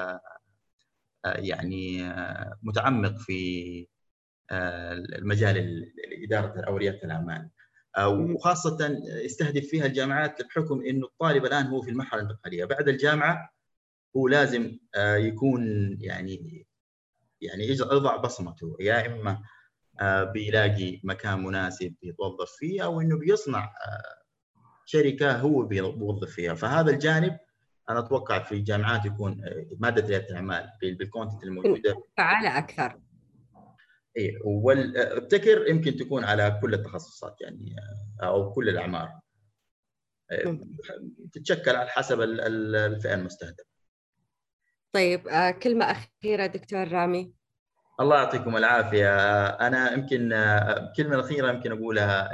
يعني متعمق في المجال الإدارة أو ريادة الأعمال، وخاصة يستهدف فيها الجامعات بحكم إنه الطالب الآن هو في المرحلة الانتقالية بعد الجامعة، هو لازم يكون يعني يعني يضع بصمته، يا إما بيلاقي مكان مناسب يتوظف فيه أو إنه بيصنع شركة هو بيوظف فيها. فهذا الجانب أنا أتوقع في الجامعات يكون مادة ريادة الأعمال بالكونتنت الموجودة فعالة أكثر. إيه، والابتكر يمكن تكون على كل التخصصات يعني أو كل الأعمار، تتشكل على حسب الفئة المستهدفة. طيب، كلمة أخيرة دكتور رامي. الله يعطيكم العافية. أنا يمكن الكلمة الأخيرة يمكن أقولها،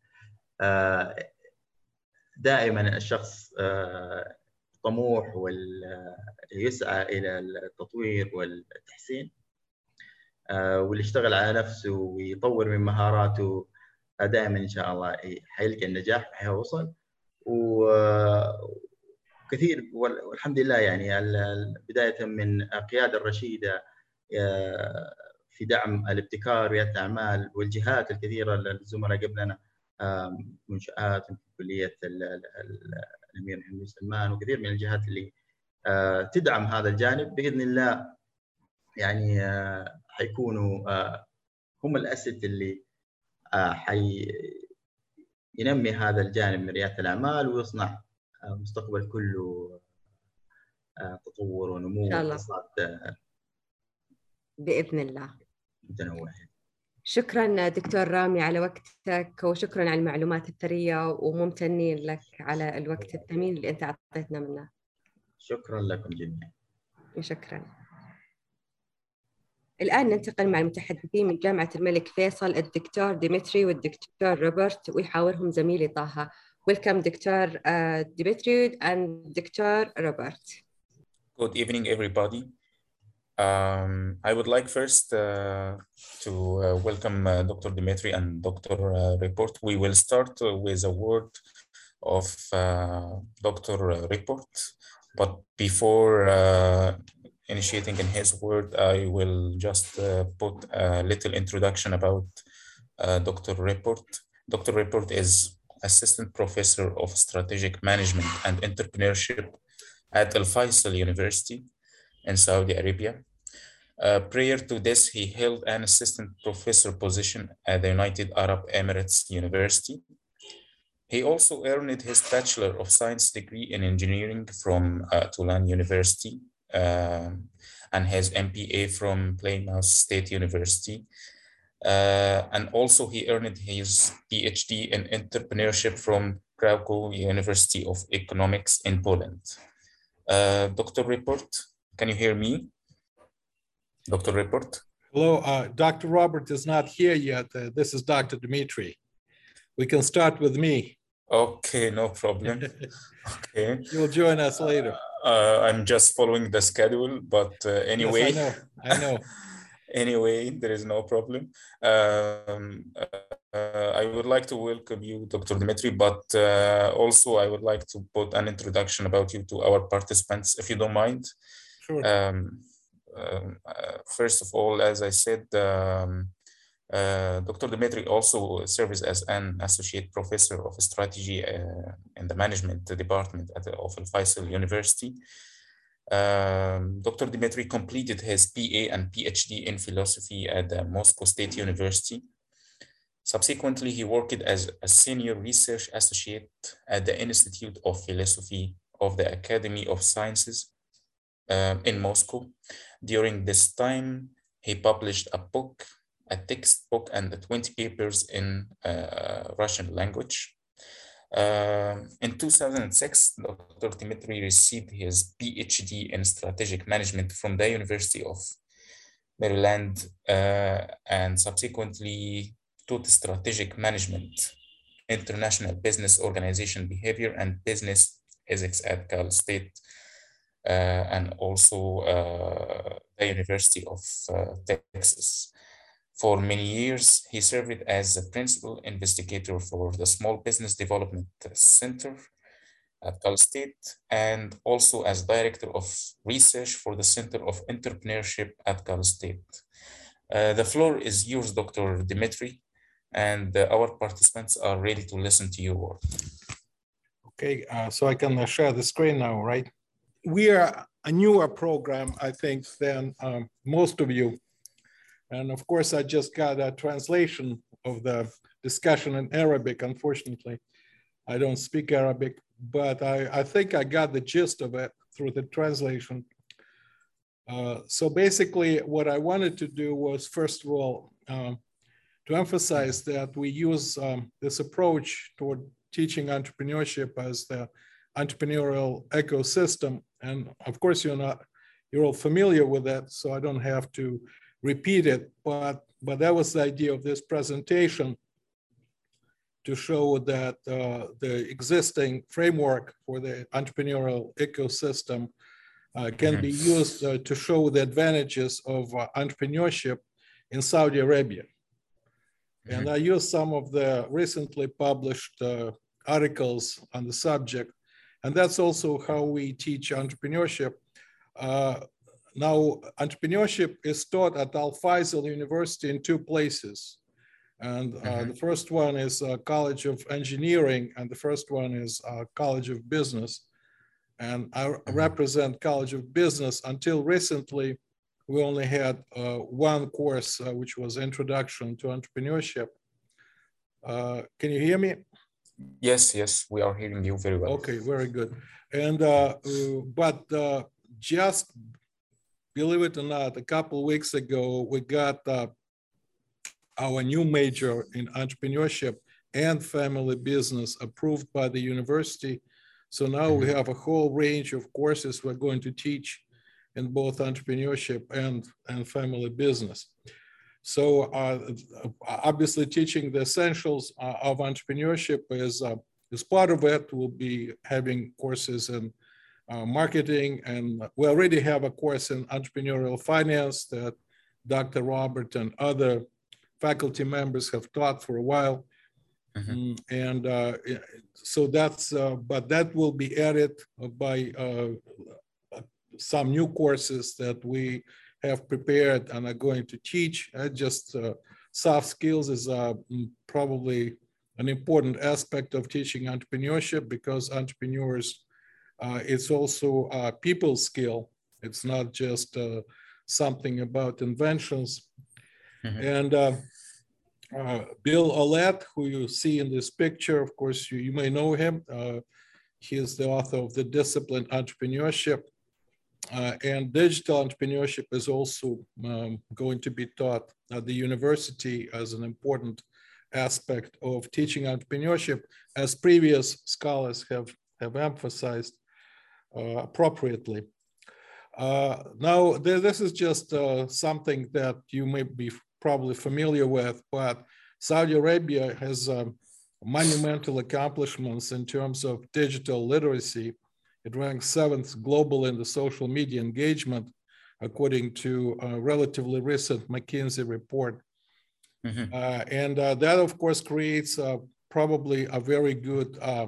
دائما الشخص طموح ويسعى إلى التطوير والتحسين، واللي يشتغل على نفسه ويطور من مهاراته دائما إن شاء الله حيلقى النجاح وحيوصل. وكثير والحمد لله يعني بداية من قيادة الرشيدة في دعم الابتكار وريادة الأعمال، والجهات الكثيرة الزملاء قبلنا، منشآت كلية الأمير محمد سلمان وكثير من الجهات اللي تدعم هذا الجانب، بإذن الله يعني حيكونوا هم الأسد اللي حي ينمي هذا الجانب من ريادة الأعمال ويصنع مستقبل كله تطور ونمو واقتصاد بإذن الله متنوع. شكرا دكتور رامي على وقتك، وشكرا على المعلومات الثرية، وممتنين لك على الوقت الثمين اللي أنت أعطيتنا منه. شكرا لكم جميعا. شكرا. الآن ننتقل مع المتحدثين من جامعة الملك فيصل، الدكتور ديمتري والدكتور روبرت، ويحاورهم زميلي طه. Welcome دكتور ديمتري and دكتور روبرت. Good evening everybody. Um, I would like first uh, to uh, welcome uh, Doctor Dimitri and Doctor Uh, Report. We will start uh, with a word of uh, Doctor Report, but before uh, initiating in his word, I will just uh, put a little introduction about uh, Doctor Report. Doctor Report is Assistant Professor of Strategic Management and Entrepreneurship at Al Faisal University in Saudi Arabia. Uh, prior to this, he held an assistant professor position at the United Arab Emirates University. He also earned his Bachelor of Science degree in engineering from uh, Tulane University uh, and his M P A from Plymouth State University. Uh, and also he earned his PhD in entrepreneurship from Krakow University of Economics in Poland. Uh, Doctor Report, can you hear me? Doctor Report? Hello, uh, Doctor Robert is not here yet. Uh, this is Doctor Dimitri. We can start with me. Okay, no problem. Okay. You'll join us later. Uh, I'm just following the schedule, but uh, anyway. Yes, I know. I know. Anyway, there is no problem. Um, uh, I would like to welcome you, Doctor Dimitri, but uh, also I would like to put an introduction about you to our participants, if you don't mind. Sure. Um, um, uh, first of all, as I said, um, uh, Doctor Dimitri also serves as an associate professor of strategy uh, in the management department at the of Al-Faisal University. Um, Doctor Dimitri completed his B A and PhD in philosophy at the Moscow State University. Subsequently, he worked as a senior research associate at the Institute of Philosophy of the Academy of Sciences uh, in Moscow. During this time, he published a book, a textbook, and twenty papers in uh, Russian language. Uh, in two thousand six, Doctor Dimitri received his PhD in strategic management from the University of Maryland uh, and subsequently taught strategic management, international business organization behavior, and business ethics at Cal State uh, and also uh, the University of uh, Texas. For many years, he served as the principal investigator for the Small Business Development Center at Cal State and also as director of research for the Center of Entrepreneurship at Cal State. Uh, the floor is yours, Doctor Dimitri, and uh, our participants are ready to listen to your work. Okay, uh, so I can uh, share the screen now, right? We are a newer program, I think, than um, most of you. And of course, I just got a translation of the discussion in Arabic. Unfortunately, I don't speak Arabic, but I, I think I got the gist of it through the translation. Uh, so basically, what I wanted to do was, first of all, um, to emphasize that we use um, this approach toward teaching entrepreneurship as the entrepreneurial ecosystem. And of course, you're not, you're all familiar with that, so I don't have to repeat it, but, but that was the idea of this presentation, to show that uh, the existing framework for the entrepreneurial ecosystem uh, can mm-hmm. be used uh, to show the advantages of uh, entrepreneurship in Saudi Arabia. Mm-hmm. And I used some of the recently published uh, articles on the subject, and that's also how we teach entrepreneurship. Uh, Now, entrepreneurship is taught at Al-Faisal University in two places. And uh, mm-hmm. the first one is uh, College of Engineering, and the first one is uh, College of Business. And I mm-hmm. represent College of Business. Until recently, we only had uh, one course, uh, which was Introduction to Entrepreneurship. Uh, can you hear me? Yes, yes, we are hearing you very well. Okay, very good. And, uh, uh, but uh, just believe it or not, a couple of weeks ago, we got uh, our new major in entrepreneurship and family business approved by the university. So now mm-hmm. we have a whole range of courses we're going to teach in both entrepreneurship and, and family business. So uh, obviously teaching the essentials uh, of entrepreneurship is, uh, is part of it. We'll be having courses in Uh, marketing, and we already have a course in entrepreneurial finance that Doctor Robert and other faculty members have taught for a while. Mm-hmm. And uh, so that's, uh, but that will be added by uh, some new courses that we have prepared and are going to teach. Uh, just uh, soft skills is uh, probably an important aspect of teaching entrepreneurship, because entrepreneurs Uh, it's also a people skill. It's not just uh, something about inventions. Mm-hmm. And uh, uh, Bill Olet, who you see in this picture, of course, you, you may know him. Uh, he is the author of The Disciplined Entrepreneurship. Uh, and digital entrepreneurship is also um, going to be taught at the university as an important aspect of teaching entrepreneurship, as previous scholars have, have emphasized. Uh, appropriately. Uh, now, th this is just uh, something that you may be probably familiar with, but Saudi Arabia has um, monumental accomplishments in terms of digital literacy, It ranks seventh global in the social media engagement, according to a relatively recent McKinsey report. Mm-hmm. uh, and uh, that, of course, creates uh, probably a very good uh,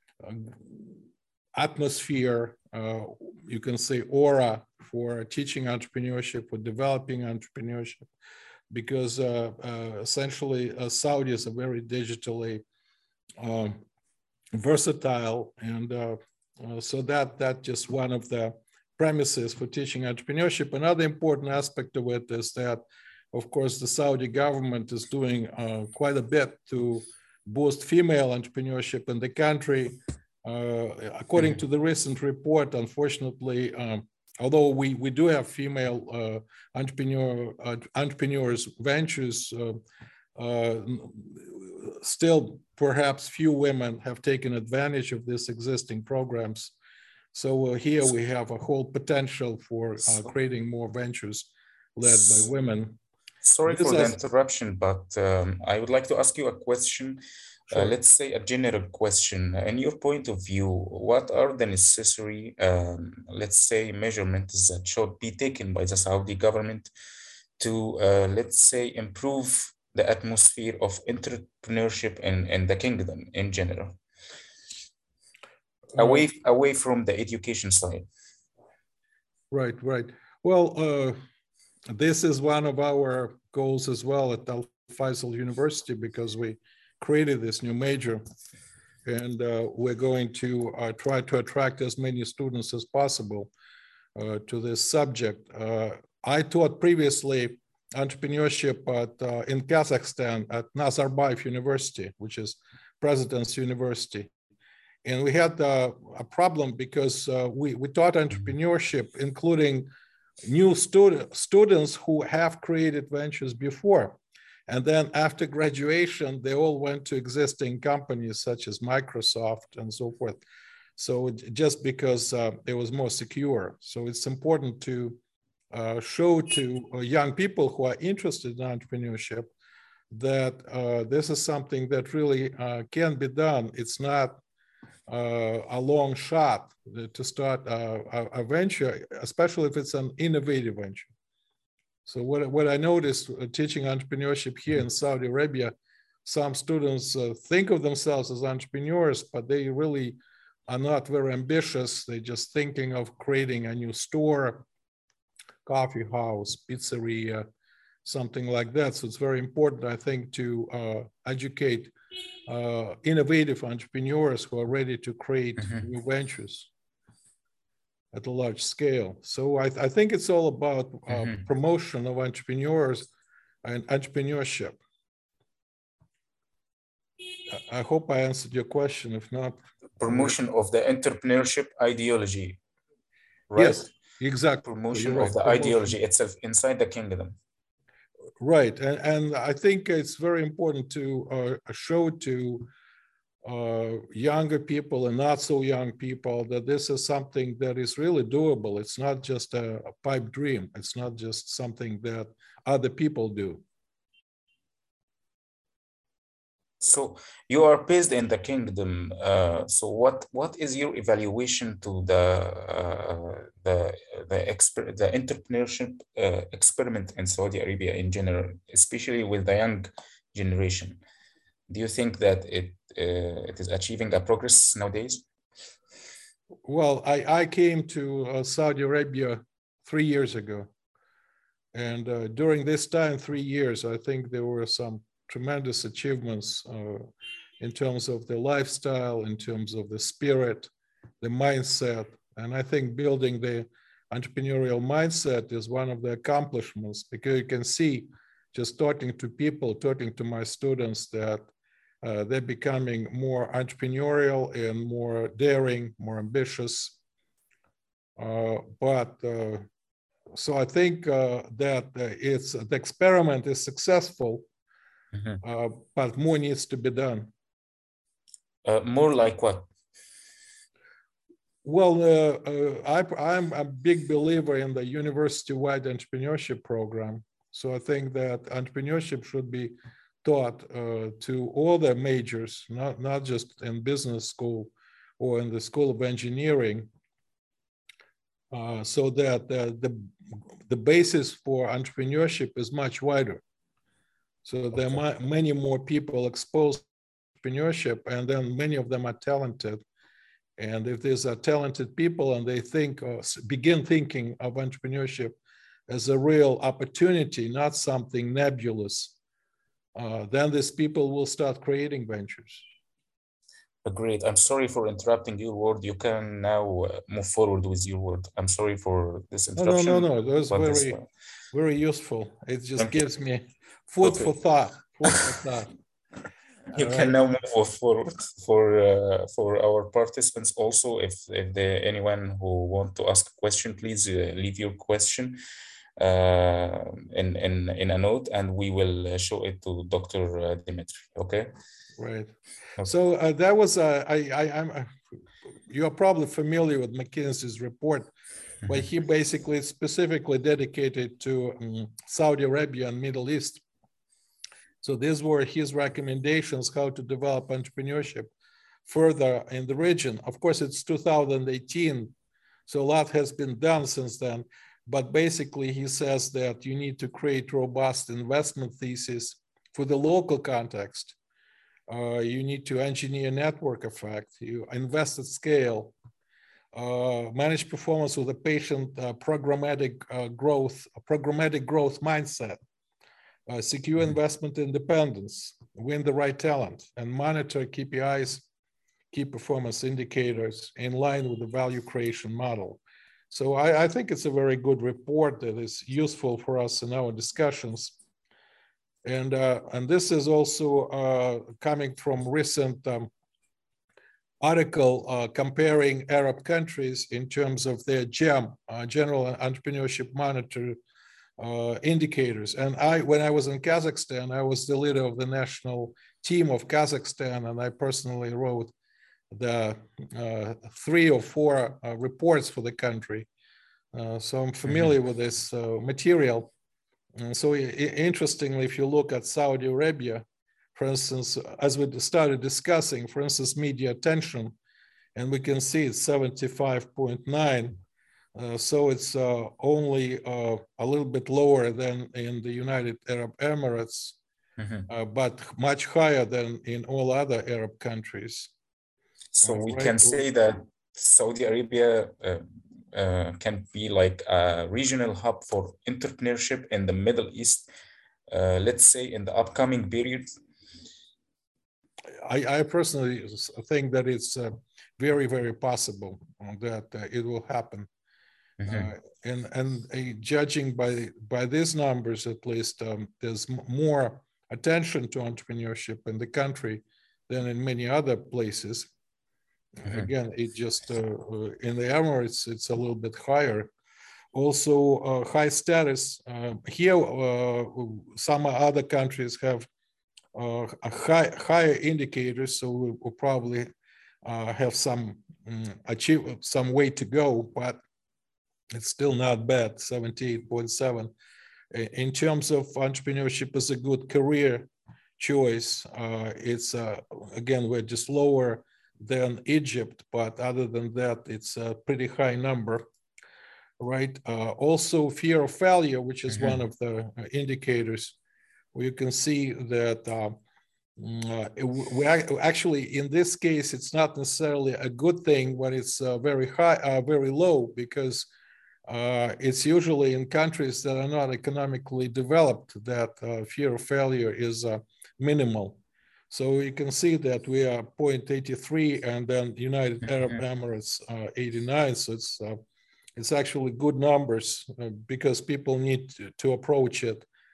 atmosphere, uh, you can say aura, for teaching entrepreneurship, for developing entrepreneurship, because uh, uh, essentially uh, Saudis are very digitally um, versatile, and uh, uh, so that that's just one of the premises for teaching entrepreneurship. Another important aspect of it is that, of course, the Saudi government is doing uh, quite a bit to boost female entrepreneurship in the country. Uh, according to the recent report, unfortunately, um, although we, we do have female uh, entrepreneur, uh, entrepreneurs ventures, uh, uh, still perhaps few women have taken advantage of these existing programs. So uh, here we have a whole potential for uh, creating more ventures led by women. Sorry this for the interruption, but um, I would like to ask you a question. Sure. Uh, let's say a general question. In your point of view, what are the necessary, um, let's say, measurements that should be taken by the Saudi government to, uh, let's say, improve the atmosphere of entrepreneurship in, in the kingdom in general, away, uh, away from the education side? Right, right. Well, uh, this is one of our goals as well at Al Faisal University, because we created this new major, and uh, we're going to uh, try to attract as many students as possible uh, to this subject. Uh, I taught previously entrepreneurship at, uh, in Kazakhstan at Nazarbayev University, which is President's University. And we had uh, a problem because uh, we, we taught entrepreneurship, including new student, students who have created ventures before. And then after graduation, they all went to existing companies such as Microsoft and so forth. So just because uh, it was more secure. So it's important to uh, show to uh, young people who are interested in entrepreneurship that uh, this is something that really uh, can be done. It's not uh, a long shot to start a, a venture, especially if it's an innovative venture. So what, what I noticed uh, teaching entrepreneurship here in Saudi Arabia, some students uh, think of themselves as entrepreneurs, but they really are not very ambitious. They're just thinking of creating a new store, coffee house, pizzeria, something like that. So it's very important, I think, to uh, educate uh, innovative entrepreneurs who are ready to create mm-hmm. new ventures at a large scale. So I, th I think it's all about uh, mm-hmm. promotion of entrepreneurs and entrepreneurship. I, I hope I answered your question. If not, promotion of the entrepreneurship ideology, right? Yes, exactly. Promotion right. of the promotion. ideology itself inside the kingdom. Right, and, and I think it's very important to uh, show to uh, younger people and not so young people that this is something that is really doable. It's not just a, a pipe dream. It's not just something that other people do. So you are based in the kingdom. Uh, so what what is your evaluation to the uh, the the exper the entrepreneurship uh, experiment in Saudi Arabia in general, especially with the young generation? Do you think that it uh, it is achieving a progress nowadays? Well, I I came to uh, Saudi Arabia three years ago, and uh, during this time, three years, I think there were some tremendous achievements uh, in terms of the lifestyle, in terms of the spirit, the mindset. And I think building the entrepreneurial mindset is one of the accomplishments, because you can see just talking to people, talking to my students, that uh, they're becoming more entrepreneurial and more daring, more ambitious. Uh, but uh, so I think uh, that uh, it's the experiment is successful. Mm-hmm. uh, but more needs to be done. Uh, more like what? Well, uh, uh, I, I'm a big believer in the university-wide entrepreneurship program. So I think that entrepreneurship should be taught uh, to all the majors, not, not just in business school or in the School of Engineering, uh, so that uh, the, the basis for entrepreneurship is much wider. So there are many more people exposed to entrepreneurship, and then many of them are talented. And if these are talented people and they think or begin thinking of entrepreneurship as a real opportunity, not something nebulous, uh, then these people will start creating ventures. Great. I'm sorry for interrupting your word. You can now uh, move forward with your word. I'm sorry for this interruption. No, no, no, no. That was very, this, uh, very useful. It just Thank gives you. me food Okay. for thought. Food for thought. You All can right. now move forward for uh, for our participants also. If if there anyone who want to ask a question, please uh, leave your question uh, in in in a note, and we will show it to Doctor Dimitri. Okay. Right. Okay. So uh, that was uh, I I I'm uh, you are probably familiar with McKinsey's report, mm-hmm. but he basically specifically dedicated to um, Saudi Arabia and Middle East. So these were his recommendations how to develop entrepreneurship further in the region. Of course, it's two thousand eighteen, so a lot has been done since then. But basically, he says that you need to create robust investment thesis for the local context. Uh, you need to engineer network effect. You invest at scale. Uh, manage performance with a patient uh, programmatic uh, growth, a programmatic growth mindset. Uh, secure investment independence, win the right talent, and monitor K P Is, key performance indicators, in line with the value creation model. So I, I think it's a very good report that is useful for us in our discussions. And, uh, and this is also uh, coming from recent um, article uh, comparing Arab countries in terms of their GEM, uh, General Entrepreneurship Monitor, Uh, indicators. And I, when I was in Kazakhstan, I was the leader of the national team of Kazakhstan, and I personally wrote the uh, three or four uh, reports for the country. Uh, so I'm familiar mm-hmm. with this uh, material. And so interestingly, if you look at Saudi Arabia, for instance, as we started discussing, for instance, media attention, and we can see it's seventy-five point nine. Uh, so it's uh, only uh, a little bit lower than in the United Arab Emirates, mm-hmm. uh, but much higher than in all other Arab countries. So uh, we right? can say that Saudi Arabia uh, uh, can be like a regional hub for entrepreneurship in the Middle East, uh, let's say in the upcoming period. I, I personally think that it's uh, very, very possible that uh, it will happen. Mm-hmm. Uh, and and uh, judging by by these numbers, at least, um, there's m- more attention to entrepreneurship in the country than in many other places. Mm-hmm. Again, it just uh, uh, in the Emirates, it's a little bit higher. Also, uh, high status uh, here. Uh, some other countries have uh, a high higher indicators, so we will probably uh, have some um, achieve some way to go, but it's still not bad, seventy-eight point seven. In terms of entrepreneurship as a good career choice, uh, it's, uh, again, we're just lower than Egypt, but other than that, it's a pretty high number, right? Uh, also, fear of failure, which is mm-hmm. one of the indicators, where you can see that uh, uh, we actually, in this case, it's not necessarily a good thing when it's uh, very high, uh, very low, because Uh, it's usually in countries that are not economically developed that uh, fear of failure is uh, minimal. So you can see that we are zero point eight three, and then United Arab Emirates uh, eighty-nine. So it's uh, it's actually good numbers uh, because people need to, to approach it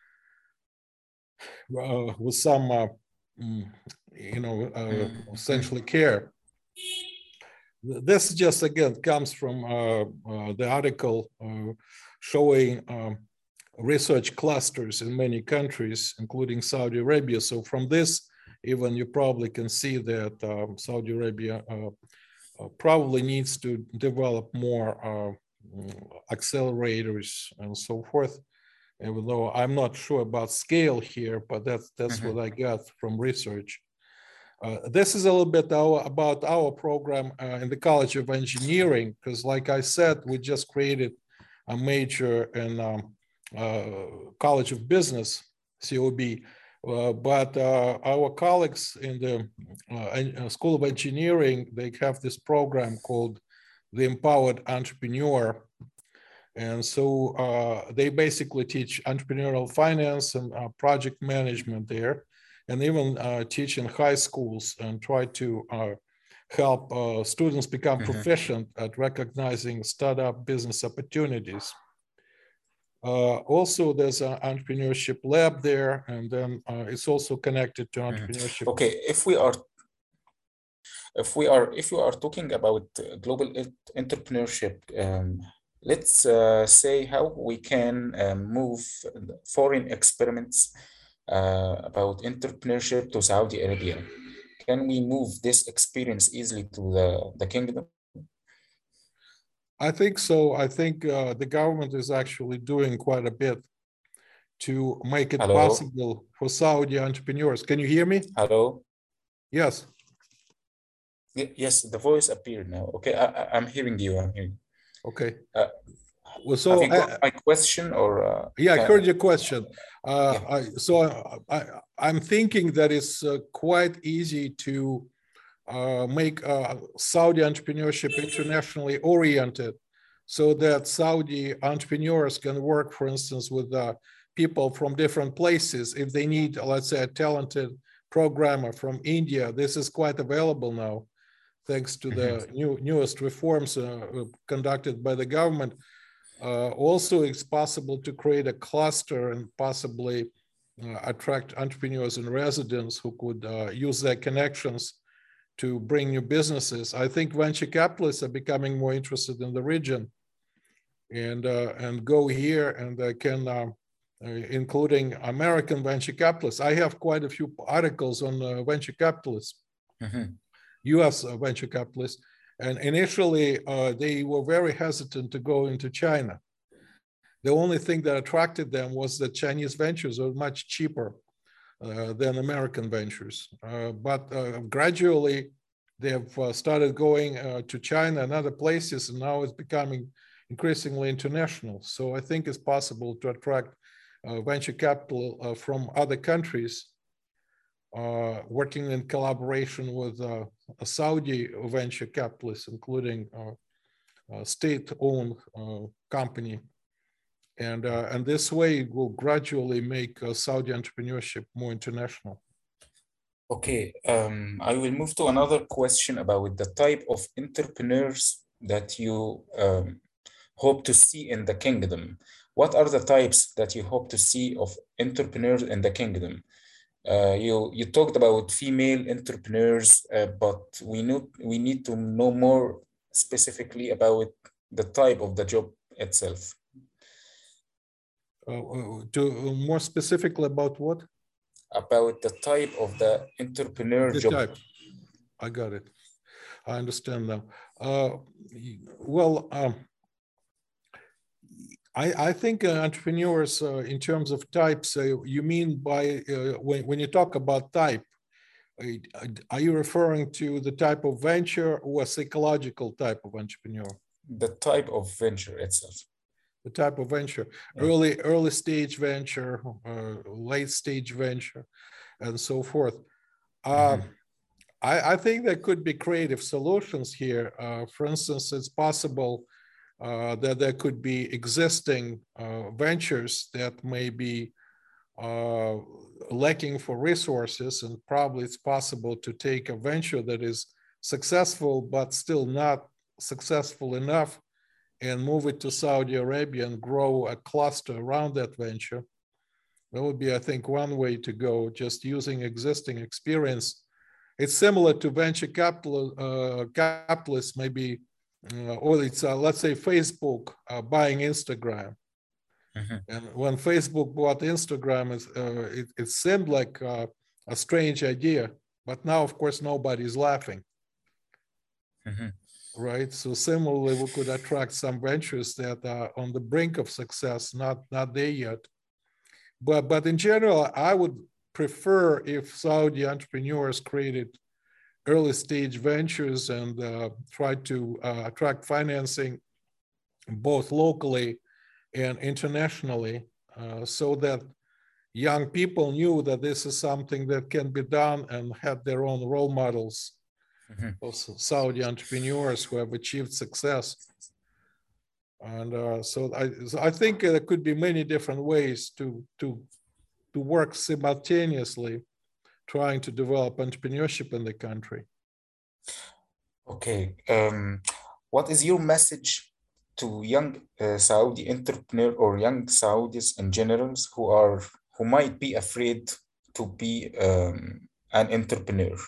uh, with some, uh, you know, uh, essentially care. This just, again, comes from uh, uh, the article uh, showing um, research clusters in many countries, including Saudi Arabia. So from this, even you probably can see that um, Saudi Arabia uh, uh, probably needs to develop more uh, accelerators and so forth, even though I'm not sure about scale here, but that's, that's mm-hmm. what I got from research. Uh, this is a little bit our, about our program uh, in the College of Engineering, because like I said, we just created a major in um, uh, College of Business, C O B, uh, but uh, our colleagues in the uh, School of Engineering, they have this program called the Empowered Entrepreneur. And so uh, they basically teach entrepreneurial finance and uh, project management there, and even uh, teach in high schools and try to uh, help uh, students become mm-hmm. proficient at recognizing startup business opportunities. Uh, also, there's an entrepreneurship lab there, and then uh, it's also connected to entrepreneurship. Mm-hmm. Okay, if we are, if we are, if you are talking about global entrepreneurship, um, let's uh, say how we can um, move foreign experiments uh, about entrepreneurship to Saudi Arabia. Can we move this experience easily to the, the kingdom? I think so. I think uh, the government is actually doing quite a bit to make it Hello? possible for Saudi entrepreneurs. Can you hear me? Hello? Yes. Yes, the voice appeared now. Okay, I, I'm hearing you. I'm hearing you. Okay. Uh, well, so have you got I, my question or? Uh, yeah, I heard your question. Uh, yeah. I, so I, I'm thinking that it's uh, quite easy to uh, make uh, Saudi entrepreneurship internationally oriented, so that Saudi entrepreneurs can work, for instance, with uh, people from different places. If they need, let's say, a talented programmer from India, this is quite available now, thanks to the mm-hmm. new, newest reforms uh, conducted by the government. Uh, also, it's possible to create a cluster and possibly uh, attract entrepreneurs and residents who could uh, use their connections to bring new businesses. I think venture capitalists are becoming more interested in the region and, uh, and go here and uh, can, uh, uh, including American venture capitalists. I have quite a few articles on uh, venture capitalists. Mm-hmm. U S uh, venture capitalists, and initially uh, they were very hesitant to go into China. The only thing that attracted them was that Chinese ventures are much cheaper uh, than American ventures. Uh, but uh, gradually they have uh, started going uh, to China and other places, and now it's becoming increasingly international. So I think it's possible to attract uh, venture capital uh, from other countries, Uh, working in collaboration with uh, a Saudi venture capitalists, including uh, a state-owned uh, company. And, uh, and this way it will gradually make uh, Saudi entrepreneurship more international. Okay, um, I will move to another question about the type of entrepreneurs that you um, hope to see in the kingdom. What are the types that you hope to see of entrepreneurs in the kingdom? Uh, you you talked about female entrepreneurs, uh, but we know we need to know more specifically about the type of the job itself. Uh, to uh, more specifically about what? About the type of the entrepreneur the job. Type. I got it. I understand now. Uh, well. Um, I, I think uh, entrepreneurs, uh, in terms of types, uh, you mean by, uh, when, when you talk about type, uh, are you referring to the type of venture or a psychological type of entrepreneur? The type of venture itself. The type of venture, yeah. early, early stage venture, uh, late stage venture, and so forth. Uh, mm-hmm. I, I think there could be creative solutions here. Uh, for instance, it's possible Uh, that there could be existing uh, ventures that may be uh, lacking for resources, and probably it's possible to take a venture that is successful but still not successful enough and move it to Saudi Arabia and grow a cluster around that venture. That would be, I think, one way to go, just using existing experience. It's similar to venture capital, uh, capitalists maybe Uh, or it's, uh, let's say, Facebook uh, buying Instagram. Mm-hmm. And when Facebook bought Instagram, uh, it, it seemed like uh, a strange idea, but now, of course, nobody's laughing. Mm-hmm. Right? So similarly, we could attract some ventures that are on the brink of success, not, not there yet. But, but in general, I would prefer if Saudi entrepreneurs created early stage ventures and uh, tried to uh, attract financing both locally and internationally, uh, so that young people knew that this is something that can be done, and had their own role models mm-hmm. of Saudi entrepreneurs who have achieved success. And uh, so, I, so I think there could be many different ways to, to, to work simultaneously, trying to develop entrepreneurship in the country. Okay. Um, what is your message to young uh, Saudi entrepreneur or young Saudis in general who are who might be afraid to be um, an entrepreneur?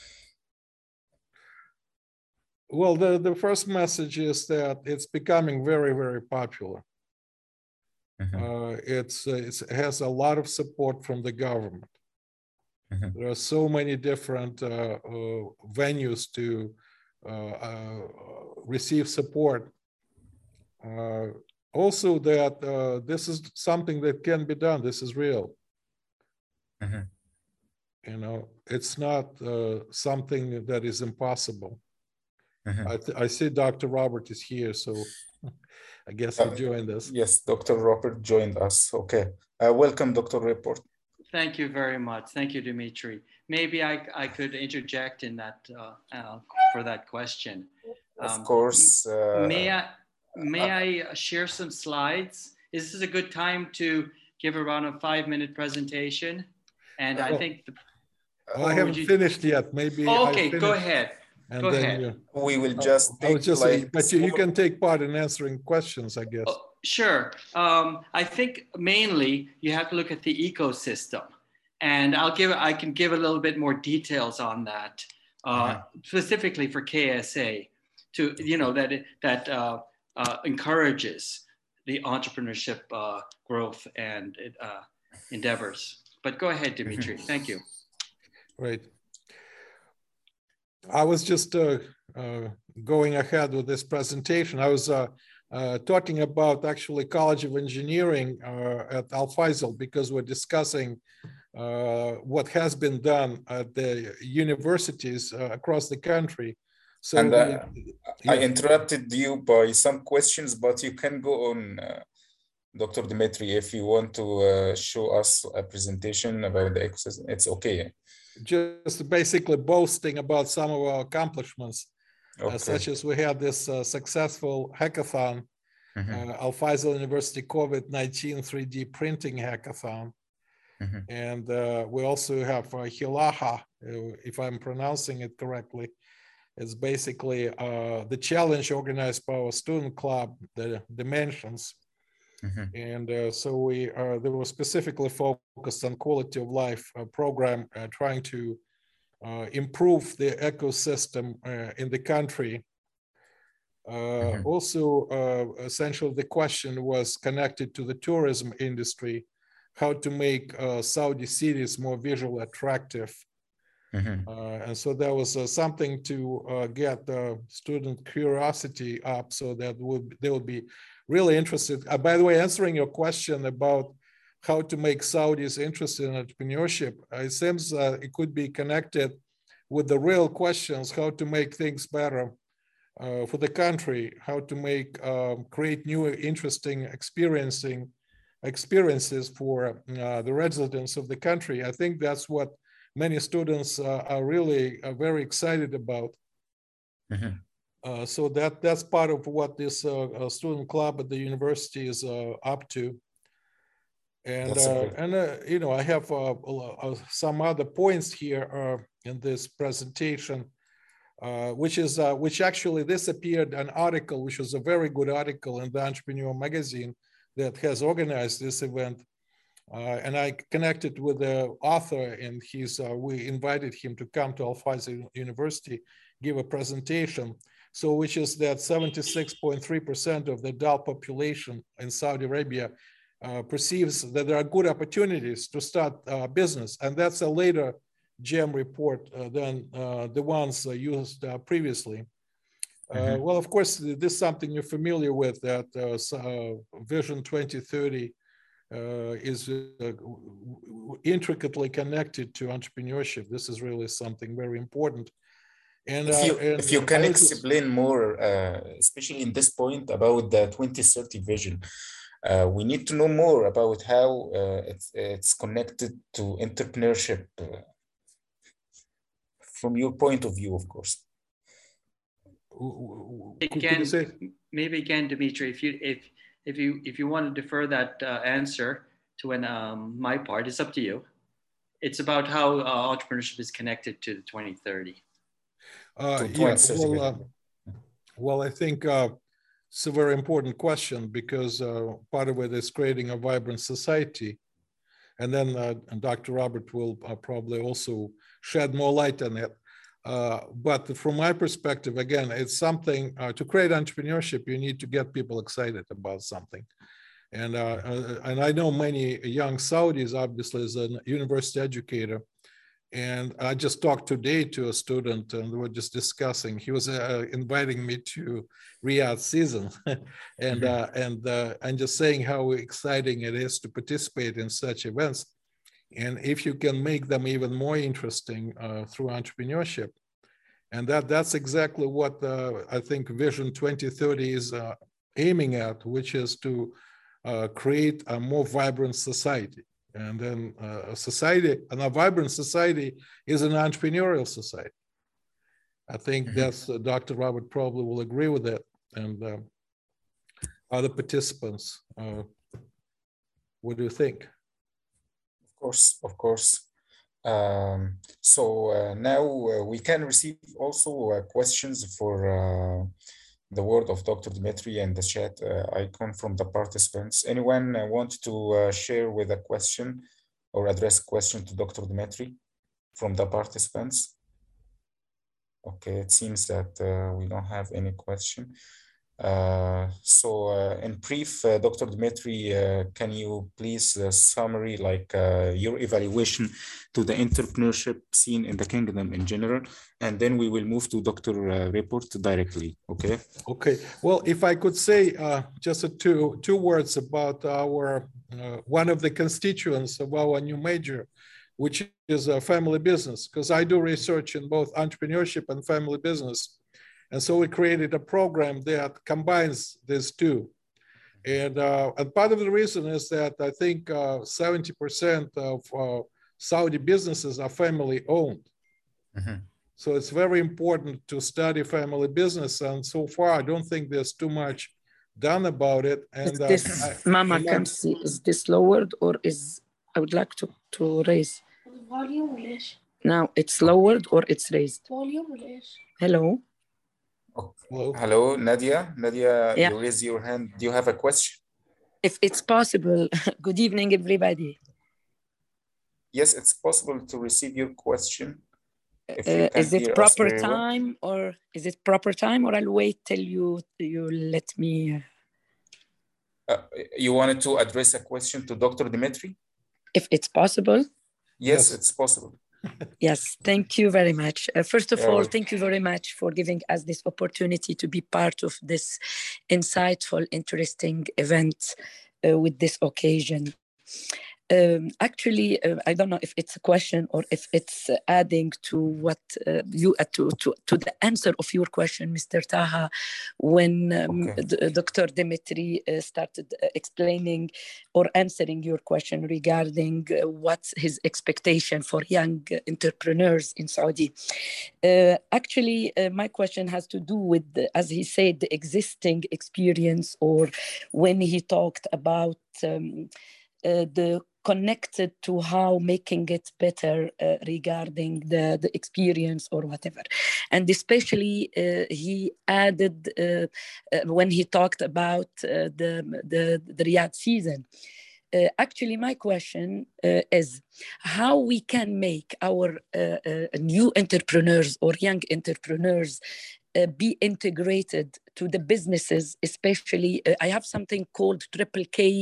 Well, the, the first message is that it's becoming very, very popular. Mm-hmm. uh, it's, it's, it has a lot of support from the government. Mm-hmm. There are so many different uh, uh, venues to uh, uh, receive support. Uh, also that uh, this is something that can be done. This is real. Mm-hmm. You know, it's not uh, something that is impossible. Mm-hmm. I, th- I see Doctor Robert is here, so I guess he joined us. Uh, yes, Doctor Robert joined us. Okay. Uh, welcome, Doctor Report. Thank you very much. Thank you, Dimitri. Maybe I, I could interject in that uh, uh, for that question. Of um, course. Uh, may I may I share some slides? Is this a good time to give around a five-minute presentation? And I well, think the, oh, I haven't you... finished yet. Maybe. Oh, okay, go ahead. And go then ahead. You... We will just. I was just, like but you, you can take part in answering questions, I guess. Oh, sure. Um, I think mainly you have to look at the ecosystem, and I'll give. I can give a little bit more details on that, uh, mm-hmm. specifically for K S A, to you know that it, that uh, uh, encourages the entrepreneurship uh, growth and uh, endeavors. But go ahead, Dimitri. Mm-hmm. Thank you. Right. I was just uh, uh, going ahead with this presentation. I was uh, uh, talking about actually College of Engineering uh, at Al Faisal, because we're discussing uh, what has been done at the universities uh, across the country. So and uh, we, I yeah. interrupted you by some questions, but you can go on, uh, Doctor Dimitri, if you want to uh, show us a presentation about the ecosystem. It's okay. Just basically boasting about some of our accomplishments, okay. uh, such as we had this uh, successful hackathon, mm-hmm. uh, Al Faisal University COVID nineteen three D printing hackathon. Mm-hmm. And uh, we also have uh, Hilaha, uh, if I'm pronouncing it correctly. It's basically uh, the challenge organized by our student club, the Dimensions. Mm-hmm. And uh, so we uh, they were specifically focused on quality of life uh, program, uh, trying to uh, improve the ecosystem uh, in the country. Uh, mm-hmm. Also, uh, essentially the question was connected to the tourism industry, how to make uh, Saudi cities more visually attractive. Mm-hmm. Uh, and so that was uh, something to uh, get uh, student curiosity up, so that would they would be really interested. Uh, by the way, answering your question about how to make Saudis interested in entrepreneurship, uh, it seems uh, it could be connected with the real questions: how to make things better uh, for the country, how to make um, create new, interesting, experiencing experiences for uh, the residents of the country. I think that's what many students uh, are really uh, very excited about. Mm-hmm. Uh, so that that's part of what this uh, uh, student club at the university is uh, up to. And uh, and uh, you know, I have uh, uh, some other points here uh, in this presentation, uh, which is uh, which actually this appeared an article, which was a very good article in the Entrepreneur magazine that has organized this event. Uh, and I connected with the author, and he's, uh, we invited him to come to Al Faisal University, give a presentation. So, which is that seventy-six point three percent of the adult population in Saudi Arabia uh, perceives that there are good opportunities to start uh, business. And that's a later GEM report uh, than uh, the ones uh, used uh, previously. Uh, mm-hmm. Well, of course, this is something you're familiar with, that uh, uh, Vision twenty thirty Uh, is uh, intricately connected to entrepreneurship. This is really something very important. And, if you, uh, and, if you and can I explain just... more, uh, especially in this point about the twenty thirty vision, uh, we need to know more about how uh, it's, it's connected to entrepreneurship uh, from your point of view, of course. Again, maybe again, Dimitri, if you if if you if you want to defer that uh, answer to when um, my part, it's up to you. It's about how uh, entrepreneurship is connected to the twenty thirty. Uh, yeah, well, uh, well, I think uh, it's a very important question because uh, part of it is creating a vibrant society. And then uh, and Doctor Robert will uh, probably also shed more light on it. Uh, but from my perspective, again, it's something uh, to create entrepreneurship, you need to get people excited about something. And, uh, uh, and I know many young Saudis, obviously, as a university educator. And I just talked today to a student and we were just discussing, he was uh, inviting me to Riyadh season and, uh, and, uh, and just saying how exciting it is to participate in such events. And if you can make them even more interesting uh, through entrepreneurship. And that, that's exactly what uh, I think Vision twenty thirty is uh, aiming at, which is to uh, create a more vibrant society. And then uh, a society, and a vibrant society is an entrepreneurial society. I think mm-hmm. that's, uh, Doctor Robert probably will agree with that. And uh, other participants, uh, what do you think? Of course, of course. Um, so uh, now uh, we can receive also uh, questions for uh, the word of Doctor Dimitri and the chat uh, icon from the participants. Anyone uh, want to uh, share with a question or address a question to Doctor Dimitri from the participants? Okay, it seems that uh, we don't have any question. Uh, so uh, in brief, uh, Doctor Dimitri, uh, can you please uh, summary like uh, your evaluation to the entrepreneurship scene in the kingdom in general, and then we will move to Doctor Uh, Report directly, okay? Okay, well, if I could say uh, just a two, two words about our, uh, one of the constituents of our new major, which is a family business, because I do research in both entrepreneurship and family business. And so we created a program that combines these two. And, uh, and part of the reason is that I think uh, seventy percent of uh, Saudi businesses are family owned. Mm-hmm. So it's very important to study family business. And so far, I don't think there's too much done about it. And is this, uh, I, Mama, can see, is this lowered or is, I would like to, to raise. Now it's lowered or it's raised? Hello? Hello. Hello, Nadia. Nadia, yeah. You raise your hand. Do you have a question? If it's possible. Good evening, everybody. Yes, it's possible to receive your question. If you uh, is it proper time well. or is it proper time or I'll wait till you you let me? Uh, you wanted to address a question to Doctor Dimitri? If it's possible. Yes, yes. It's possible. Yes, thank you very much. Uh, first of yeah, all, well. thank you very much for giving us this opportunity to be part of this insightful, interesting event uh, with this occasion. Um, actually, uh, I don't know if it's a question or if it's uh, adding to what uh, you uh, to, to to the answer of your question, Mister Taha, when um, okay. D- Doctor Dimitri uh, started uh, explaining or answering your question regarding uh, what's his expectation for young entrepreneurs in Saudi. Uh, actually, uh, my question has to do with, the, as he said, the existing experience, or when he talked about um, uh, the connected to how making it better uh, regarding the, the experience or whatever. And especially uh, he added, uh, uh, when he talked about uh, the, the, the Riyadh season, uh, actually my question uh, is how we can make our uh, uh, new entrepreneurs or young entrepreneurs Uh, be integrated to the businesses, especially uh, I have something called Triple K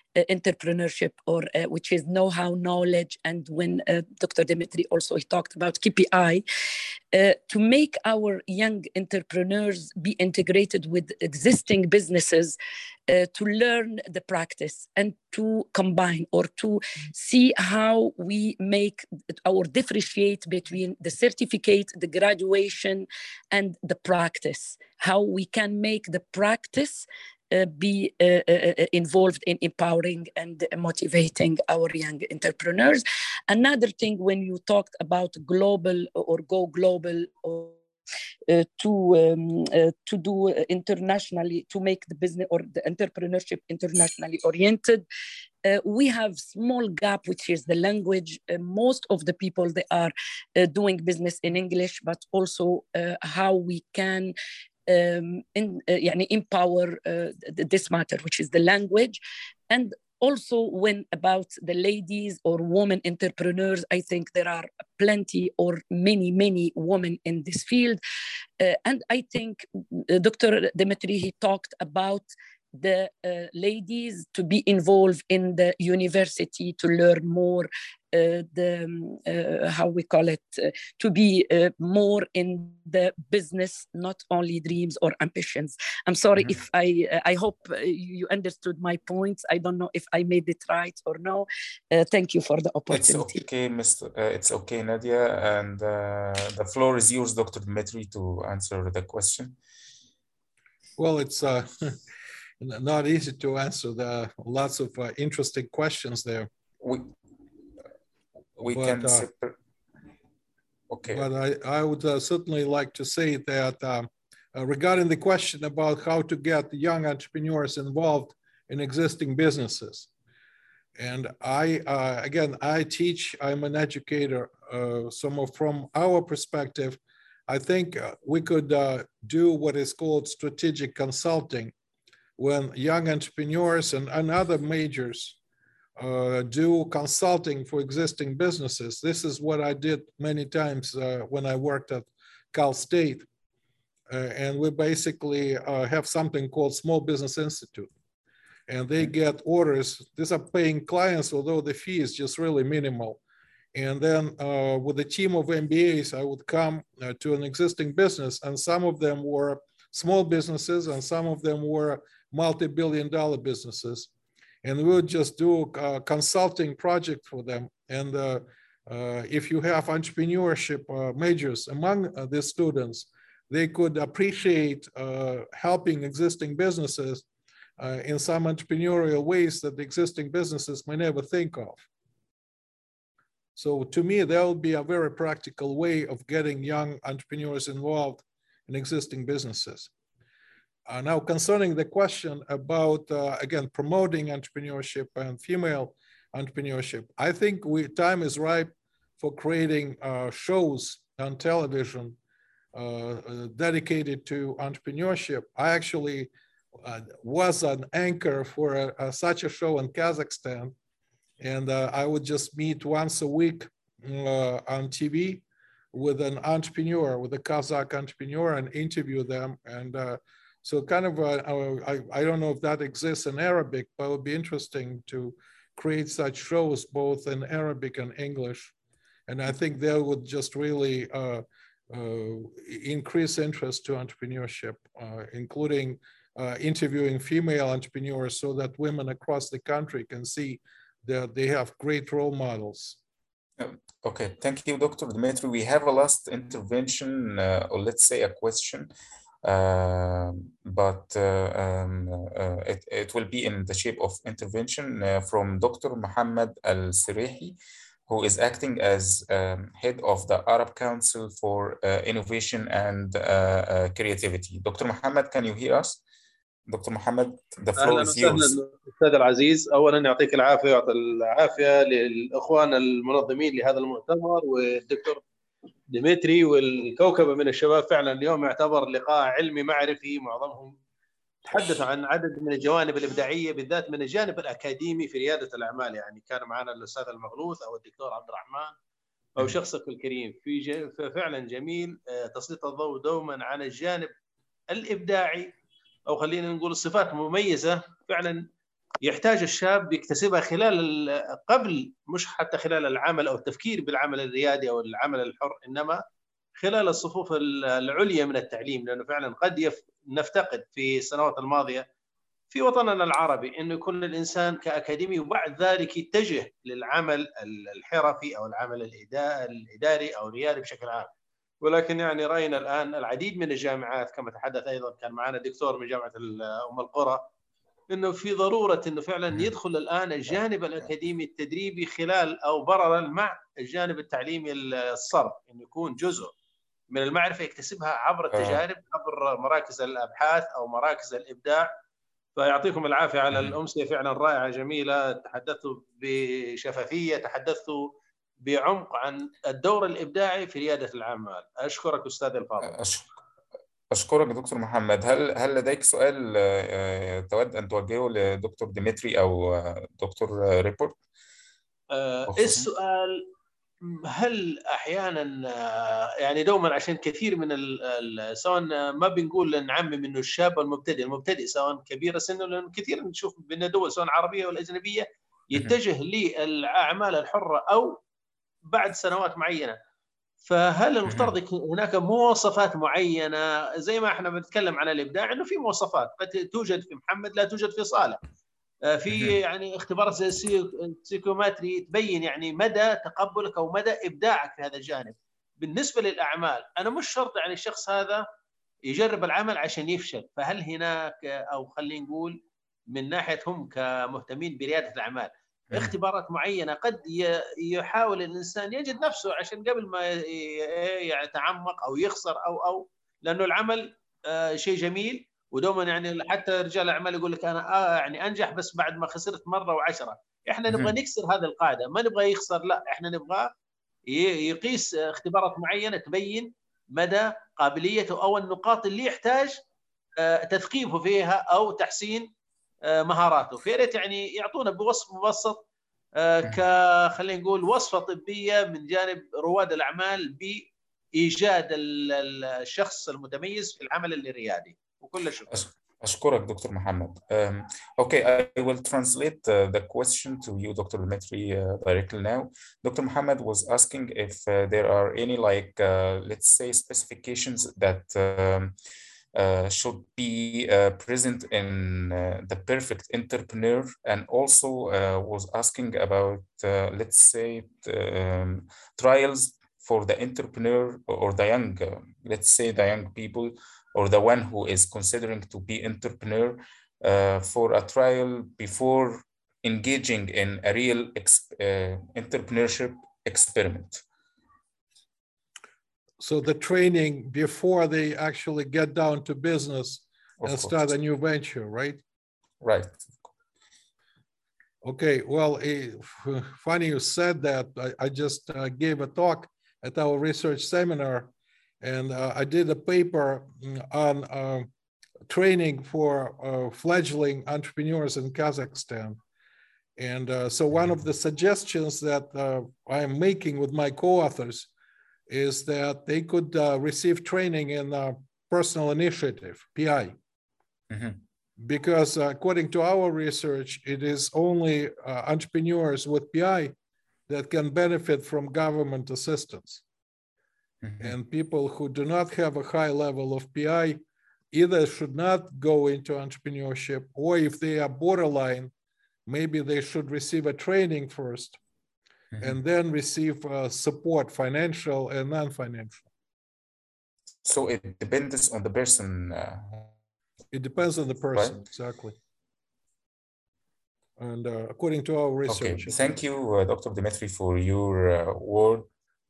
uh, entrepreneurship, or uh, which is know-how, knowledge. And when uh, Doctor Dimitri also he talked about K P I, uh, to make our young entrepreneurs be integrated with existing businesses, uh, to learn the practice and to combine or to see how we make or differentiate between the certificate, the graduation, and the practice, how we can make the practice Uh, be uh, uh, involved in empowering and motivating our young entrepreneurs. Another thing, when you talked about global or go global, or uh, to um, uh, to do internationally, to make the business or the entrepreneurship internationally oriented, uh, we have small gap, which is the language. Uh, most of the people, they are uh, doing business in English, but also uh, how we can Um, in, uh, يعني empower uh, this matter, which is the language. And also, when about the ladies or women entrepreneurs, I think there are plenty or many, many women in this field. Uh, and I think uh, Doctor Dimitri, he talked about the uh, ladies to be involved in the university to learn more, uh, the uh, how we call it, uh, to be uh, more in the business, not only dreams or ambitions. I'm sorry mm-hmm. if I uh, I hope you understood my points. I don't know if I made it right or no. Uh, thank you for the opportunity. It's okay, Mister Uh, it's okay, Nadia, and uh, the floor is yours, Doctor Dimitri, to answer the question. Well, it's uh, not easy to answer. The lots of uh, interesting questions there. We we but, can. Uh, okay. But I I would uh, certainly like to say that um, uh, regarding the question about how to get young entrepreneurs involved in existing businesses, and I uh, again I teach. I'm an educator. Uh, so from our perspective, I think uh, we could uh, do what is called strategic consulting. When young entrepreneurs and, and other majors uh, do consulting for existing businesses. This is what I did many times uh, when I worked at Cal State. Uh, and we basically uh, have something called Small Business Institute. And they get orders. These are paying clients, although the fee is just really minimal. And then uh, with a team of M B As, I would come uh, to an existing business, and some of them were small businesses and some of them were multi-billion dollar businesses. And we would just do a consulting project for them. And uh, uh, if you have entrepreneurship uh, majors among uh, the students, they could appreciate uh, helping existing businesses uh, in some entrepreneurial ways that the existing businesses may never think of. So to me, that would be a very practical way of getting young entrepreneurs involved in existing businesses. Uh, now, concerning the question about, uh, again, promoting entrepreneurship and female entrepreneurship, I think we, time is ripe for creating uh, shows on television uh, uh, dedicated to entrepreneurship. I actually uh, was an anchor for a, a, such a show in Kazakhstan, and uh, I would just meet once a week uh, on T V with an entrepreneur, with a Kazakh entrepreneur, and interview them. And uh, So kind of, uh, I, I don't know if that exists in Arabic, but it would be interesting to create such shows both in Arabic and English. And I think that would just really uh, uh, increase interest to entrepreneurship, uh, including uh, interviewing female entrepreneurs so that women across the country can see that they have great role models. Okay, thank you, Doctor Dimitri. We have a last intervention, uh, or let's say a question. Uh, but uh, um, uh, it, it will be in the shape of intervention uh, from Doctor Mohammed Al-Sirihi, who is acting as um, head of the Arab Council for uh, Innovation and uh, uh, Creativity. Doctor Mohammed, can you hear us? Doctor Mohammed, the floor is yours. أستاذ العزيز، أولا يعطيك العافية ويعطي العافية للإخوان المنظمين لهذا المؤتمر والدكتور ديمتري والكوكبة من الشباب. فعلا اليوم يعتبر لقاء علمي معرفي، معظمهم تحدثوا عن عدد من الجوانب الإبداعية بالذات من الجانب الأكاديمي في ريادة الأعمال. يعني كان معنا الأستاذ المغلوث أو الدكتور عبد الرحمن أو شخصك الكريم. في فعلا جميل تسليط الضوء دوما على الجانب الإبداعي، أو خلينا نقول الصفات المميزة فعلا يحتاج الشاب يكتسبها خلال قبل، مش حتى خلال العمل أو التفكير بالعمل الريادي أو العمل الحر، إنما خلال الصفوف العليا من التعليم. لأنه فعلا قد يف... نفتقد في السنوات الماضية في وطننا العربي أنه يكون الإنسان كأكاديمي وبعد ذلك يتجه للعمل الحرفي أو العمل الإداري أو الريادي بشكل عام. ولكن يعني رأينا الآن العديد من الجامعات، كما تحدث أيضا كان معنا دكتور من جامعة أم القرى، انه في ضروره انه فعلا يدخل الان الجانب الاكاديمي التدريبي خلال او بررا مع الجانب التعليمي الصرف، انه يكون جزء من المعرفه يكتسبها عبر التجارب، عبر مراكز الابحاث او مراكز الابداع. فيعطيكم العافيه على الامسيه فعلا رائعه جميله، تحدثتوا بشفافيه، تحدثتوا بعمق عن الدور الابداعي في رياده الاعمال. اشكرك استاذ الفاضل. أشكرك دكتور محمد. هل هل لديك سؤال تود أن توجهه لدكتور ديمتري أو دكتور ريبورت؟ آه السؤال هل أحيانا يعني دوما عشان كثير من سواء ما بنقول نعمم إنه الشاب المبتدئ المبتدئ سواء كبير سنه، لأن كثير نشوف بين دول سواء عربية ولا أجنبية يتجه للأعمال الحرة أو بعد سنوات معينة. فهل المفترض هناك مواصفات معينة زي ما احنا بنتكلم عن الإبداع إنه في مواصفات قد توجد في محمد لا توجد في صالح، في يعني اختبارات زي السيكوماتري تبين يعني مدى تقبلك أو مدى إبداعك في هذا الجانب. بالنسبة للأعمال أنا مش شرط يعني الشخص هذا يجرب العمل عشان يفشل، فهل هناك أو خلينا نقول من ناحية هم كمهتمين بريادة الأعمال اختبارات معينة قد يحاول الإنسان يجد نفسه عشان قبل ما يتعمق أو يخسر أو أو لأنه العمل شيء جميل، ودوما يعني حتى رجال الأعمال يقول لك أنا آه يعني أنجح بس بعد ما خسرت مرة وعشرة. إحنا نبغى نكسر هذه القاعدة، ما نبغى يخسر، لا إحنا نبغى يقيس اختبارات معينة تبين مدى قابليته أو النقاط اللي يحتاج تثقيفه فيها أو تحسين مهاراته. فياريت يعني يعطونا بوصف مبسط ك خلينا نقول وصفه طبيه من جانب رواد الاعمال بايجاد الشخص المتميز في العمل الريادي. وكل شكر. أشكرك دكتور محمد. Um, okay, I will translate uh, the question to you, Doctor Dimitri, uh, directly now. Doctor Muhammad was asking if uh, there are any, like, uh, let's say, specifications that um, Uh, should be uh, present in uh, the perfect entrepreneur, and also uh, was asking about, uh, let's say, um, trials for the entrepreneur or the young, uh, let's say the young people or the one who is considering to be entrepreneur uh, for a trial before engaging in a real ex- uh, entrepreneurship experiment. So the training before they actually get down to business of and course. Start a new venture, right? Right. Okay, well, uh, funny you said that. I, I just uh, gave a talk at our research seminar, and uh, I did a paper on uh, training for uh, fledgling entrepreneurs in Kazakhstan. And uh, so one of the suggestions that uh, I'm making with my co-authors is that they could uh, receive training in uh, personal initiative, P I. Mm-hmm. Because uh, according to our research, it is only uh, entrepreneurs with P I that can benefit from government assistance. Mm-hmm. And people who do not have a high level of P I either should not go into entrepreneurship, or if they are borderline, maybe they should receive a training first. Mm-hmm. And then receive uh, support, financial and non-financial. So it depends on the person. Uh, it depends on the person, right? Exactly. And uh, according to our research. Okay, thank you, uh, Doctor Dimitri, for your uh, word.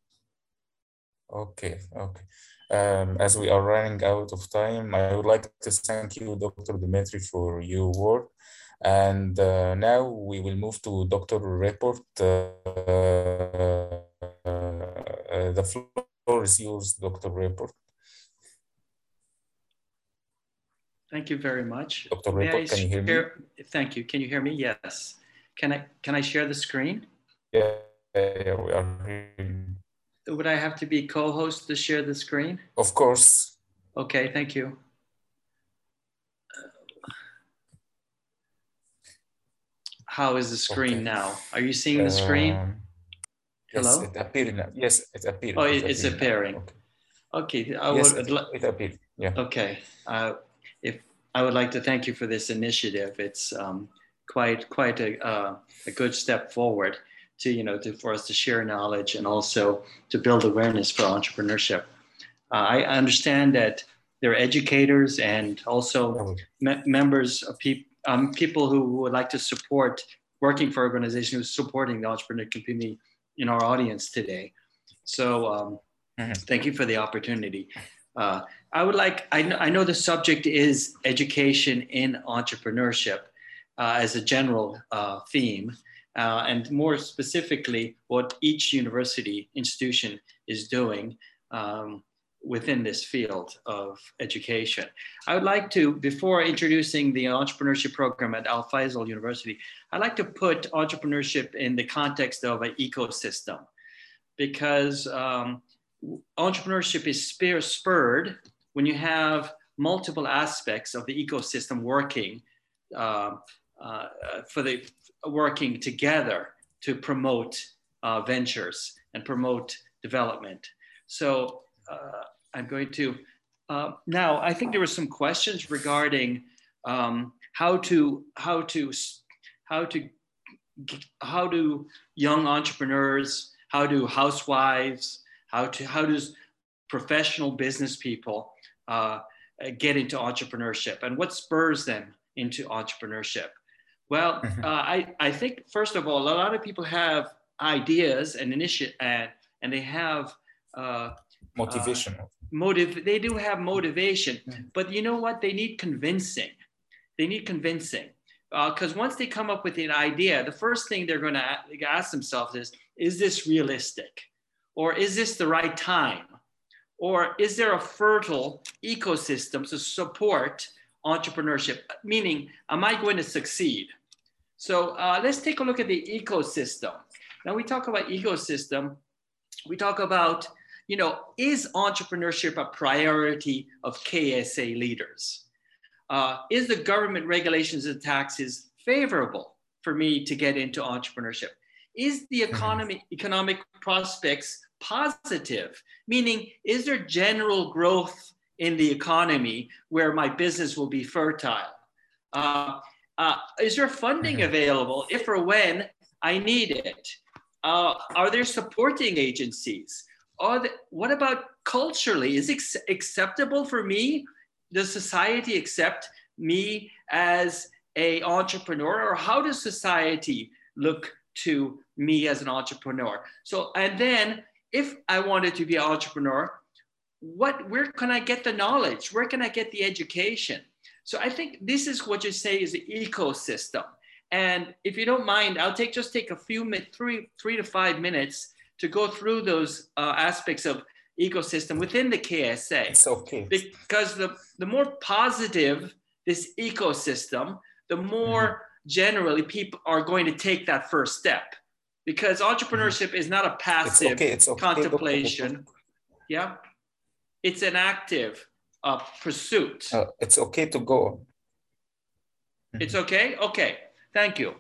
Okay, okay. Um, as we are running out of time, I would like to thank you, Doctor Dimitri, for your word. And uh, now we will move to Doctor Report. Uh, uh, the floor is yours, Doctor Report. Thank you very much. Doctor Report, can you hear me? Thank you. Can you hear me? Yes. Can I can I share the screen? Yeah, yeah, we are hearing. Would I have to be co-host to share the screen? Of course. Okay, thank you. how is the screen Okay. now? Are you seeing the screen? Um, Hello? Yes, it appeared now. Yes, it appeared. Oh, It it- it's appeared appearing. now. Okay. Okay, I Yes, would. it, it appeared. Yeah. Okay, uh, if I would like to thank you for this initiative. It's um, quite quite a, uh, a good step forward to you know to, for us to share knowledge and also to build awareness for entrepreneurship. Uh, I understand that there are educators and also me- members of people um, people who would like to support working for organizations who are supporting the entrepreneur community in our audience today. So. Um, Thank you for the opportunity. Uh, I would like, I know, I know the subject is education in entrepreneurship uh, as a general uh, theme, uh, and more specifically, what each university institution is doing um, within this field of education. I would like to, before introducing the entrepreneurship program at Al Faisal University, I'd like to put entrepreneurship in the context of an ecosystem, because um, entrepreneurship is spurred when you have multiple aspects of the ecosystem working uh, uh, for the working together to promote uh, ventures and promote development. So uh, I'm going to uh, now. I think there were some questions regarding um, how to how to how to how do young entrepreneurs, how do housewives, How to how does professional business people uh, get into entrepreneurship, and what spurs them into entrepreneurship? Well, uh, I I think first of all, a lot of people have ideas and initiative, and and they have uh, motivation. Uh, motive. They do have motivation, but you know what? They need convincing. They need convincing because uh, once they come up with an idea, the first thing they're going to ask themselves is, "Is this realistic? Or is this the right time? Or is there a fertile ecosystem to support entrepreneurship? Meaning, am I going to succeed?" So uh, let's take a look at the ecosystem. Now we talk about ecosystem. We talk about, you know, is entrepreneurship a priority of K S A leaders? Uh, is the government regulations and taxes favorable for me to get into entrepreneurship? Is the economy, economic prospects positive? Meaning, is there general growth in the economy where my business will be fertile? Uh, uh, is there funding available if or when I need it? Uh, are there supporting agencies? Are the, what about culturally? Is it acceptable for me? Does society accept me as an entrepreneur? Or how does society look to me as an entrepreneur? So, and then if I wanted to be an entrepreneur, what, where can I get the knowledge? Where can I get the education? So I think this is what you say is the ecosystem. And if you don't mind, I'll take just take a few minutes, three, three to five minutes to go through those uh, aspects of ecosystem within the K S A. It's okay. Because the, the more positive this ecosystem, the more mm-hmm. generally people are going to take that first step. Because entrepreneurship mm-hmm. is not a passive it's okay. It's okay. contemplation. Yeah. It's an active uh, pursuit. Uh, it's okay to go. Mm-hmm. It's okay? Okay. Thank you.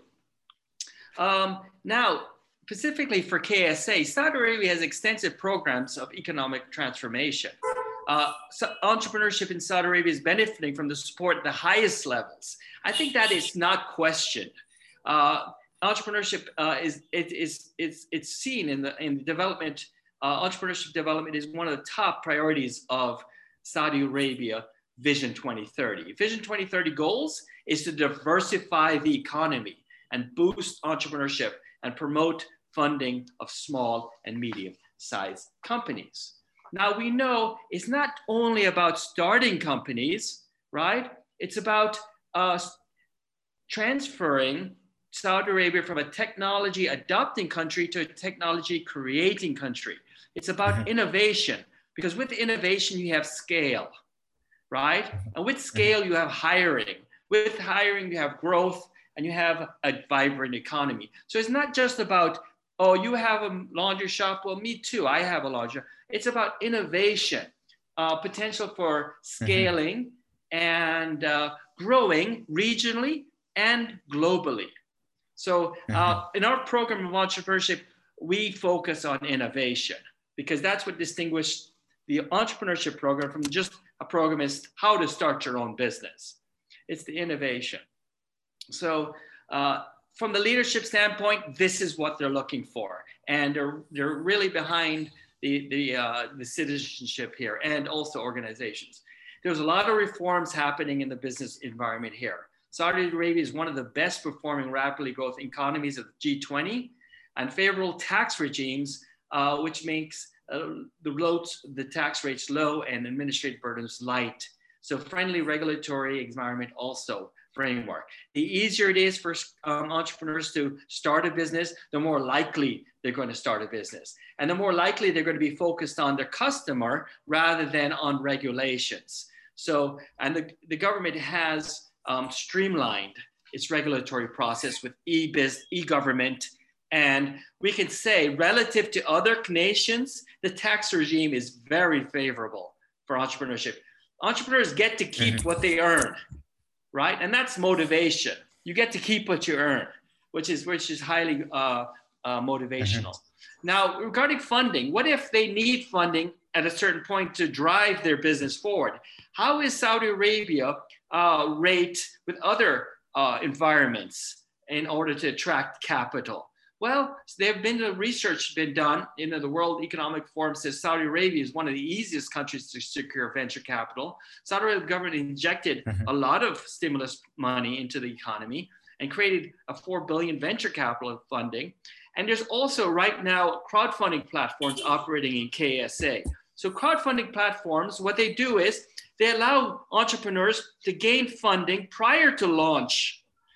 Um, now, specifically for K S A, Saudi Arabia has extensive programs of economic transformation. Uh, so entrepreneurship in Saudi Arabia is benefiting from the support at the highest levels. I think that is not questioned. Uh, entrepreneurship uh, is it is it's it's seen in the in the development. Uh, entrepreneurship development is one of the top priorities of Saudi Arabia Vision twenty thirty. Vision twenty thirty goals is to diversify the economy and boost entrepreneurship and promote funding of small and medium-sized companies. Now we know it's not only about starting companies, right? It's about uh, transferring Saudi Arabia from a technology adopting country to a technology creating country. It's about mm-hmm. innovation, because with innovation you have scale, right? And with scale you have hiring. With hiring you have growth and you have a vibrant economy. So it's not just about, oh, you have a laundry shop. Well, me too, I have a laundry shop. It's about innovation, uh, potential for scaling mm-hmm. and uh, growing regionally and globally. So uh, in our program of entrepreneurship, we focus on innovation because that's what distinguished the entrepreneurship program from just a program is how to start your own business. It's the innovation. So uh, from the leadership standpoint, this is what they're looking for. And they're, they're really behind the, the, uh, the citizenship here and also organizations. There's a lot of reforms happening in the business environment here. Saudi Arabia is one of the best performing rapidly growth economies of the G twenty, and favorable tax regimes, uh, which makes uh, the, low, the tax rates low and administrative burdens light. So friendly regulatory environment also framework. The easier it is for um, entrepreneurs to start a business, the more likely they're going to start a business. And the more likely they're going to be focused on their customer rather than on regulations. So, and the, the government has um, streamlined its regulatory process with e-biz, e-government. And we can say relative to other nations, the tax regime is very favorable for entrepreneurship. Entrepreneurs get to keep mm-hmm. what they earn, right? And that's motivation. You get to keep what you earn, which is, which is highly uh, uh, motivational. Mm-hmm. Now, regarding funding, what if they need funding at a certain point to drive their business forward? How is Saudi Arabia uh, rate with other uh, environments in order to attract capital? Well, there have been a research been done. You know, the World Economic Forum says Saudi Arabia is one of the easiest countries to secure venture capital. Saudi Arabia government injected mm-hmm. a lot of stimulus money into the economy and created a four billion venture capital funding. And there's also right now crowdfunding platforms operating in K S A. So crowdfunding platforms, what they do is they allow entrepreneurs to gain funding prior to launch.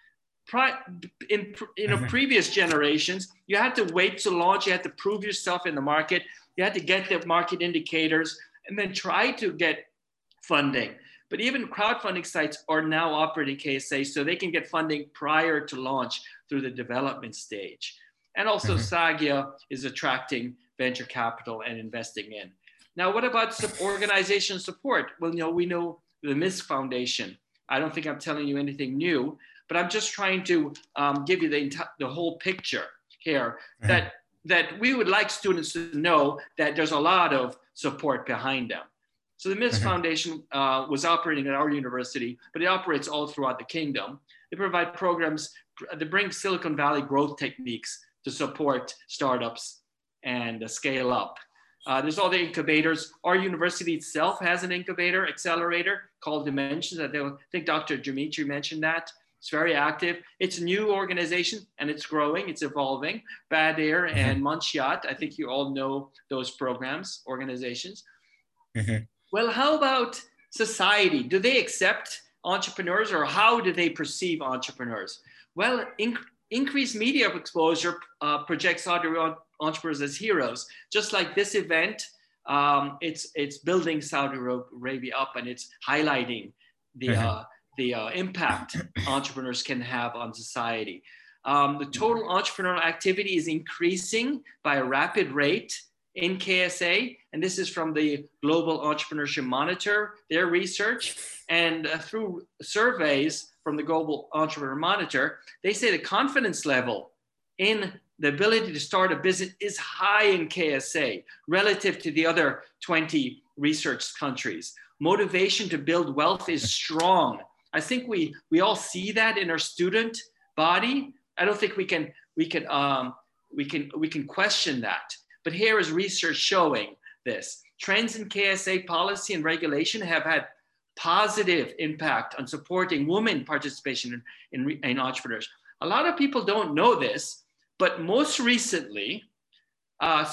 In you know, previous generations, you had to wait to launch, you had to prove yourself in the market, you had to get the market indicators, and then try to get funding. But even crowdfunding sites are now operating K S A, so they can get funding prior to launch through the development stage. And also mm-hmm. SAGIA is attracting venture capital and investing in. Now, what about organization support? Well, you know, we know the M I S C Foundation. I don't think I'm telling you anything new, but I'm just trying to um, give you the, the whole picture here mm-hmm. that, that we would like students to know that there's a lot of support behind them. So the M I S C mm-hmm. Foundation uh, was operating at our university, but it operates all throughout the kingdom. They provide programs, they bring Silicon Valley growth techniques to support startups and uh, scale up. Uh, there's all the incubators. Our university itself has an incubator accelerator called Dimensions. I think Doctor Dimitri mentioned that. It's very active. It's a new organization and it's growing, it's evolving. Badir mm-hmm. and Munchiat, I think you all know those programs, organizations. Mm-hmm. Well, how about society? Do they accept entrepreneurs or how do they perceive entrepreneurs? Well, in, increased media exposure uh, projects entrepreneurs as heroes. Just like this event, um, it's, it's building Saudi Arabia up and it's highlighting the, mm-hmm. uh, the uh, impact entrepreneurs can have on society. Um, the total entrepreneurial activity is increasing by a rapid rate in K S A, and this is from the Global Entrepreneurship Monitor, their research, and uh, through surveys from the Global Entrepreneur Monitor, they say the confidence level in the ability to start a business is high in K S A relative to the other twenty research countries. Motivation to build wealth is strong. I think we, we all see that in our student body. I don't think we can, we can, um, we can, we can question that. But here is research showing this. Trends in K S A policy and regulation have had positive impact on supporting women participation in, in, in entrepreneurs. A lot of people don't know this, but most recently, uh,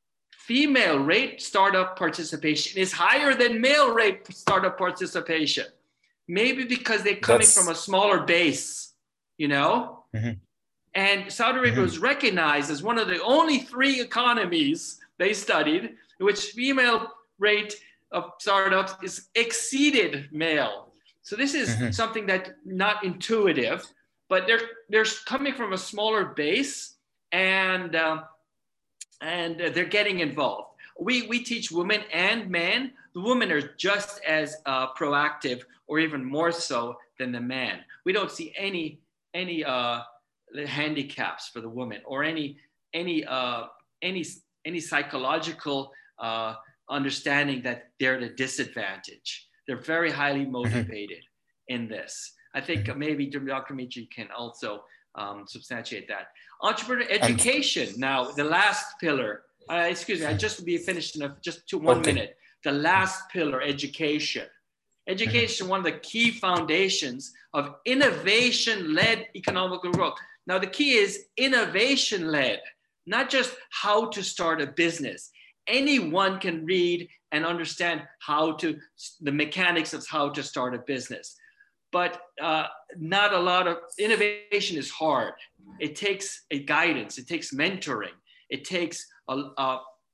female rate startup participation is higher than male rate startup participation. Maybe because they're coming That's... from a smaller base, you know? Mm-hmm. And Saudi Arabia mm-hmm. was recognized as one of the only three economies they studied in which female rate of startups is exceeded male. So this is mm-hmm. something that's not intuitive, but they're, they're coming from a smaller base and, uh, and they're getting involved. We, we teach women and men. The women are just as uh, proactive or even more so than the man. We don't see any, any uh, handicaps for the women, or any any uh, any any psychological uh, understanding that they're at a disadvantage. They're very highly motivated in this. I think maybe Doctor Mitri can also um, substantiate that. Entrepreneur education. Now, the last pillar. Uh, excuse me. I just be finished in a, just two one okay. minute. The last pillar, education. Education, one of the key foundations of innovation-led economic growth. Now, the key is innovation-led, not just how to start a business. Anyone can read and understand how to, the mechanics of how to start a business. But uh, not a lot of, innovation is hard. It takes a guidance, it takes mentoring, it takes a, a,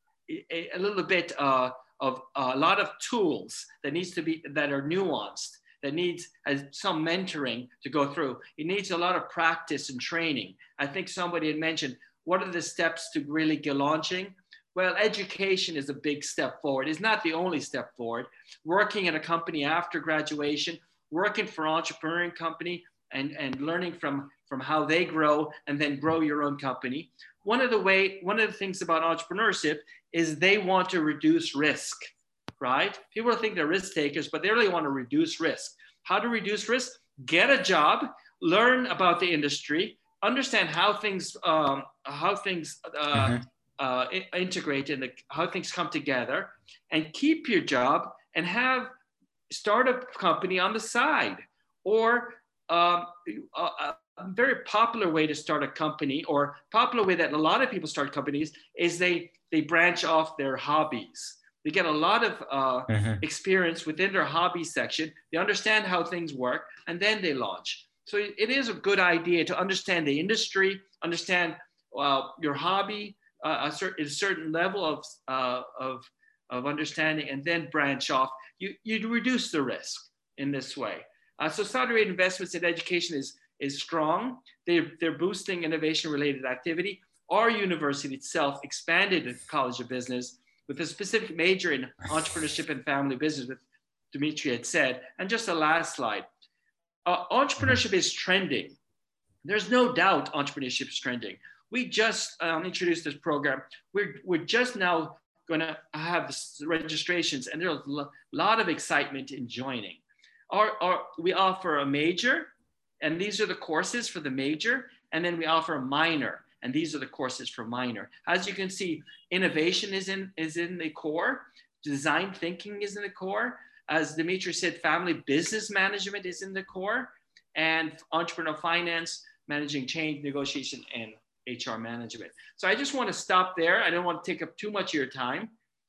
a little bit uh, of a lot of tools that needs to be, that are nuanced, that needs uh, some mentoring to go through. It needs a lot of practice and training. I think somebody had mentioned, what are the steps to really get launching? Well, education is a big step forward. It's not the only step forward. Working at a company after graduation, working for an entrepreneurial company and, and learning from, from how they grow and then grow your own company. One of the way, one of the things about entrepreneurship is they want to reduce risk, right? People think they're risk takers, but they really want to reduce risk. How to reduce risk? Get a job, learn about the industry, understand how things, um, how things uh, mm-hmm. uh, integrate and how things come together, and keep your job and have start a company on the side. Or um, a, a very popular way to start a company, or popular way that a lot of people start companies, is they they branch off their hobbies. They get a lot of uh, mm-hmm. experience within their hobby section. They understand how things work, and then they launch. So it, it is a good idea to understand the industry, understand uh, your hobby, uh, a, certain, a certain level of, uh, of, of understanding, and then branch off. You, you reduce the risk in this way. Uh, so Saudi Arabian investments in education is, is strong. They're, they're boosting innovation-related activity. Our university itself expanded the College of Business with a specific major in entrepreneurship and family business, with Dimitri had said. And just the last slide. Uh, entrepreneurship is trending. There's no doubt entrepreneurship is trending. We just um, introduced this program. We're, we're just now going to have registrations, and there's a lot of excitement in joining. Our, our, we offer a major, and these are the courses for the major, and then we offer a minor, and these are the courses for minor. As you can see, innovation is in, is in the core, design thinking is in the core. As Dimitri said, family business management is in the core, and entrepreneurial finance, managing change, negotiation, and H R management. So I just want to stop there. I don't want to take up too much of your time.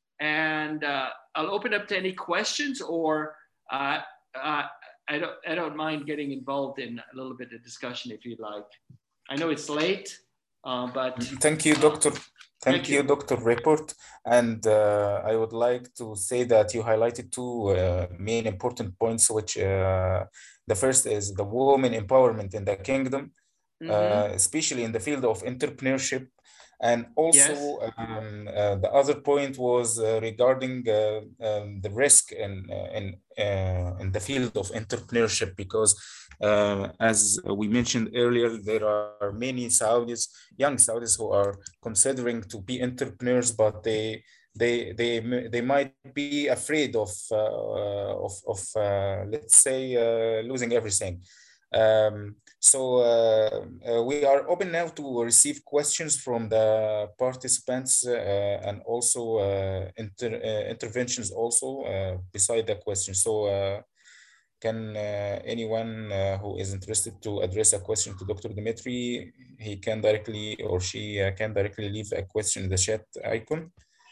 And uh, I'll open up to any questions, or uh, uh, I, don't, I don't mind getting involved in a little bit of discussion if you'd like. I know it's late, uh, but. Thank you, Doctor Thank, Thank you, you, Doctor Report. And uh, I would like to say that you highlighted two uh, main important points, which uh, the first is the women empowerment in the kingdom. Mm-hmm. uh, especially in the field of entrepreneurship. And also yes. um, uh, the other point was uh, regarding uh, um, the risk in, uh, in, uh, in the field of entrepreneurship, because uh, as we mentioned earlier, there are many Saudis, young Saudis, who are considering to be entrepreneurs, but they they they they might be afraid of uh, of, of uh, let's say uh, losing everything. Um, so uh, uh, we are open now to receive questions from the participants uh, and also uh, inter uh, interventions also uh, beside the question. So uh, can uh, anyone uh, who is interested to address a question to Doctor Dimitri, he can directly, or she uh, can directly leave a question in the chat icon.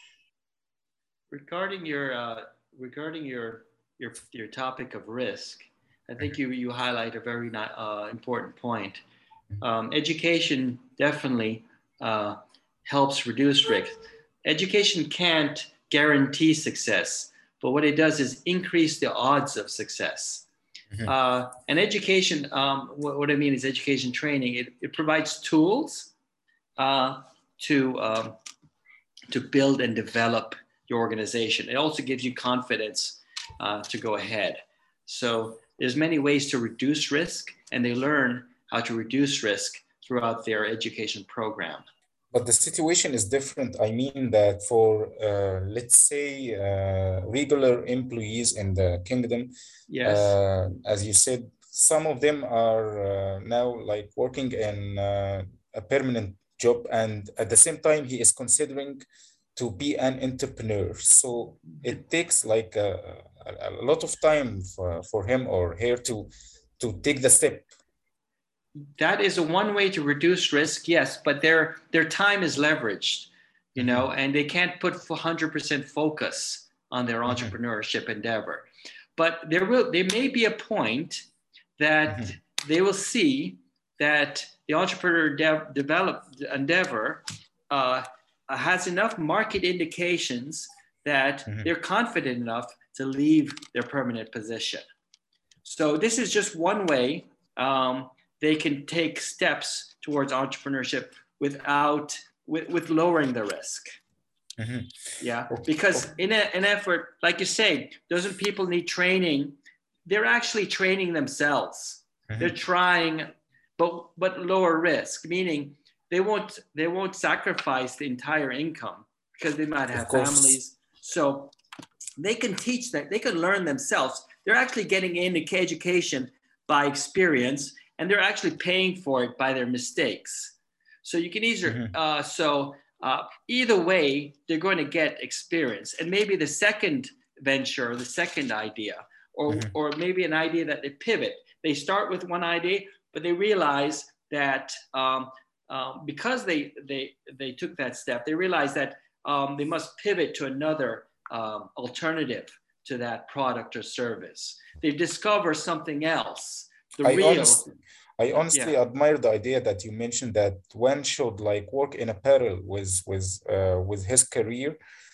Regarding your uh, regarding your your your topic of risk, I think you, you highlight a very uh, important point. Um, education definitely uh, helps reduce risk. Education can't guarantee success, but what it does is increase the odds of success. Mm-hmm. uh, and education, um, what, what I mean is education training, it, it provides tools uh, to, um, to build and develop your organization. It also gives you confidence uh, to go ahead. So there's many ways to reduce risk, and they learn how to reduce risk throughout their education program. But the situation is different. I mean that for, uh, let's say, uh, regular employees in the kingdom, yes. uh, as you said, some of them are uh, now like working in uh, a permanent job, and at the same time, he is considering to be an entrepreneur. So it takes like a, a, a lot of time for, for him or her to, to take the step. That is a one way to reduce risk, yes, but their their time is leveraged, you know, mm-hmm. and they can't put one hundred percent focus on their entrepreneurship mm-hmm. endeavor. But there will there may be a point that mm-hmm. they will see that the entrepreneur de- developed endeavor uh, has enough market indications that mm-hmm. they're confident enough to leave their permanent position. So this is just one way. Um, they can take steps towards entrepreneurship without, with, with lowering the risk. Mm-hmm. Yeah, because in a, an effort, like you say, doesn't people need training? They're actually training themselves. Mm-hmm. They're trying, but but lower risk, meaning they won't they won't sacrifice the entire income because they might have families. So they can teach that, they can learn themselves. They're actually getting into education by experience, and they're actually paying for it by their mistakes. So you can either, mm-hmm. uh, so uh, either way, they're going to get experience. And maybe the second venture, the second idea, or, mm-hmm. or maybe an idea that they pivot. They start with one idea, but they realize that um, um, because they, they, they took that step, they realize that um, they must pivot to another um, alternative to that product or service. They discover something else. The I real, honestly, I honestly yeah. admire the idea that you mentioned that one should like work in a parallel with with uh, with his career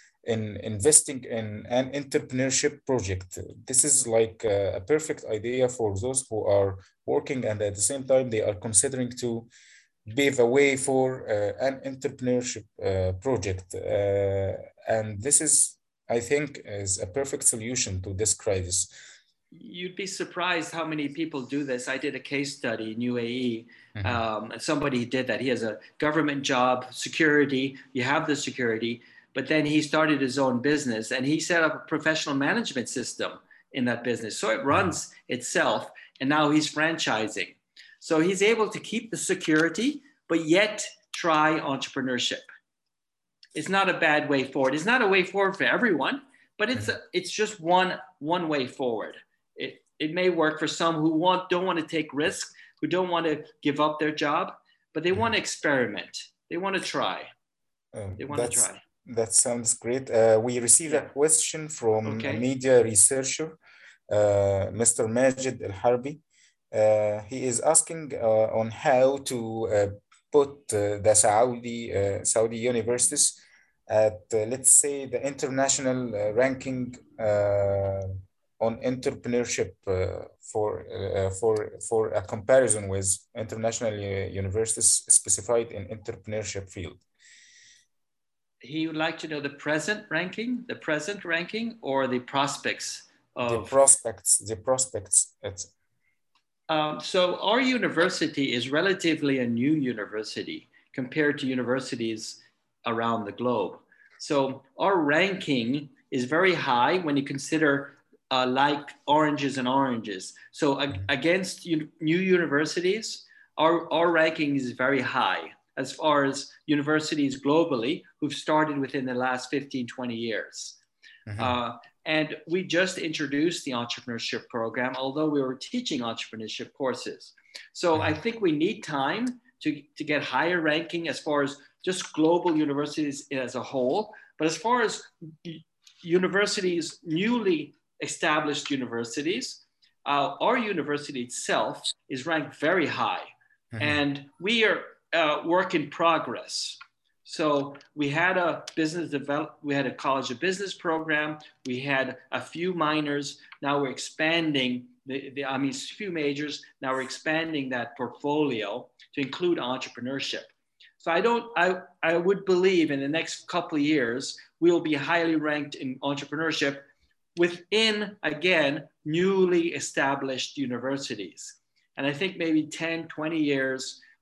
in investing in an entrepreneurship project. This is like a, a perfect idea for those who are working and at the same time they are considering to pave a way for uh, an entrepreneurship uh, project. Uh, and this is, I think, is a perfect solution to this crisis. You'd be surprised how many people do this. I did a case study in U A E, mm-hmm. um, and somebody did that. He has a government job, security, you have the security, but then he started his own business and he set up a professional management system in that business. So it runs mm-hmm. itself, and now he's franchising. So he's able to keep the security, but yet try entrepreneurship. It's not a bad way forward. It's not a way forward for everyone, but it's a, it's just one, one way forward. It, it may work for some who want, don't want to take risks, who don't want to give up their job, but they want to experiment. They want to try. Um, they want to try. That sounds great. Uh, we received yeah. a question from okay. a media researcher, uh, Mister Majid Al-Harbi. Uh, he is asking uh, on how to uh, put uh, the Saudi, uh, Saudi universities at, uh, let's say, the international uh, ranking uh, on entrepreneurship uh, for uh, for for a comparison with international uh, universities specified in entrepreneurship field. He would like to know the present ranking, the present ranking, or the prospects of the prospects. The prospects. It's... Um, so our university is relatively a new university compared to universities around the globe. So our ranking is very high when you consider Uh, like oranges and oranges. So uh, against u- new universities, our, our ranking is very high as far as universities globally who've started within the last fifteen, twenty years. Mm-hmm. Uh, and we just introduced the entrepreneurship program, although we were teaching entrepreneurship courses. So mm-hmm. I think we need time to, to get higher ranking as far as just global universities as a whole. But as far as universities newly established universities, uh, our university itself is ranked very high, mm-hmm. and we are uh, work in progress. So we had a business develop, we had a college of business program, we had a few minors. Now we're expanding the, the I mean, a few majors. Now we're expanding that portfolio to include entrepreneurship. So I don't, I, I would believe in the next couple of years we'll be highly ranked in entrepreneurship within, again, newly established universities. And I think maybe ten, twenty years,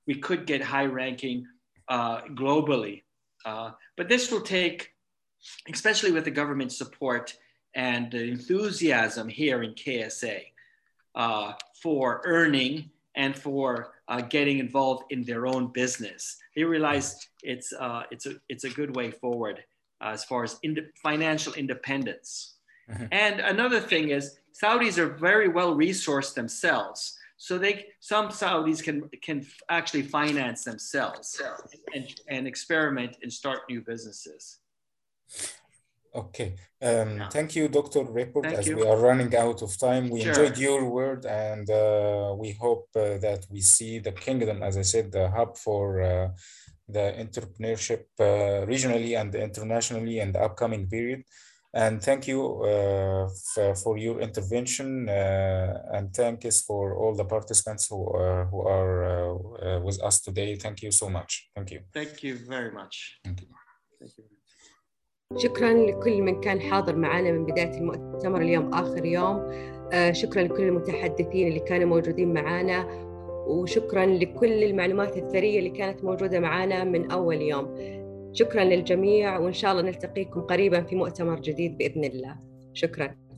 we could get high ranking uh, globally. Uh, but this will take, especially with the government support and the enthusiasm here in K S A uh, for earning and for uh, getting involved in their own business. They realize it's, uh, it's, a, it's a good way forward uh, as far as ind- financial independence. Mm-hmm. And another thing is Saudis are very well resourced themselves. So they, some Saudis can, can actually finance themselves and, and experiment and start new businesses. Okay, um, thank you, Doctor Report. Thank as you. we are running out of time, we Sure. enjoyed your word, and uh, we hope uh, that we see the kingdom, as I said, the hub for uh, the entrepreneurship uh, regionally and internationally in the upcoming period. And thank you uh, f- for your intervention, uh, and thanks for all the participants who, uh, who are uh, uh, with us today. Thank you so much. Thank you. Thank you very much. Thank you. Thank you. شكرا لكل من كان حاضر معنا من بداية المؤتمر اليوم آخر يوم. شكرا لكل المتحدثين اللي كانوا موجودين معنا، وشكرا لكل المعلومات الثرية اللي كانت موجودة معنا من أول يوم. شكرا للجميع، وإن شاء الله نلتقيكم قريبا في مؤتمر جديد بإذن الله. شكرا.